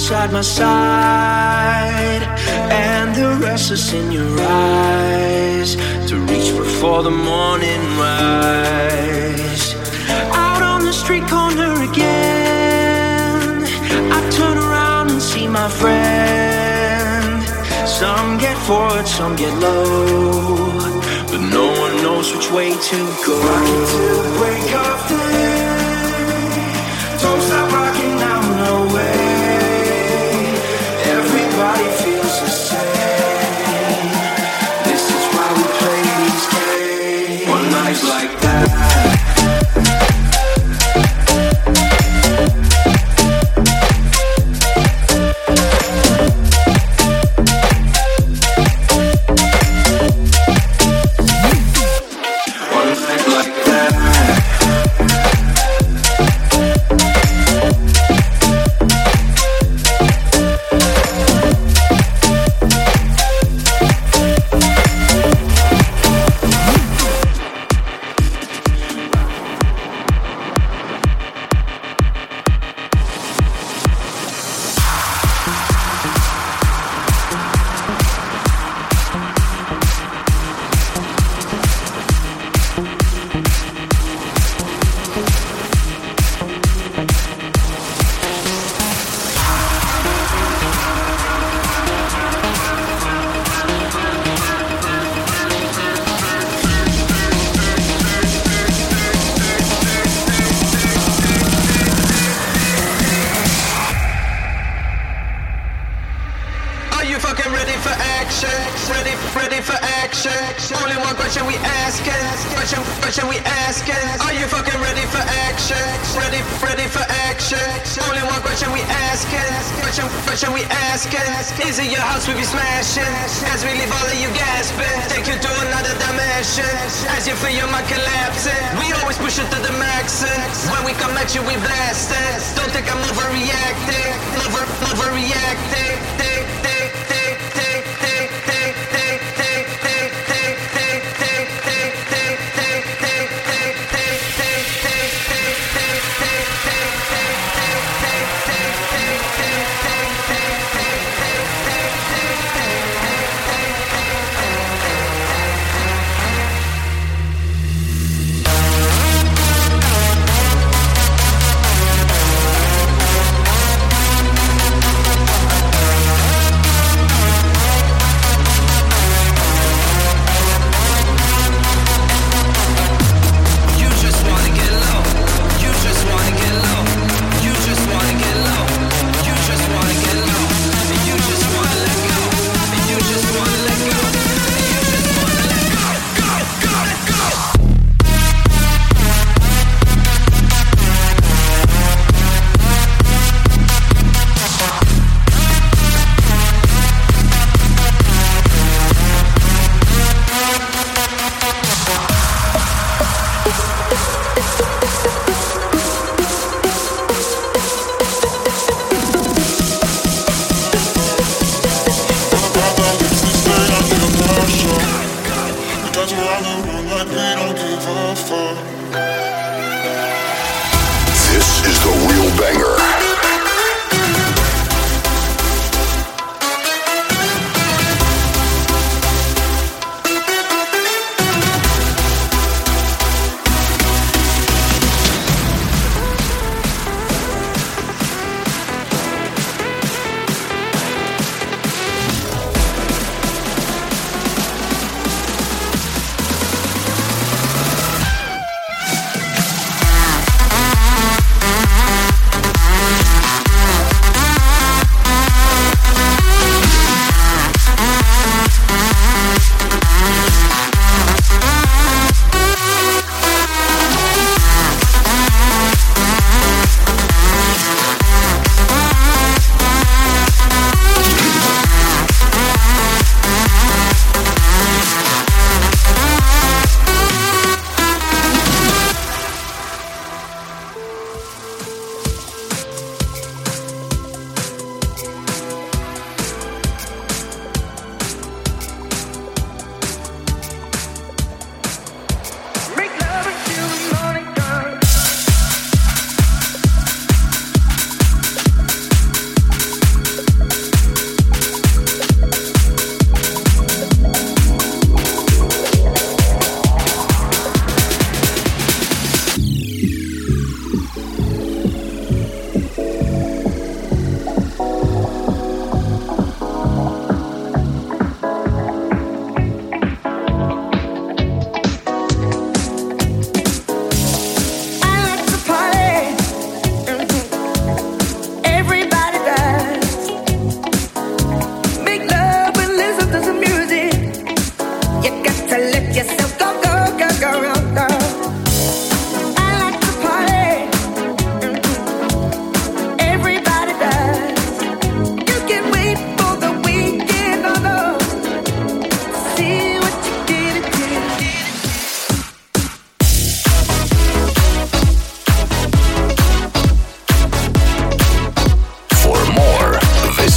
beside my side, and the restless in your eyes, to reach before the morning rise. Out on the street corner again, I turn around and see my friend. Some get forward, some get low, but no one knows which way to go. Rocking till the break of day, don't stop rocking now, no way. Everybody feels the same. This is why we play these games. One night like that.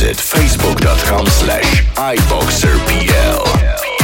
Visit facebook.com slash iBoxerPL.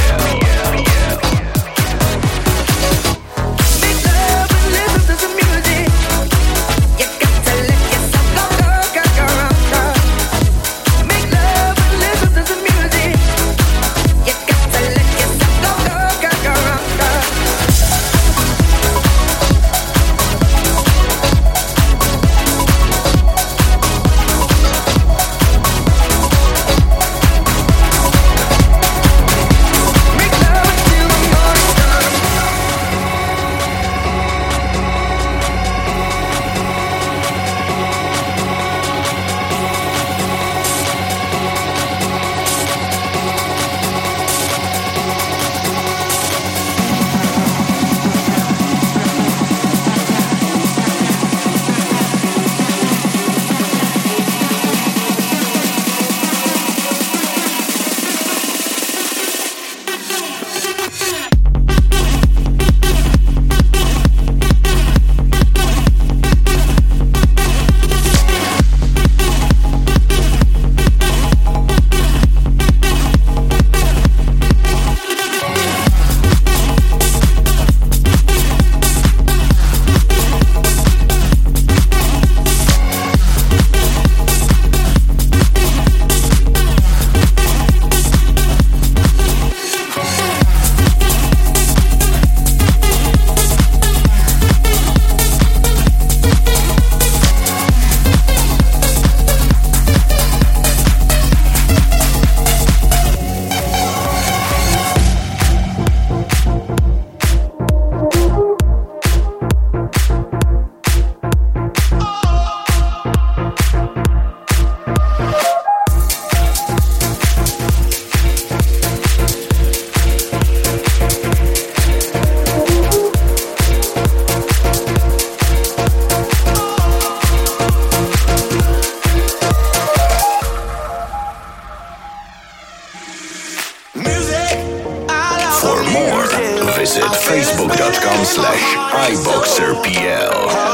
facebook.com slash iBoxerPL.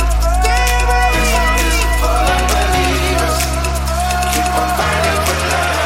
Fighting for love.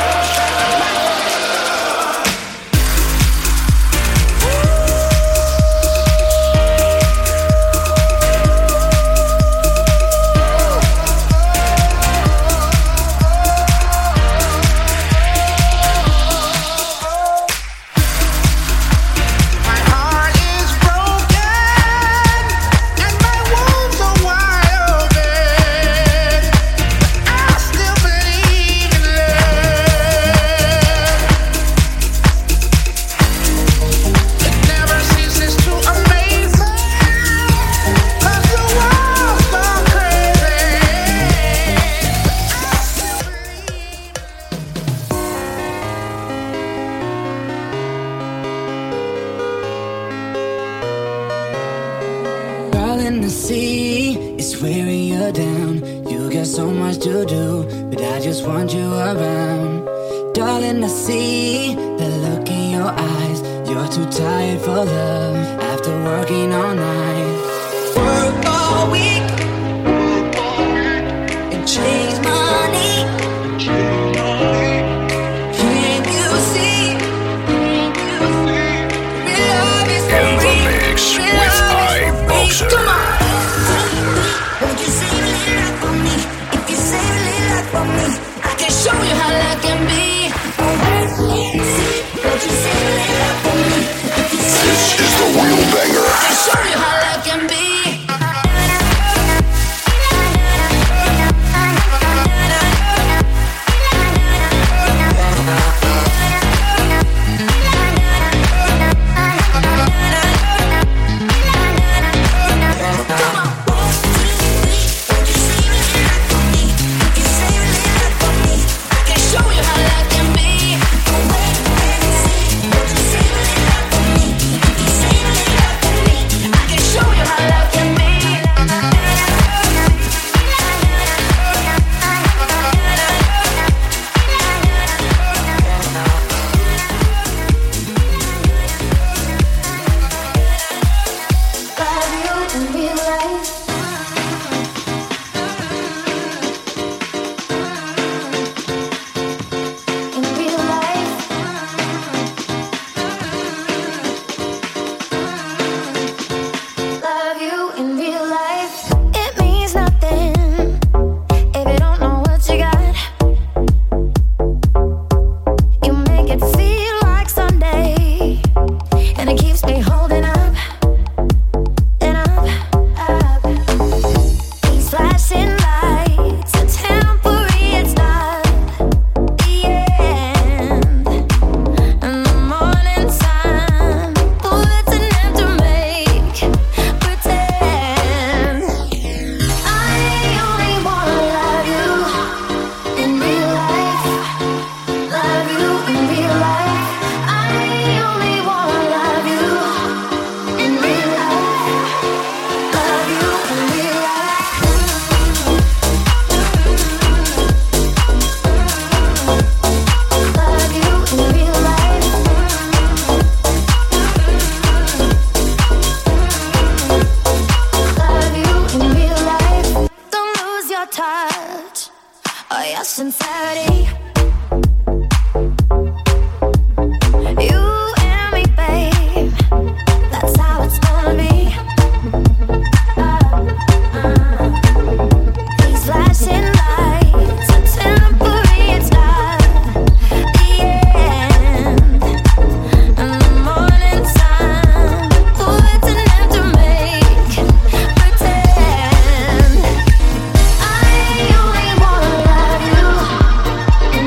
see is wearing you down. You got so much to do, but I just want you around. Darling, I see the look in your eyes. You're too tired for love after working all night. Work all week and chase money. Can't you see? Real love is in the mix with iBoxer. Come on. Won't you save a little life for me? If you save a little life for me, I can show you how love can be. Won't you save a little life for me? If you save This is the real banger. I can show you how love can be. I only wanna love you.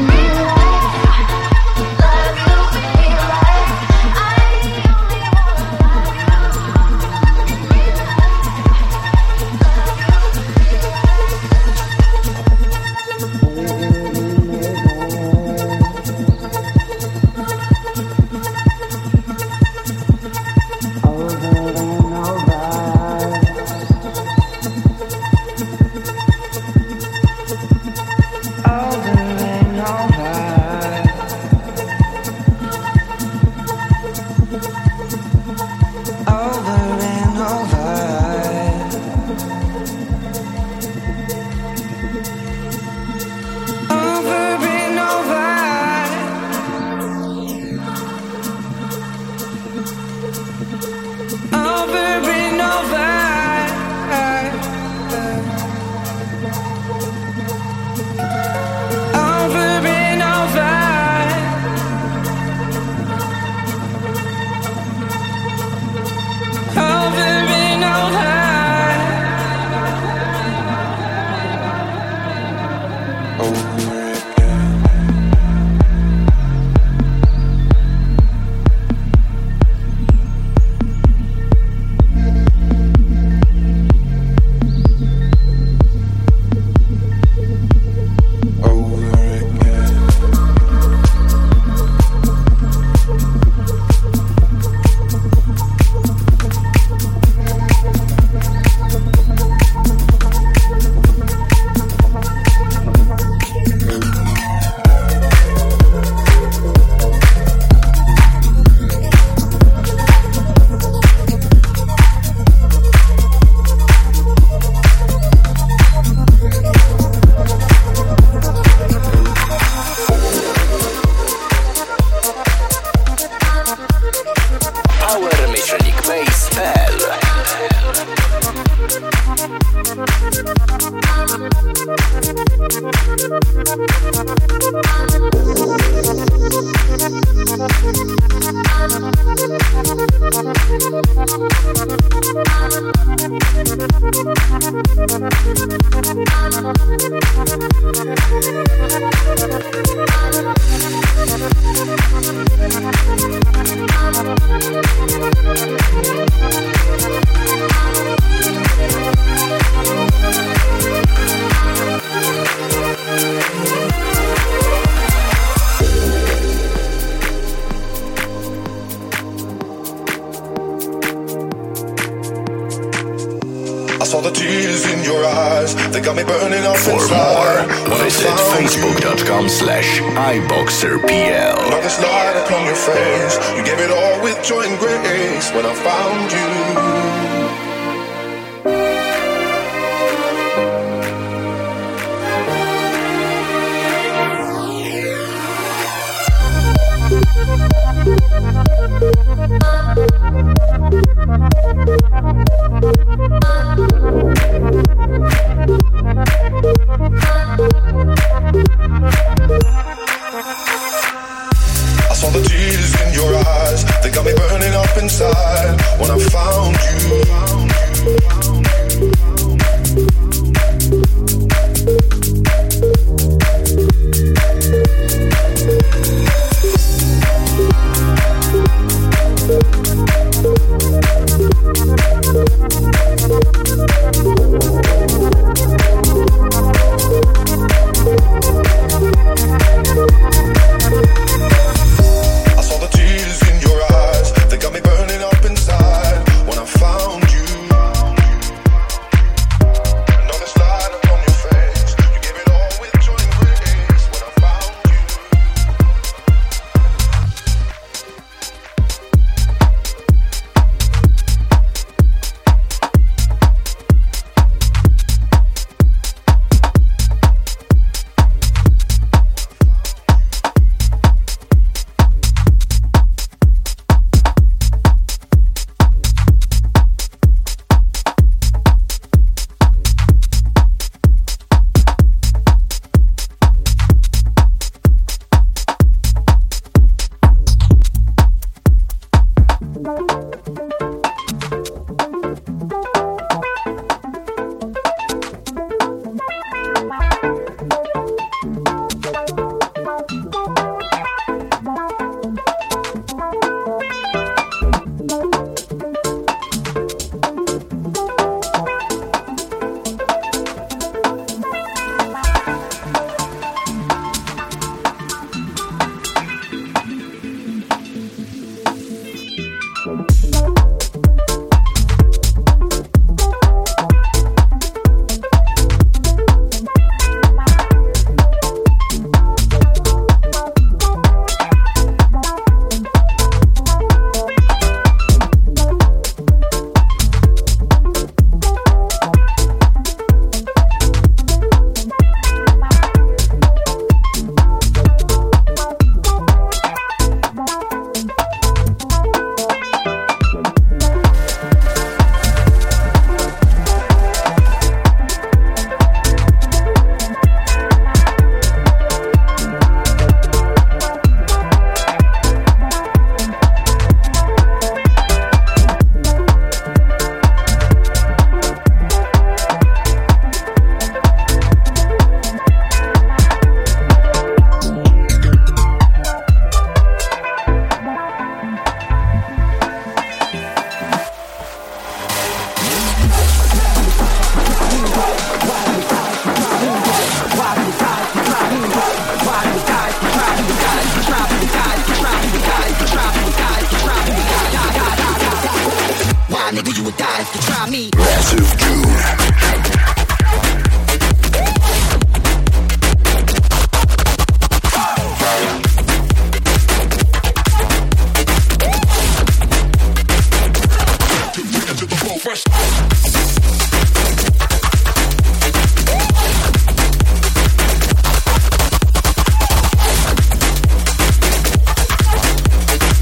saw the tears in your eyes, they got me burning up For inside. more, visit facebook.com slash iBoxerPL. Now this light upon your face, you gave it all with joy and grace when I found you. I saw the tears in your eyes, they got me burning up inside when I found you.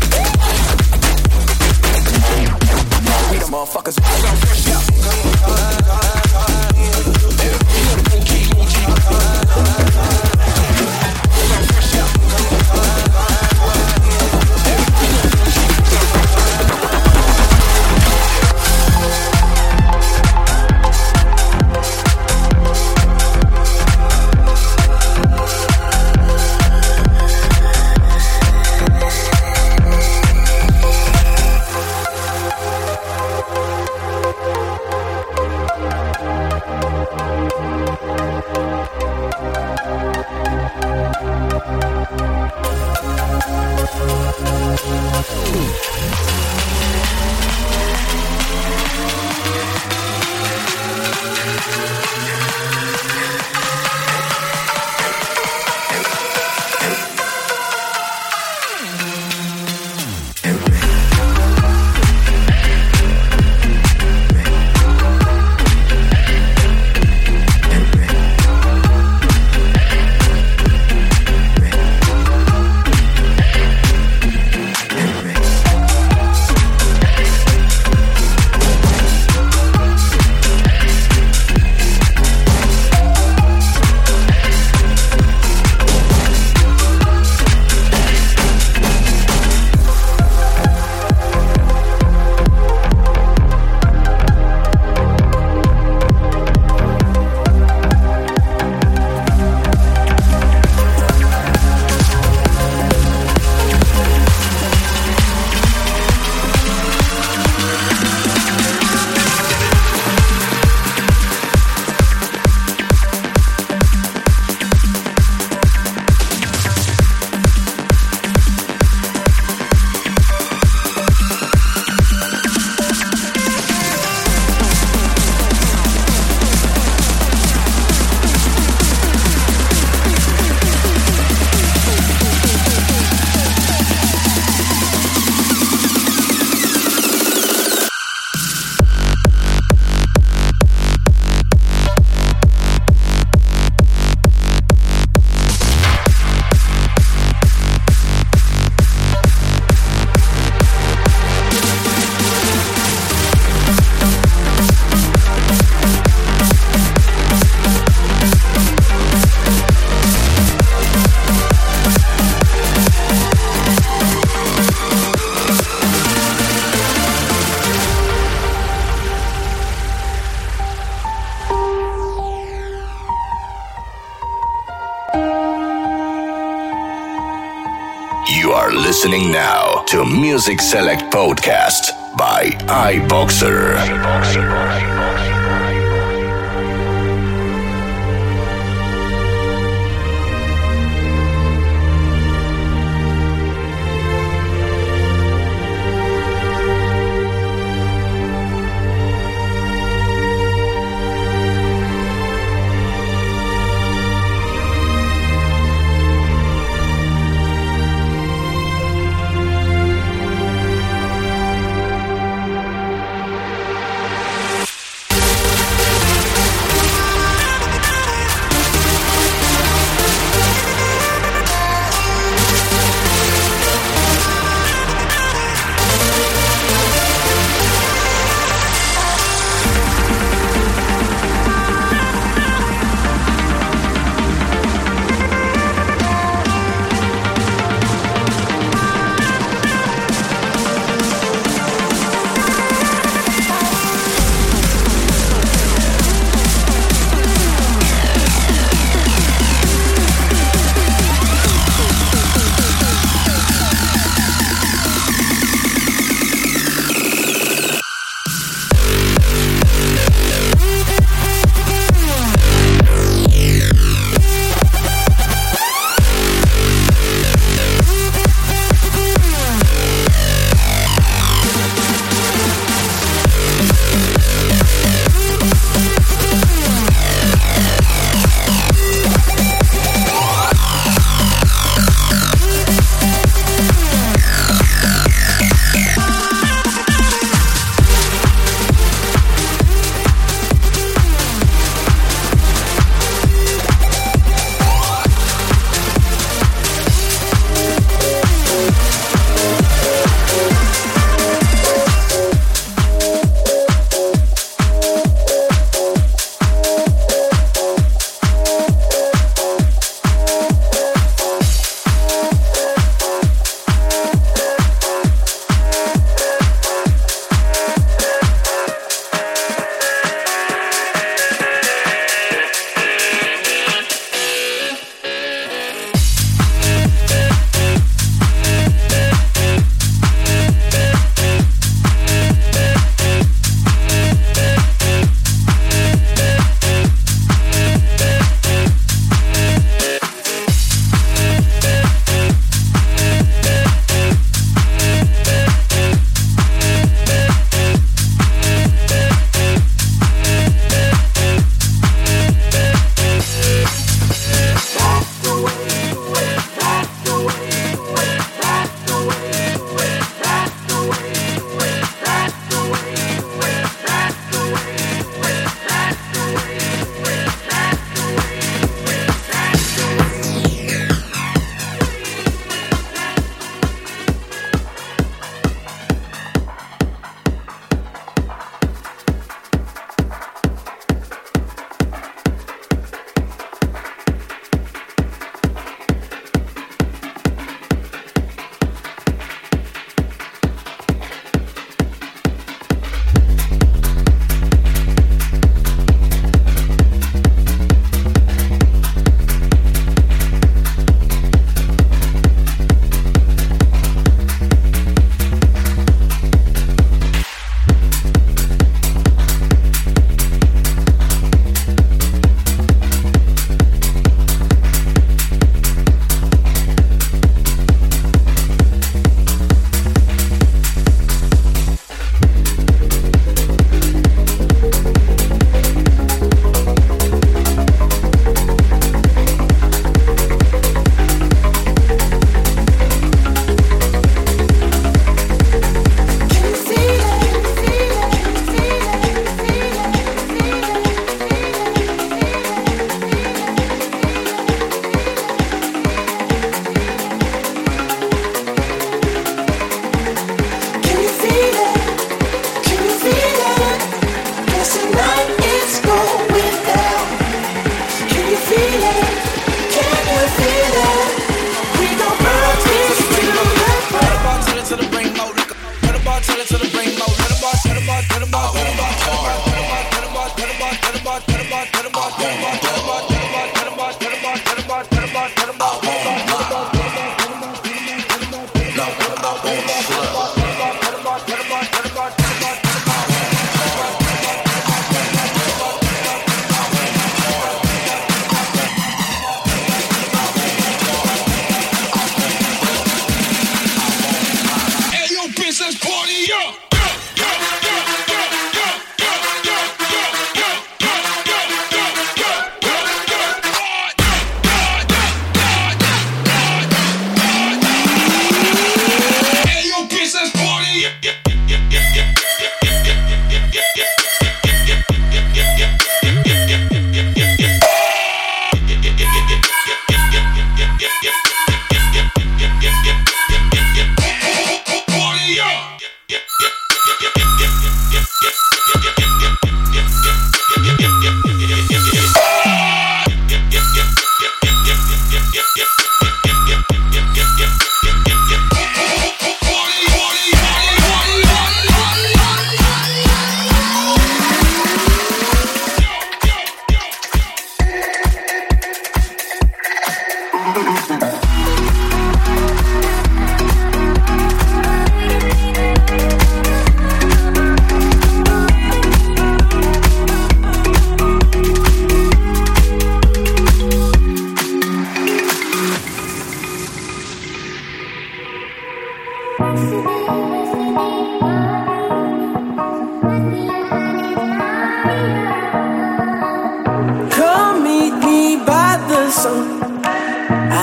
Motherfuckers. You are listening now to Music Select Podcast by iBoxer. iBoxer.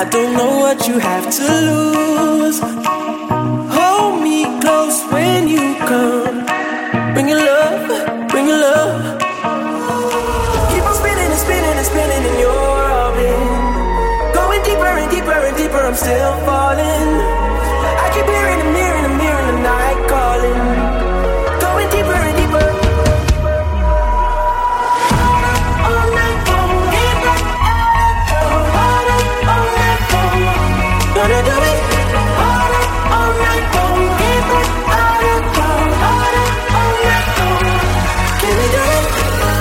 don't know what you have to lose. Hold me close when you come. Bring your love, bring your love. Keep on spinning and spinning and spinning in your orbit. Going deeper and deeper and deeper, I'm still falling. I keep hearing the mirror in the mirror in the night calling. Going deeper and deeper. All night long, all night long, gonna do it. All night, all night long, all night long, all night long. Can we do it?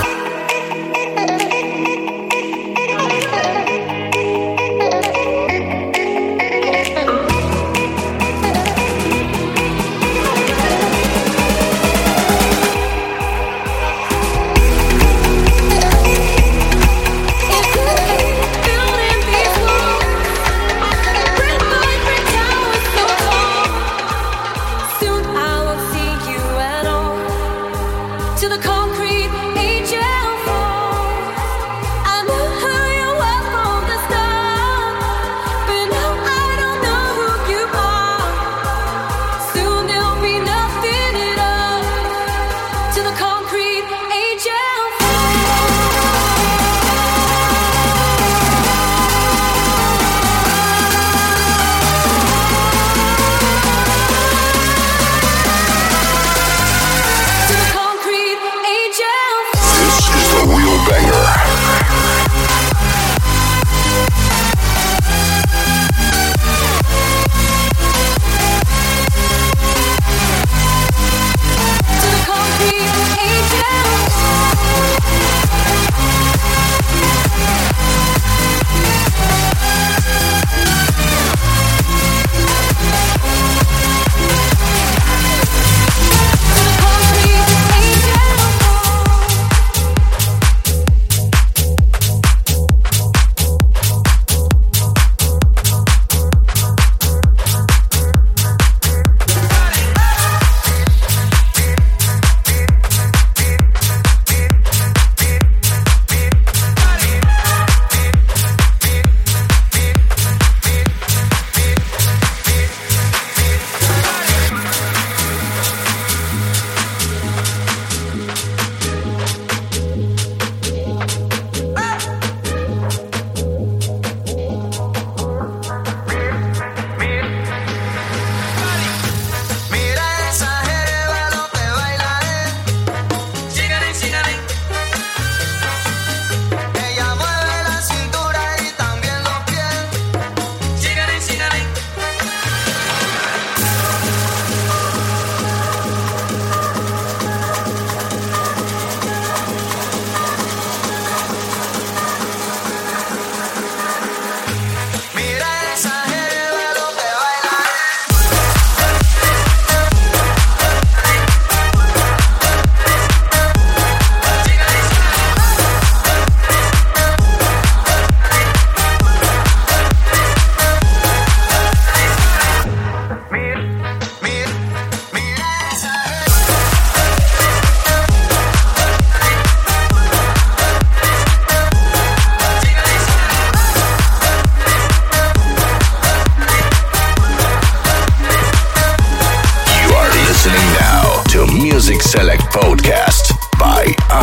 Select Podcast by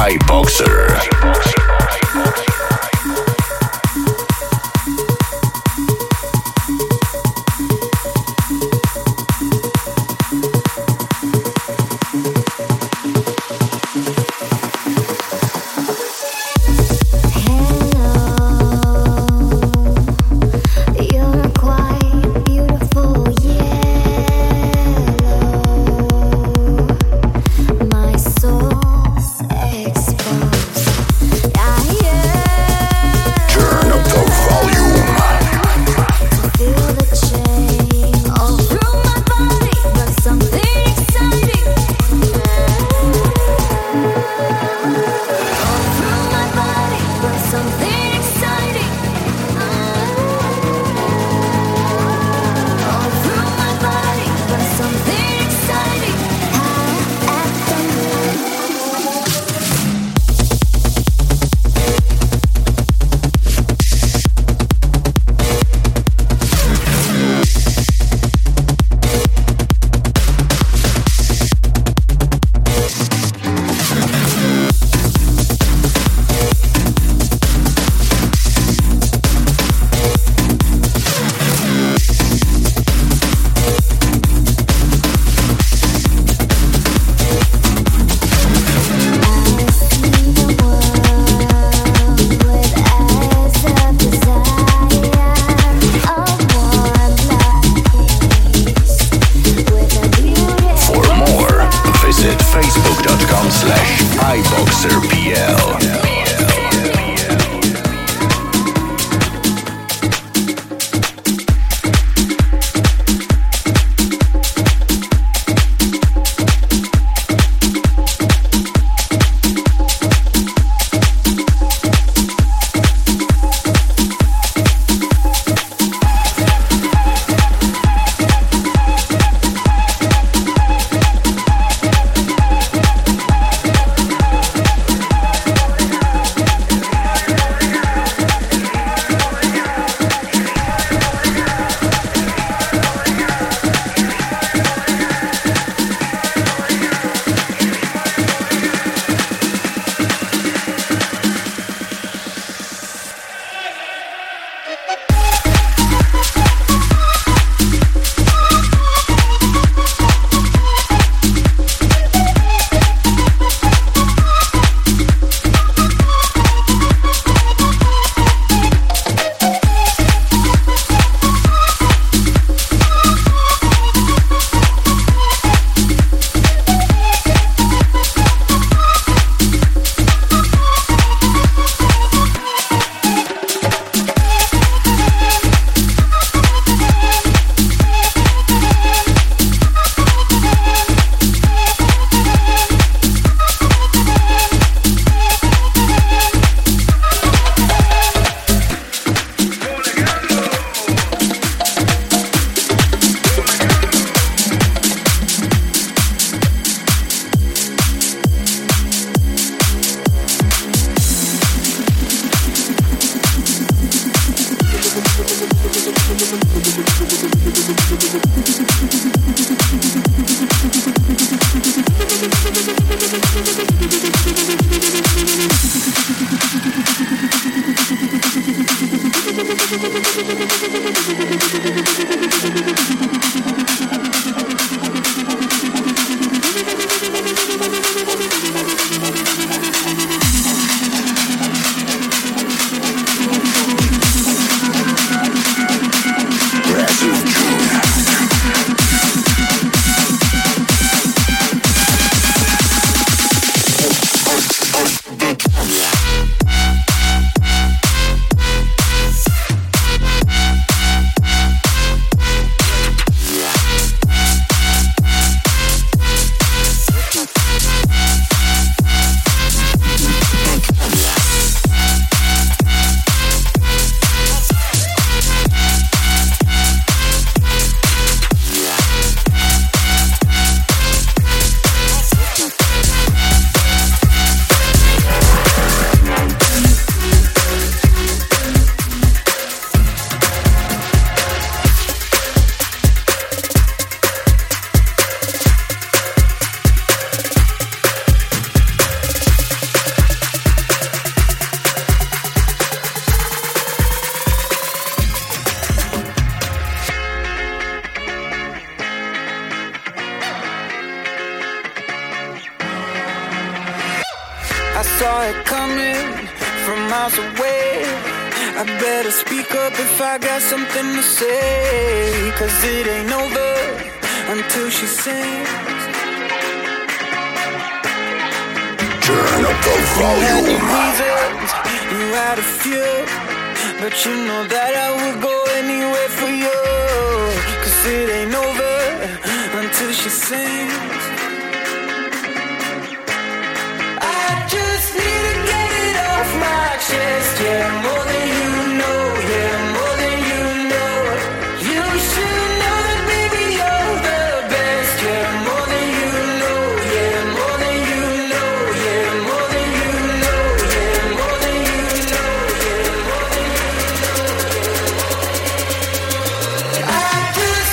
iBoxer. Soul saw it coming from miles away. I better speak up if I got something to say, 'cause it ain't over until she sings. Turn up the volume. You had your reasons, you had a few, but you know that I would go anywhere for you, 'cause it ain't over until she sings. I just need to get it off my chest, yeah, more than you know, yeah, more than you know. You should know that, baby, you're the best, yeah, more than you know, yeah, more than you know, yeah, more than you know, yeah, more than you know, yeah, more than you know, yeah. I just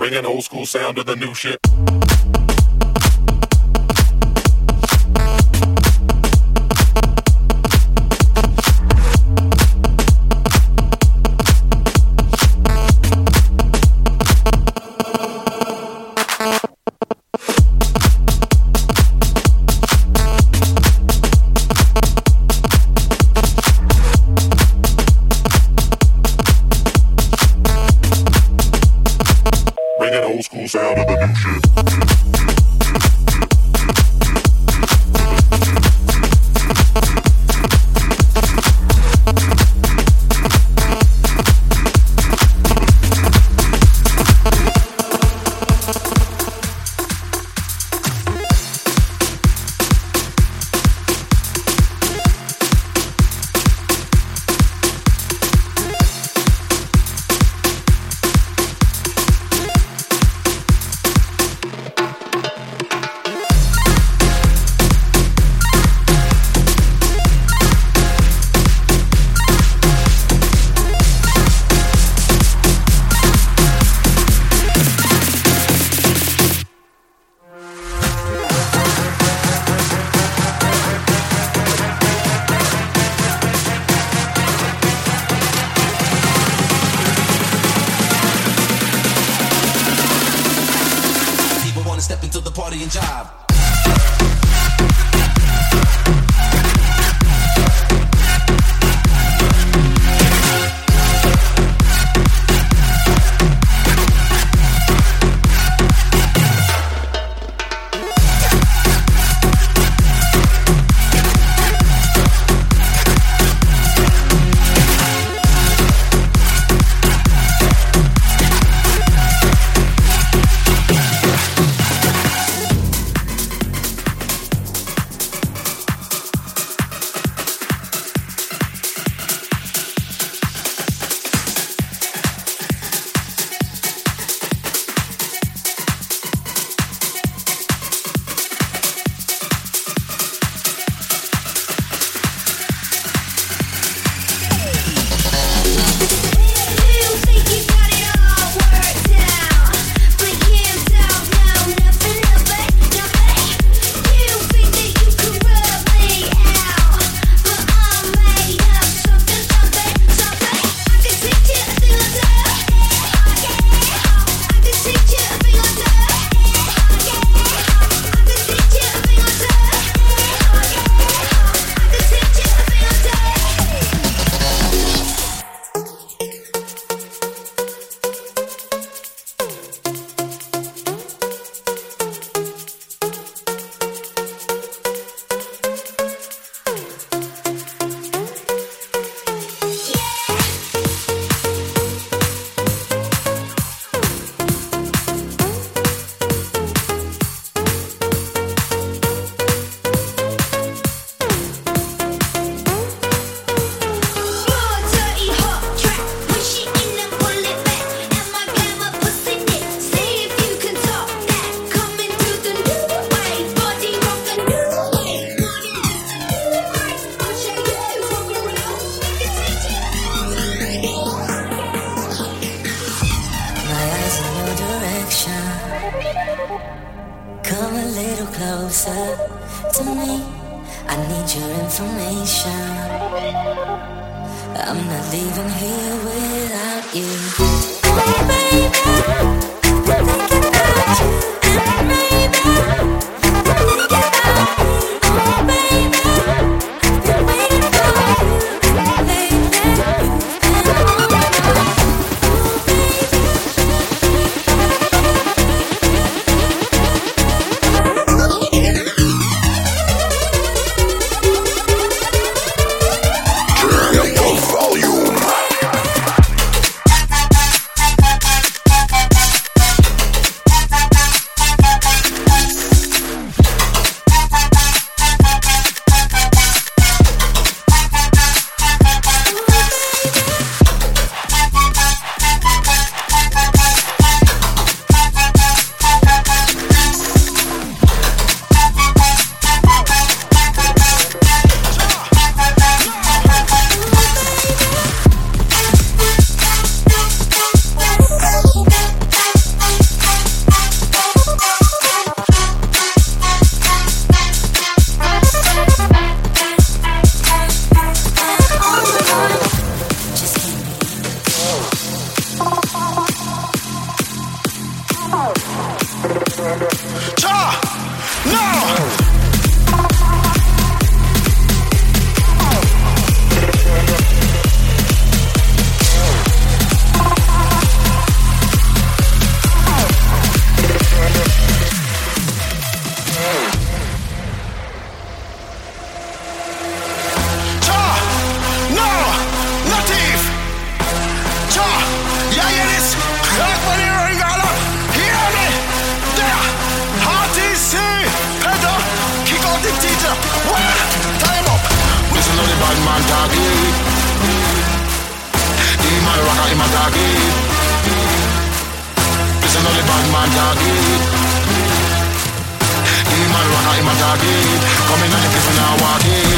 Bringing old school sound to the new shit. Sound of the new shit. Volume. only bad man talking. The man rocker him a talking. Listen only bad man talking. The man rocker him a talking. Come in and the people now walking.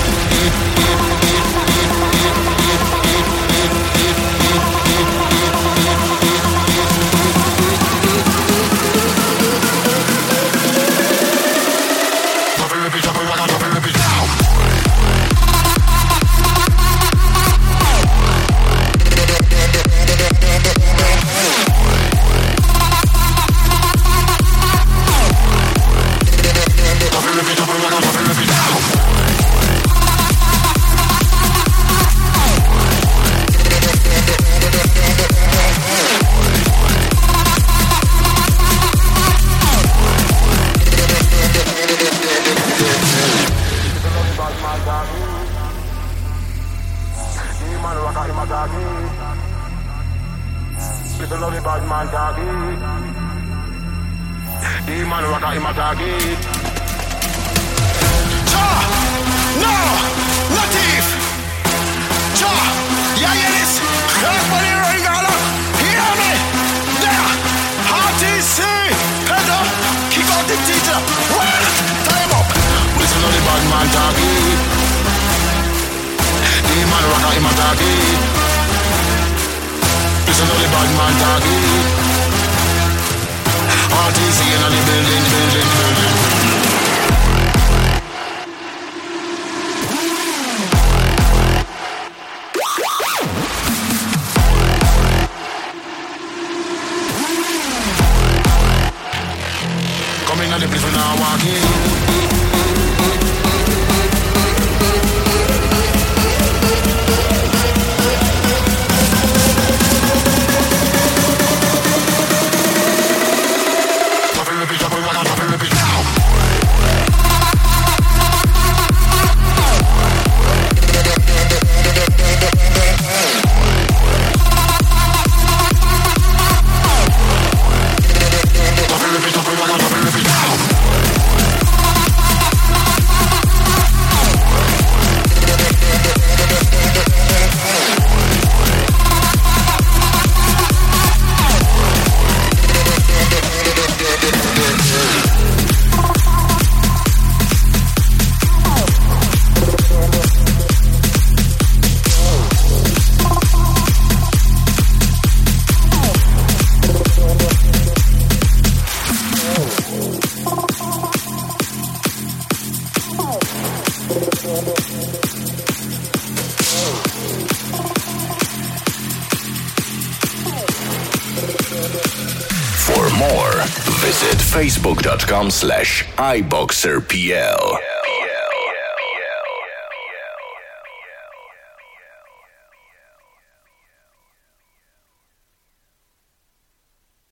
Facebook dot com slash iBoxerPL.